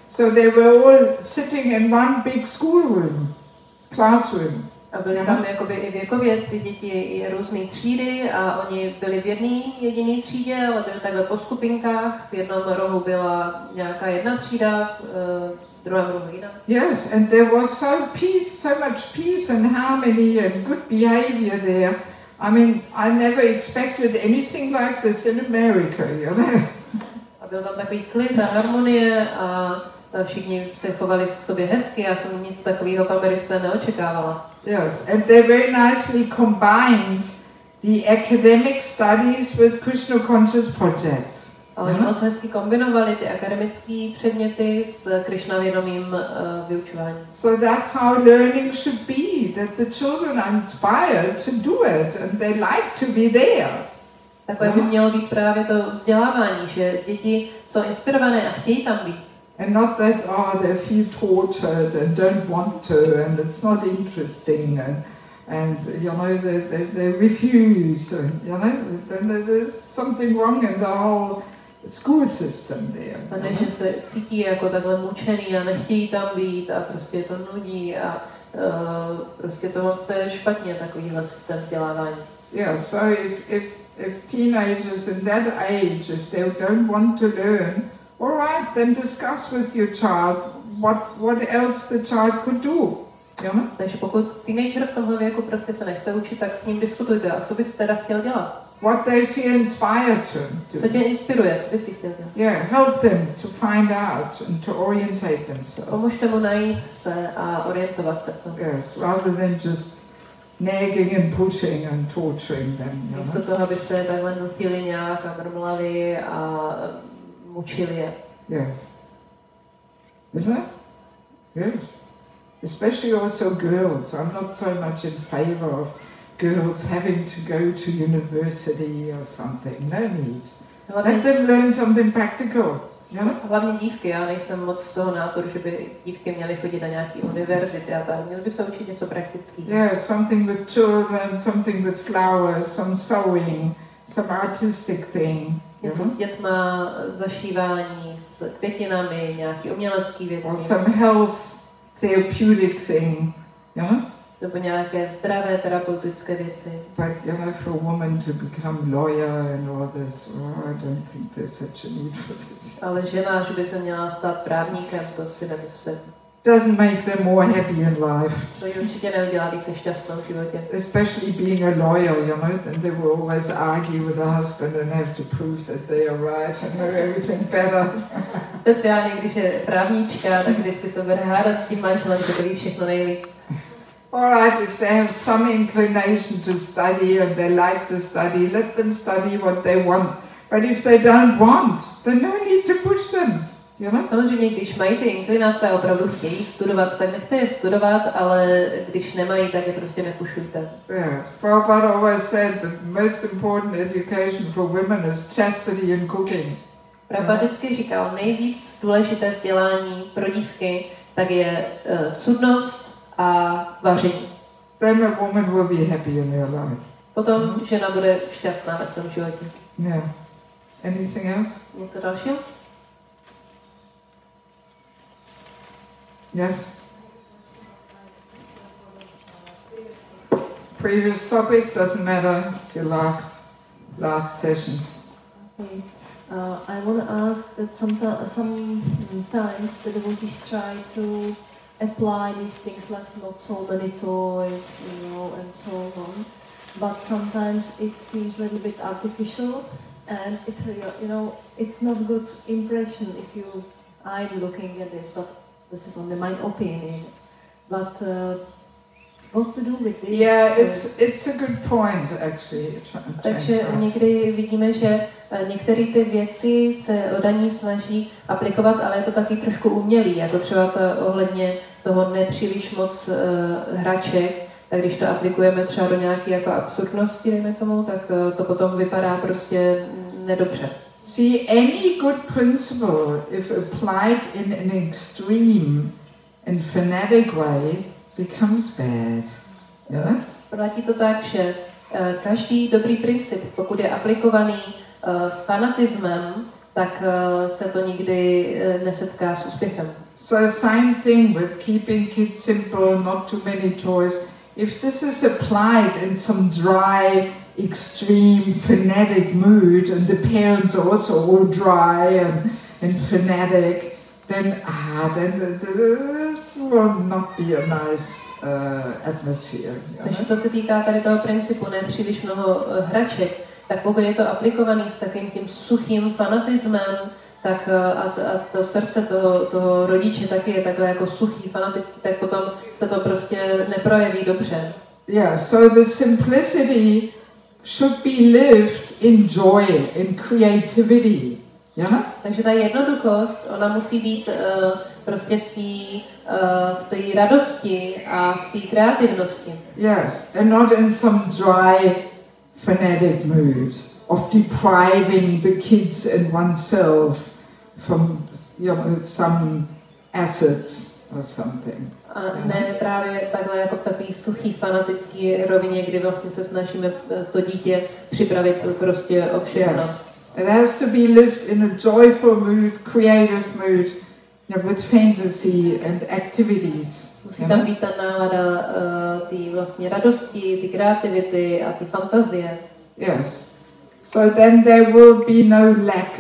So they were all sitting in one big schoolroom, classroom. A byly tam jakoby i věkově ty děti i různé třídy a oni byli v jedné jediné třídě, ale byli takhle po skupinkách. V jednom rohu byla nějaká jedna třída, v druhém rohu jiná. Yes, and there was so much peace and harmony and good behavior there. I mean, I never expected anything like this in America, you know. A byl tam takový klid a harmonie a všichni se chovali k sobě hezky. Já jsem nic takového v Americe neočekávala. Yes, and they very nicely combined the academic studies with Krishna conscious projects. A oni moc hezky kombinovali ty akademické předměty s Krišnavědomým vyučováním. So that's how learning should be, that the children are inspired to do it and they like to be there. Takové by mělo být právě to vzdělávání, že děti jsou inspirované a chtějí tam být. And not that, they feel tortured and don't want to and it's not interesting and you know, they refuse, and, you know, then there's something wrong in the whole school system there. A ne, že se cítí jako takhle mučený a nechtějí tam být a prostě to nudí a prostě tohle je špatně, takovýhle systém vzdělávání. Yeah, so if teenagers in that age, if they don't want to learn, all right, then discuss with your child what else the child could do. Yeah? Takže pokud teenager v tomhle věku prostě se nechce učit, tak s ním diskutujte. A co bys teda chtěl dělat? What they feel inspired to do. Co tě inspiruje? Co bys si chtěl dělat? Yeah, help them to find out and to orientate themselves. Pomožte mu najít se a orientovat se v tom. Yes, rather than just nagging and pushing and torturing them. You Místo know? toho, abyste takhle nutili nějak a mrmlali a mučili je. Yes. Isn't it? Yes. Especially also girls. I'm not so much in favor of girls having to go to university or something. No need. Let them learn something practical. Yeah? Hlavně dívky, já nejsem moc z toho názoru, že by dívky měly chodit na nějaké univerzity a tak. Měly by se učit něco praktického. Yeah, something with children, something with flowers, some sewing, some artistic thing. Něco s dětma, zašívání, s květinami, nějaký umělecký věci. Or some health therapeutic thing. Yeah? Nebo nějaké zdravé terapeutické věci. But you know, for a woman to become lawyer and all this, I don't think there's such a need for this. Ale žena, že by se měla stát právníkem, to si nemyslím. Doesn't make them more happy in life. To ji určitě neudělá více šťastnou v životě. Especially being a lawyer, you know, then they will always argue with the husband and have to prove that they are right and know everything better. Speciálně, když je právníčka, tak vždycky se bude hádat s tím manželem, že to ví všechno nejlíp. Alright, if they have some inclination to study and they like to study, let them study what they want. But if they don't want, then no need to push them. You know? Samozřejmě, když mají ty inklinace a opravdu chtějí studovat, tak nechte je studovat, ale když nemají, tak je prostě nepušujte. Yes, Prabhupada always said the most important education for women is chastity and cooking. Prabhupada vždycky říkal, nejvíc důležité vzdělání pro dívky, tak je cudnost a vaření. Then a woman will be happy in her life. Potom žena bude šťastná ve svém životě. Yeah. Anything else? Něco dalšího? Yes? Previous topic, doesn't matter, it's your last session. Okay. I want to ask that sometimes the devotees try to apply these things like not so many toys, and so on. But sometimes it seems a little bit artificial, and it's not good impression if I'm looking at this, but this is only my opinion. But what to do with this? Yeah, it's a good point actually. Takže někdy vidíme, že některé ty věci se odaní snaží aplikovat, ale je to taky trošku umělý, jako třeba ohledně toho nepříliš moc hraček, tak když to aplikujeme třeba do nějaké jako absurdnosti, dejme tomu, tak to potom vypadá prostě nedobře. See, any good principle, if applied in an extreme and fanatic way, becomes bad. Yeah? Platí to tak, že každý dobrý princip, pokud je aplikovaný s fanatismem, tak se to nikdy nesetká s úspěchem. So same thing with keeping kids simple, not too many toys. If this is applied in some dry, extreme, fanatic mood, and the parents are also all dry and fanatic, then this will not be a nice atmosphere. Takže co se týká tady toho principu, ne příliš mnoho hraček, tak pokud je to aplikovaný s takým tím suchým fanatismem, tak a to srdce toho rodiče taky je takhle jako suchý, fanatický, tak potom se to prostě neprojeví dobře. Yeah, so the simplicity should be lived in joy, in creativity. Yeah? Takže ta jednoduchost, ona musí být prostě v té radosti a v té kreativnosti. Yes, and not in some dry, fanatic mood of depriving the kids and oneself from, some assets or something. A ne právě takhle jako v takový suchý fanatický rovině, kdy vlastně se snažíme to dítě připravit prostě o všechno. Yes. It has to be lived in a joyful mood, creative mood, with fantasy and activities. Musí tam být ta nálada ty vlastně radosti, ty kreativity a ty fantazie. Yes. So then there will be no lack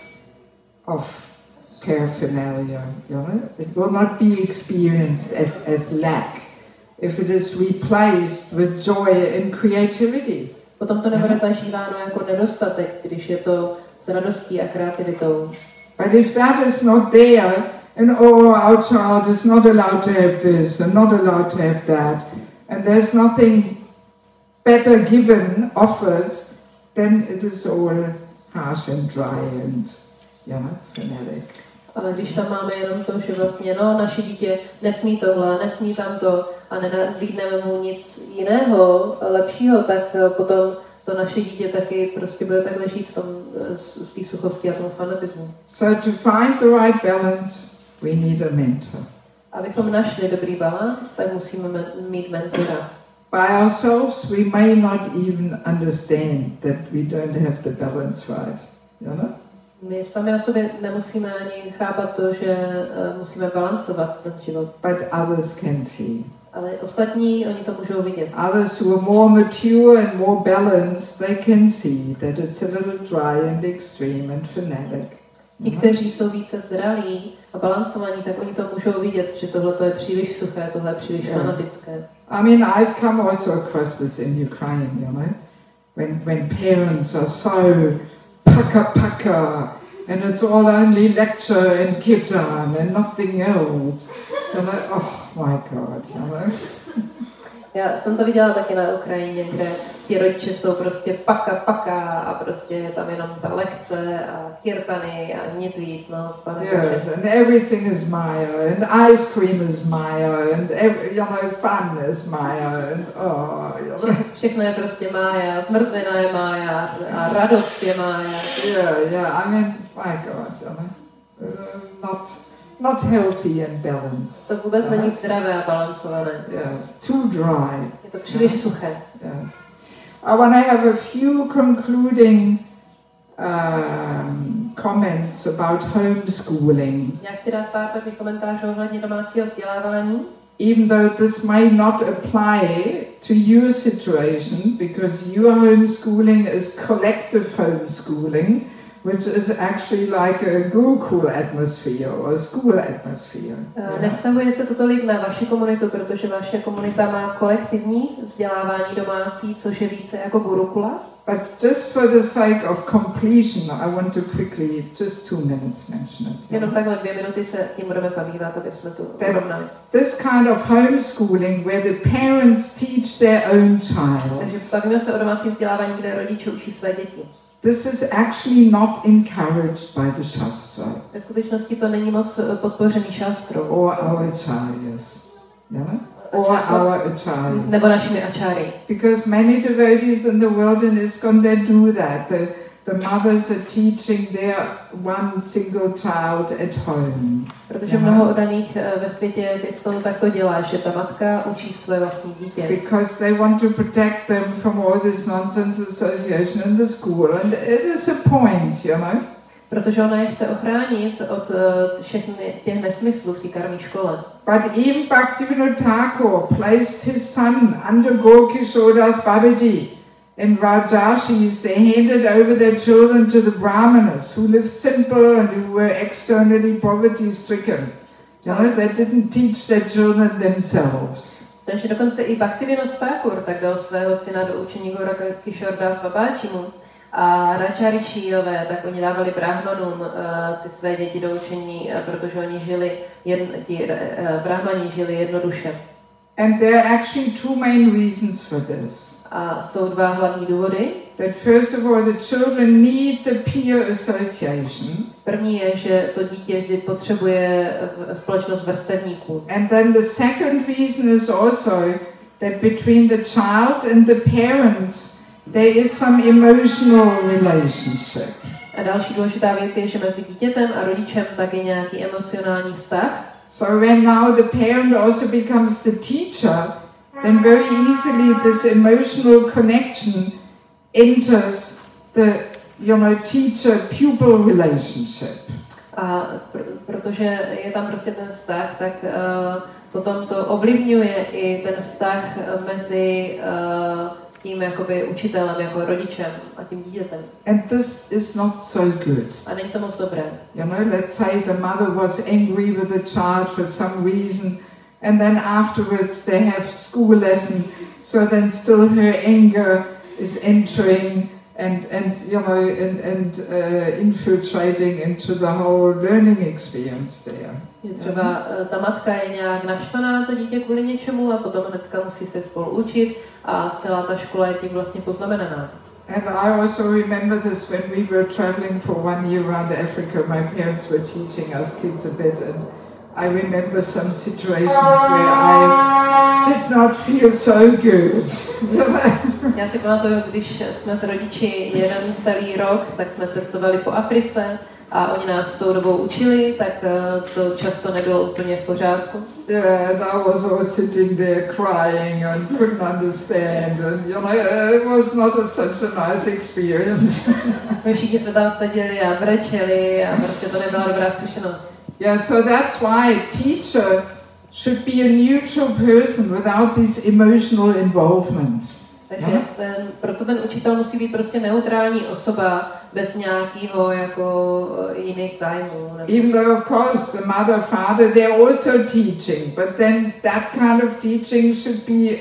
of paraphernalia. It will not be experienced as lack if it is replaced with joy and creativity. Potom to nebude zažíváno jako nedostatek, když je to s radostí a kreativitou. But if that is not there, and our child is not allowed to have this and not allowed to have that, and there's nothing better given, offered, then it is all harsh and dry and fanatic. Ale když tam máme jenom to, že vlastně naše dítě nesmí tohle, nesmí tamto a nenabídneme mu nic jiného, lepšího, tak potom to naše dítě taky prostě bude takhle žít v té suchosti a tomu fanatismu. So to find the right balance, we need a mentor. Abychom našli dobrý balans, tak musíme mít mentora. By ourselves, we may not even understand that we don't have the balance right. My sami o sobě nemusíme ani chápat to, že musíme balancovat ten život. But others can see. Ale ostatní, oni to můžou vidět. Others who are more mature and more balanced, they can see that it's a little dry and extreme and fanatic. Ti, kteří jsou více zralí a balancovaní, tak oni to můžou vidět, že tohle je příliš suché, tohle je příliš fanatické. I mean, I've come also across this in Ukraine, when parents are so paka, and it's all only lecture and kirtan and nothing else. Oh my God, Já jsem to viděla taky na Ukrajině, kde ti rodiče jsou prostě paka a prostě je tam jenom ta lekce a kirtany a nic víc, Yes, and everything is Maya, and ice cream is Maya, and fun is Maya, and Všechno je prostě Mája, zmrzlina je Mája a radost je Mája. Yeah, I mean, my God, not healthy and balanced. To vůbec není zdravé a balancované. Yes, too dry. Je to příliš suché. Yes. I want to have a few concluding comments about homeschooling. Já chci dát pár takových komentářů ohledně domácího vzdělávání. Even though this may not apply to your situation, because your homeschooling is collective homeschooling, which is actually like a Gurukul atmosphere or a school atmosphere. Nevztahuje se to tolik na vaši komunitu, protože vaše komunita má kolektivní vzdělávání domácí, což je více jako Gurukula. But just for the sake of completion, I want to quickly, just 2 minutes, mention it. Jenom takhle 2 minuty se tím budeme zabývat, aby jsme to urovnali. This kind of homeschooling where the parents teach their own child. Takže bavíme se o domácím vzdělávání, kde rodiče učí své děti. This is actually not encouraged by the Shastra. Ve skutečnosti to není moc podpořený šastrou. Or our acharyas. Yeah? Or our acharyas. Nebo našimi ačáry. Because many devotees in the world in ISKCON, they do that. The mothers are teaching their one single child at home. Protože mnoho oddaných ve světě ISKCON tak to dělá, že ta matka učí své vlastní dítě. Because they want to protect them from all this nonsense association in the school, and it is a point, Protože ona je chce ochránit od všech těch nesmyslů v té karmí škole. But even Bhaktivinoda Thakur placed his son under Gorkishodas Babaji in Rajashis. They handed over their children to the Brahmanas who lived simple and who were externally poverty stricken. You know, they didn't teach their children themselves. Takže dokonce i Bhaktivinoda Thakur tak dal svého syna do učení Gorkishodas Babajimu. A Rajarishijové, tak oni dávali brahmanům ty své děti do učení, protože oni žili, brahmani žili jednoduše. And there are actually two main reasons for this. A jsou dva hlavní důvody. That first of all, the children need the peer association. První je, že to dítě vždy potřebuje společnost vrstevníků. And then the second reason is also that between the child and the parents there is some emotional relationship. A další důležitá věc je, že mezi dítětem a rodičem tak je nějaký emocionální vztah. So when now the parent also becomes the teacher, then very easily this emotional connection enters the, teacher-pupil relationship. A protože je tam prostě ten vztah, tak potom to ovlivňuje i ten vztah mezi tím jakoby učitelem, jako rodičem a tím dítětem. And this is not so good. A není to moc dobré. Let's say the mother was angry with the child for some reason, and then afterwards they have school lesson, so then still her anger is entering and infiltrating into the whole learning experience there. Třeba ta matka je nějak naštvaná na to dítě kvůli něčemu a potom hnedka musí se spolu učit a celá ta škola je tím vlastně poznamenaná. And I also remember this when we were traveling for 1 year around Africa. My parents were teaching us kids a bit, and I remember some situations where I did not feel so good. Já si pamatuju, když jsme s rodiči jeden celý rok, tak jsme cestovali po Africe a oni nás tou dobou učili, tak to často nebylo úplně v pořádku. Yeah, and I was all sitting there crying and couldn't understand, and it was not such a nice experience. My všichni jsme tam seděli a brečeli a prostě to nebyla dobrá zkušenost. Yeah, so that's why a teacher should be a neutral person without this emotional involvement. Takže proto ten učitel musí být prostě neutrální osoba bez nějakého jako jiných zájmů. Even though of course the mother, father, they're also teaching, but then that kind of teaching should be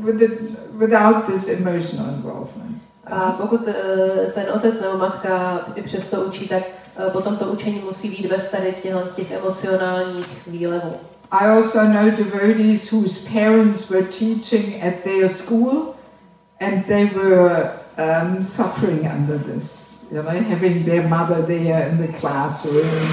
without this emotional involvement. A pokud ten otec nebo matka i přesto učí, tak potom to učení musí být bez tady z těch emocionálních výlevů. I also know devotees whose parents were teaching at their school and they were suffering under this. Having their mother there in the classroom.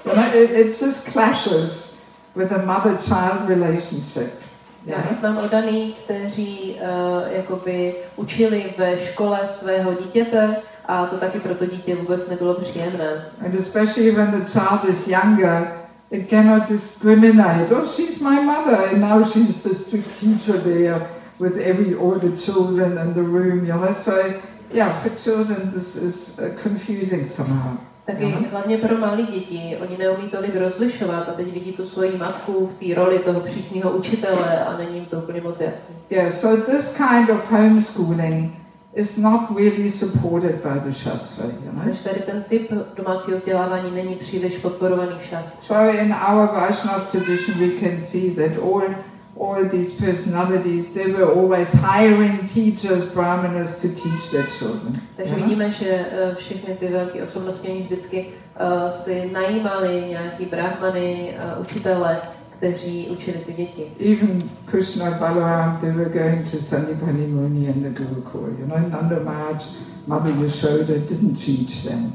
It just clashes with a mother-child relationship. Já znám oddaný, kteří jakoby učili ve škole svého dítěte a to taky pro to dítě vůbec nebylo příjemné. And especially when the child is younger, it cannot discriminate. Oh, she's my mother, and now she's the strict teacher there with all the children in the room. So, yeah, for children this is confusing somehow. Taky hlavně pro malé děti, oni neumí tolik rozlišovat a teď vidí tu svoji matku v té roli toho přísného učitele a není jim to úplně moc jasné. Yeah, so this kind of homeschooling is not really supported by the Shastra, Takže tady ten typ domácího vzdělávání není příliš podporovaný šastry. So in our Vaishnava tradition we can see that all these personalities, they were always hiring teachers, brahmanas, to teach their children. Takže vidíme, že všechny ty velké osobnosti oni vždycky si najímali nějaký brahmany, učitele, kteří učili ty děti. Even Krishna and Balaram, they were going to Sandipani Muni and the Gurukul. Nanda Maharaj, Mother Yashoda didn't teach them.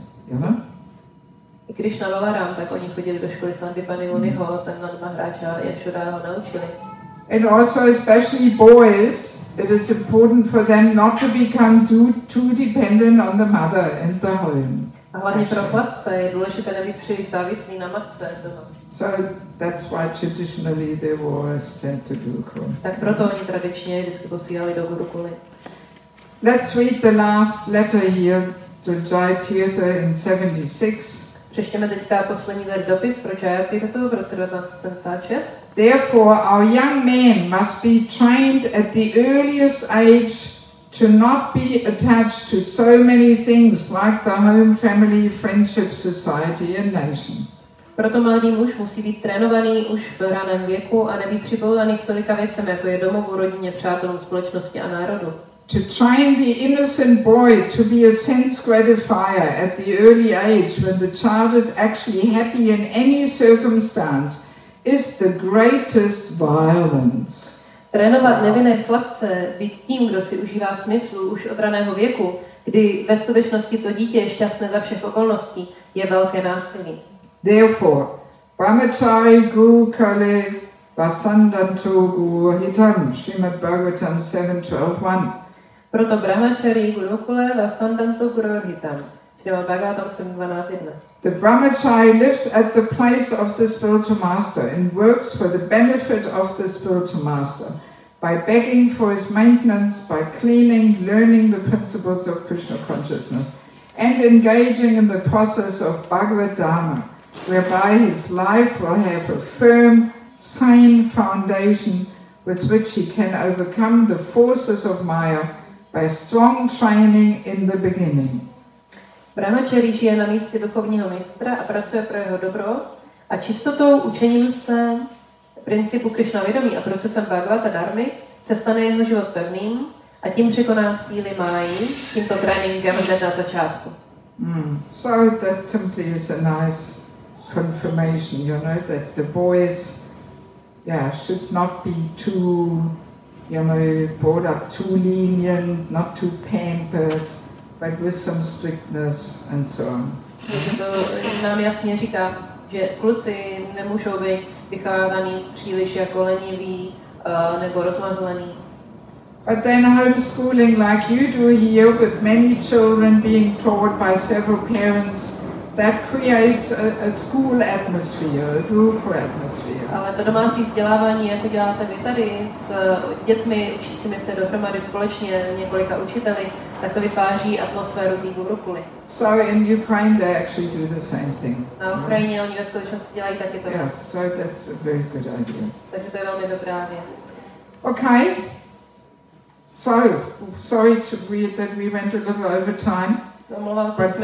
I Krishna Balaram, tak oni chodili do školy Sandipani Muniho, ten Nanda Maharaj a Yashoda ho naučili. And also especially boys, it is important for them not to become too dependent on the mother and the home. A hlavně pro chlapce je důležité nebýt příliš závislý na matce. So that's why traditionally they were sent to Gurukul. Tak proto oni tradičně vždycky posílali do Gurukuly. Let's read the last letter here to Jai Tirtha in 76. Přečtěme teďka poslední dopis pro Jayatiratu v roce 1976. Therefore, our young men must be trained at the earliest age to not be attached to so many things like the home, family, friendship, society and nation. Proto mladý muž musí být trénovaný už v raném věku a nebýt připouzaný k tolika věcem, jako je domovu, rodině, přátelům, společnosti a národu. To train the innocent boy to be a sense gratifier at the early age when the child is actually happy in any circumstance is the greatest violence. Trénovat nevinné chlapce, být tím, kdo si užívá smyslu už od raného věku, kdy ve skutečnosti to dítě je šťastné za všech okolností, je velké násilí. Therefore, Brahmachari Guru Kale Vasandanto Guru Hitam, Srimad Bhagavatam 7.12.1. Proto Brahmachari Gurukule Vasandanto Guru Hitam, Srimad Bhagavatam 7.12.1. The Brahmachari lives at the place of the spiritual master and works for the benefit of the spiritual master by begging for his maintenance, by cleaning, learning the principles of Krishna consciousness, and engaging in the process of Bhagavad Dharma, whereby his life will have a firm, sane foundation with which he can overcome the forces of Maya by strong training in the beginning. Brahmachari žije na místě duchovního mistra a pracuje pro jeho dobro a čistotou, učením se principu Krishna vědomí a procesem Bhagavata Dharmy se stane jeho život pevným a tím překoná síly máji tímto tréninkem hned na začátku. So that simply is a nice confirmation, you know, that the boys, should not be too, brought up too lenient, not too pampered, but with some strictness and so on. Takže to nám jasně říká, že kluci nemůžou být vychovávaný příliš jako leniví nebo rozmazlený. But then homeschooling like you do here with many children being taught by several parents, that creates a school atmosphere, a group atmosphere. Ale to domácí vzdělávání, jako děláte vy tady s dětmi, učícími se dohromady společně několika učiteli, tak to vytváří atmosféru té gurukuly. So in Ukraine they actually do the same thing. Na Ukrajině oni ve skutečnosti dělají taky to. Yes, so that's a very good idea. Takže to je velmi dobrá věc. Okay. So, sorry that we went a little over time, but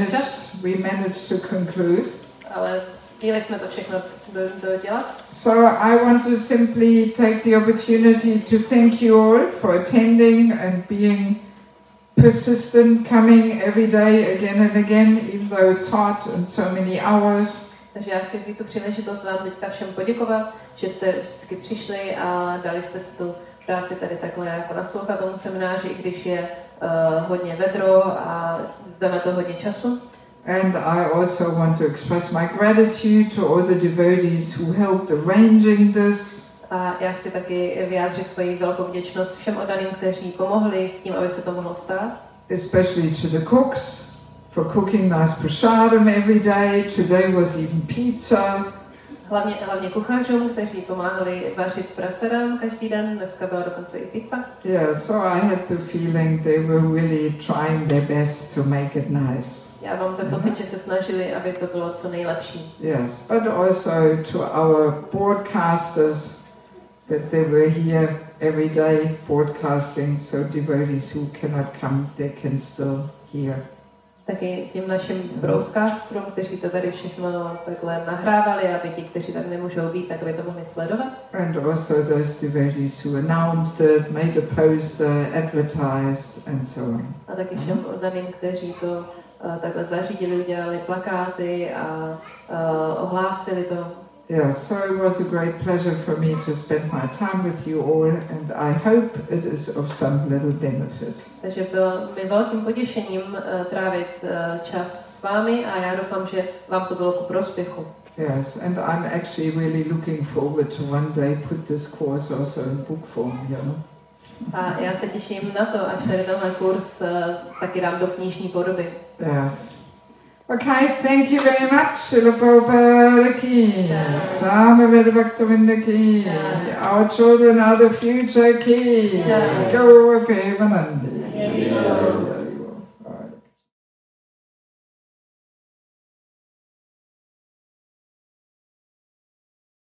we managed to conclude. Ale stihli jsme to všechno dodělat. So I want to simply take the opportunity to thank you all for attending and being persistent, coming every day again and again, even though it's hot and so many hours. Takže já chci vzít tu příležitost vám teďka všem poděkovat, že jste vždycky přišli a dali jste si tu práci tady takhle jako naslouchat tomu semináři, i když je hodně vedro a dáme to hodně času. And I also want to express my gratitude to all the devotees who helped arranging this. A já chci taky vyjádřit svoji velkou vděčnost všem oddaným, kteří pomohli s tím, aby se to mohlo stát. Especially to the cooks for cooking nice prasadam every day. Today was even pizza. Hlavně kuchařům, kteří pomáhali vařit prasadam každý den, dneska byla dokonce i pizza. Yeah, so I had the feeling they were really trying their best to make it nice. Já mám ten pocit, že se snažili, aby to bylo co nejlepší. Yes, but also to our broadcasters, that they were here every day broadcasting, so devotees who cannot come, they can still hear. Taky těm našim broadcasterům, kteří to tady všechno takhle nahrávali, aby ti, kteří tady nemůžou být, tak aby to mohli sledovat. And also those devotees who announced it, made a poster, advertised and so on. A taky všem oddaným, kteří to takhle zařídili, udělali plakáty a ohlásili to. Yeah, so it was a great pleasure for me to spend my time with you all, and I hope it is of some little benefit. Takže bylo mi velkým potěšením trávit čas s vámi a já doufám, že vám to bylo ku prospěchu. Yes, and I'm actually really looking forward to one day put this course also in book form, you know. A já se těším na to, až tady tenhle kurz taky dám do knižní podoby. Yes. Okay, thank you very much, Srila Prabhupada ki, Samaveda Bhaktivinoda ki, our children are the future ki, go Premanandi.